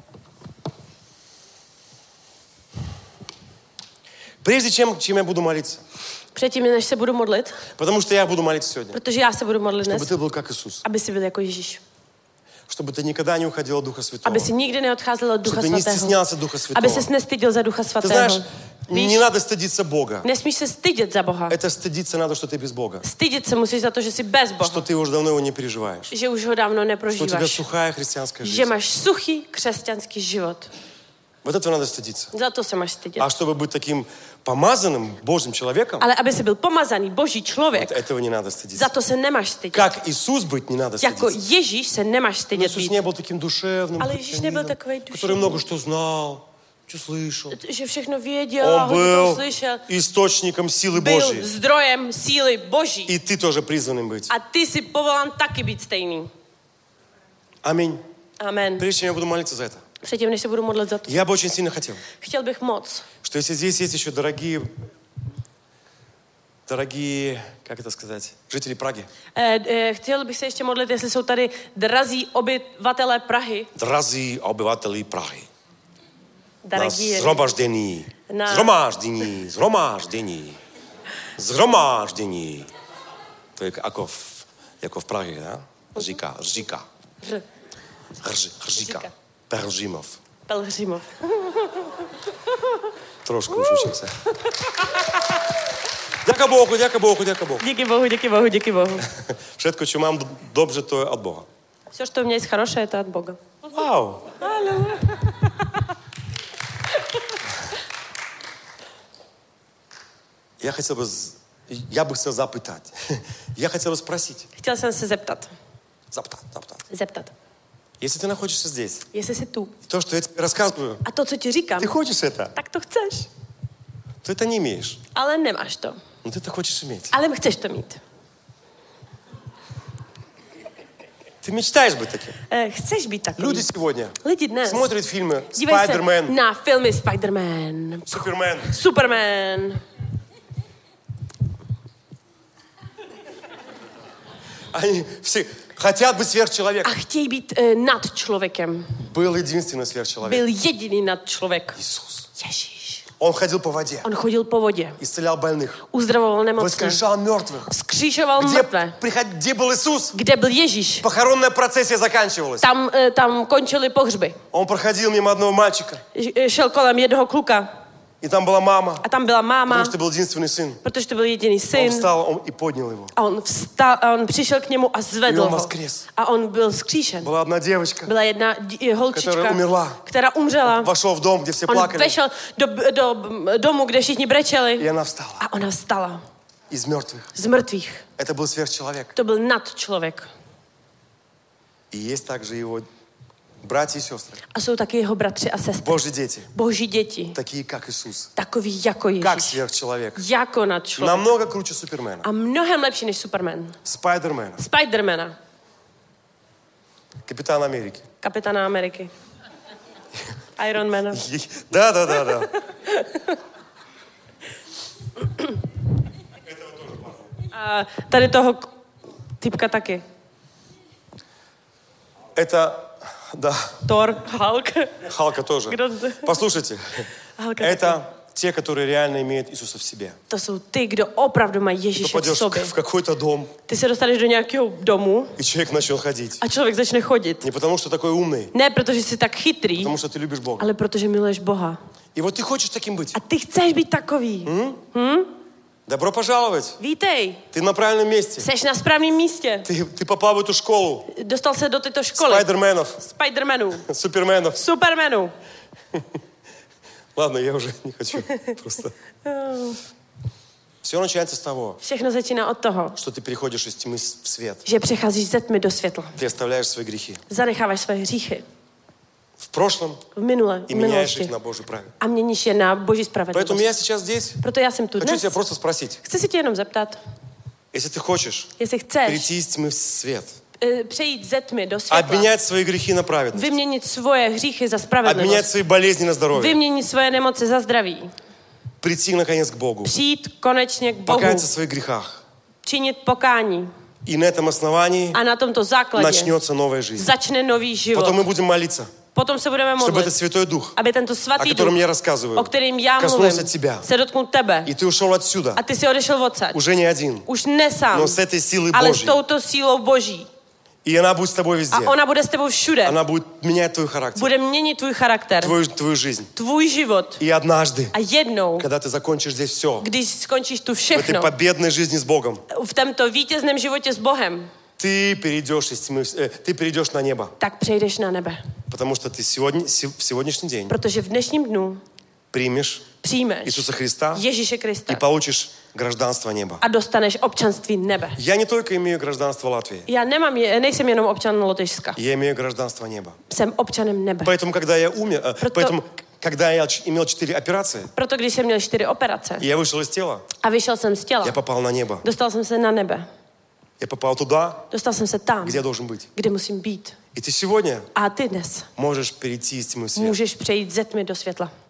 Прежде чем я буду молиться, Předtím, než se budu modlit, потому что я буду молиться сегодня, protože já se budu modlit чтобы dnes, ты был как Иисус, aby si byl jako Ježíš. чтобы ты никогда не уходил от Духа Святого, Aby si nikdy neodcházel od Ducha чтобы ты не Svatého. стеснялся Духа Aby Святого. ses nestyděl za Ducha Ты Svatého. знаешь, Víš, не надо стыдиться Бога. nesmíš se stydět za Boha. Это стыдиться надо, что ты без Бога, Stydět se musíš za to, že jsi bez что Boha. ты уже давно его не переживаешь, Že už ho dávno что у тебя neprožíváš. сухая христианская Že жизнь. máš suchý křesťanský život. Вот этого надо стыдиться. Za to se máš stydět. А чтобы быть таким помазанным Божьим человеком, Ale aby jsi byl pomazaný Boží вот člověk, этого не надо стыдиться. za to se nemáš stydět. Как Иисус быть не надо Jako стыдиться. Ježíš se nemáš Но stydět Иисус být. не был таким душевным, Ale Ježíš nebyl христианином, takovej который duševní. много что знал, что слышал. Že všechno věděl a Он hodně toho был slyšel. источником силы Byl Божьей. zdrojem síly Boží. И ты тоже призванным быть. A ty jsi povolán taky být stejný. Аминь. Amen. Прежде чем я буду молиться за это, Předtím, než se budu modlit za to, я бы очень сильно хотел, chtěl bych moc, что если здесь есть еще дорогие, как это сказать, жители Праги, chtěl bych se ještě modlit, jestli jsou tady drazí obyvatelé Prahy. дорогие обыватели Праги, на Dragí, згромаждení. To je jako v Praze, ne? Říká. Říká. Pelhřimov. Pelhřimov. Trošku už učím se. Ďaká Bohu. Díky Bohu. Všetko, čo mám dobře, to je od Boha. Все, что у меня есть хорошее, это от Бога. Вау. Я бы хотел запытать. Я хотел бы спросить. Chtěl jsem se zeptat. Зептать. Если ты находишься здесь, Jestli jsi tu. то, что я тебе рассказываю, A to, co ti říkám, ты хочешь это, tak to chceš. ты это не имеешь. Ale nemáš to. Но ты это хочешь иметь. Ale chceš to mít. Ты мечтаешь быть таким? Chceš být takový? Люди сегодня Lidi dnes смотрят фильмы dívají se Spider-Man, na filmy Spider-Man, Супермен. Superman. Они все хотят быть сверхчеловеком. A chtějí být nad člověkem. Был единственный сверхчеловек. Byl jediný nad člověk. Иисус. Ježíš. Он ходил по воде, On chodil po vodě. исцелял больных, Uzdravoval nemocné. воскрешал мертвых. Vzkříšoval mrtvé. Где был Иисус? Kde byl Ježíš? Похоронная процессия заканчивалась. Tam končily pohřby. Он проходил мимо одного мальчика, Šel kolem jednoho kluka. и там была мама, A tam byla máma, потому что был единственный сын. protože to byl jediný Он syn. встал и поднял его. A on vstal, a on přišel k němu a zvedl I on ho. воскрес. A on byl vzkříšen. Была одна девочка, Byla jedna holčička, Která umřela. která umřela. вошел в дом, где все On плакали, vešel do domu, kde všichni brečeli. и она встала A ona vstala из мертвых. z mrtvých. Это был сверхчеловек. To byl nadčlověk. И есть также его братья и сестры, A jsou taky jeho bratři a sestry. Божьи дети, Boží děti. такие как Иисус, Takový jako как Ježíš. сверхчеловек. Jako nadčlověk. Намного круче Супермена, A mnohem lepší než Superman. Спайдермена, Spidermana. Капитана Америки. Kapitána Ameriky. Ironmana. Да. A tady toho typka taky. Это, да, Thor, Hulk. Халка тоже. Kdo to? Послушайте, Hulka taky. это те, которые реально имеют Иисуса в себе. To jsou ty, kdo opravdu mají Ты Ježíše v попадешь sobě. в какой-то дом, Ty se dostaneš do nějakého domu и человек начнет ходить. a člověk začne chodit. Не потому, что такой умный, Ne protože jsi tak chytrý, потому что ты любишь Бога. ale protože miluješ Boha. И вот ты хочешь таким быть. A ty chceš být takový. Добро пожаловать. Vítej, Ты на правильном месте. seš na správném místě. Ты попал в эту школу Dostal se do této školy. спайдерменов, Spidermanů, суперменов. Supermanů. Ладно, я уже не хочу. Просто. Все начинается с того, Všechno začíná od toho, что ты переходишь из тьмы в свет. že přecházíš ze tmy do světla. Ты оставляешь свои грехи Zanecháváš své hříchy в прошлом v minule, и v меняешь minulosti их на Божью правду. a měníš je na Boží Поэтому spravedlnost. я сейчас здесь Proto já jsem tu хочу dnes. тебя просто спросить. Chci se tě jenom zeptat, Если ты хочешь jestli chceš перейти из тьмы в свет, přejít ze tmy do světla, обменять свои грехи на праведность, vyměnit svoje hříchy za обменять spravedlnost, свои болезни на здоровье, vyměnit svoje nemoci za zdraví, прийти наконец к Богу, přijít konečně k Bohu, покаяться в своих грехах. činit pokání И на этом основании a na tomto základě начнется новая жизнь. začne nový život. Потом мы будем молиться, Potom se budeme чтобы modlit, этот Святой Дух, aby tento о svatý котором duch, я рассказываю, o kterým já mluvím, коснулся тебя. se dotknul tebe И ты ушел отсюда, a ty si odešel odsaď. уже не один, Už ne sám, но с этой силой ale s Божьей. touto sílou Boží. И она будет с тобой везде. A ona bude s tebou všude. Она будет менять твой характер, Bude měnit tvůj charakter, твою жизнь. tvůj život. И однажды, A jednou, когда ты закончишь здесь все, když skončíš tu в этой všechno, победной жизни с Богом, v tomto vítězném životě s Bohem, ты перейдешь из тьмы, ты перейдешь на небо. tak přejdeš na nebe. Потому что ты в сегодняшний день Protože v dnešním dnu примешь přijmeš Иисуса Христа Ježíše Krista и получишь гражданство неба. a dostaneš občanství nebe. Я не только имею гражданство Латвии, Já nejsem jenom občan Lotyšska. я имею гражданство неба. Jsem občanem nebe. Поэтому, когда я умер, когда я имел 4 операции, Proto když jsem měl 4 operace и я вышел из тела, a vyšel jsem z těla, я попал на небо. dostal jsem se na nebe. Я попал туда, Dostal jsem se tam, где я должен быть. kde musím být. И ты сегодня A ty dnes можешь перейти из тьмы в свет. můžeš přejít ze tmy do světla.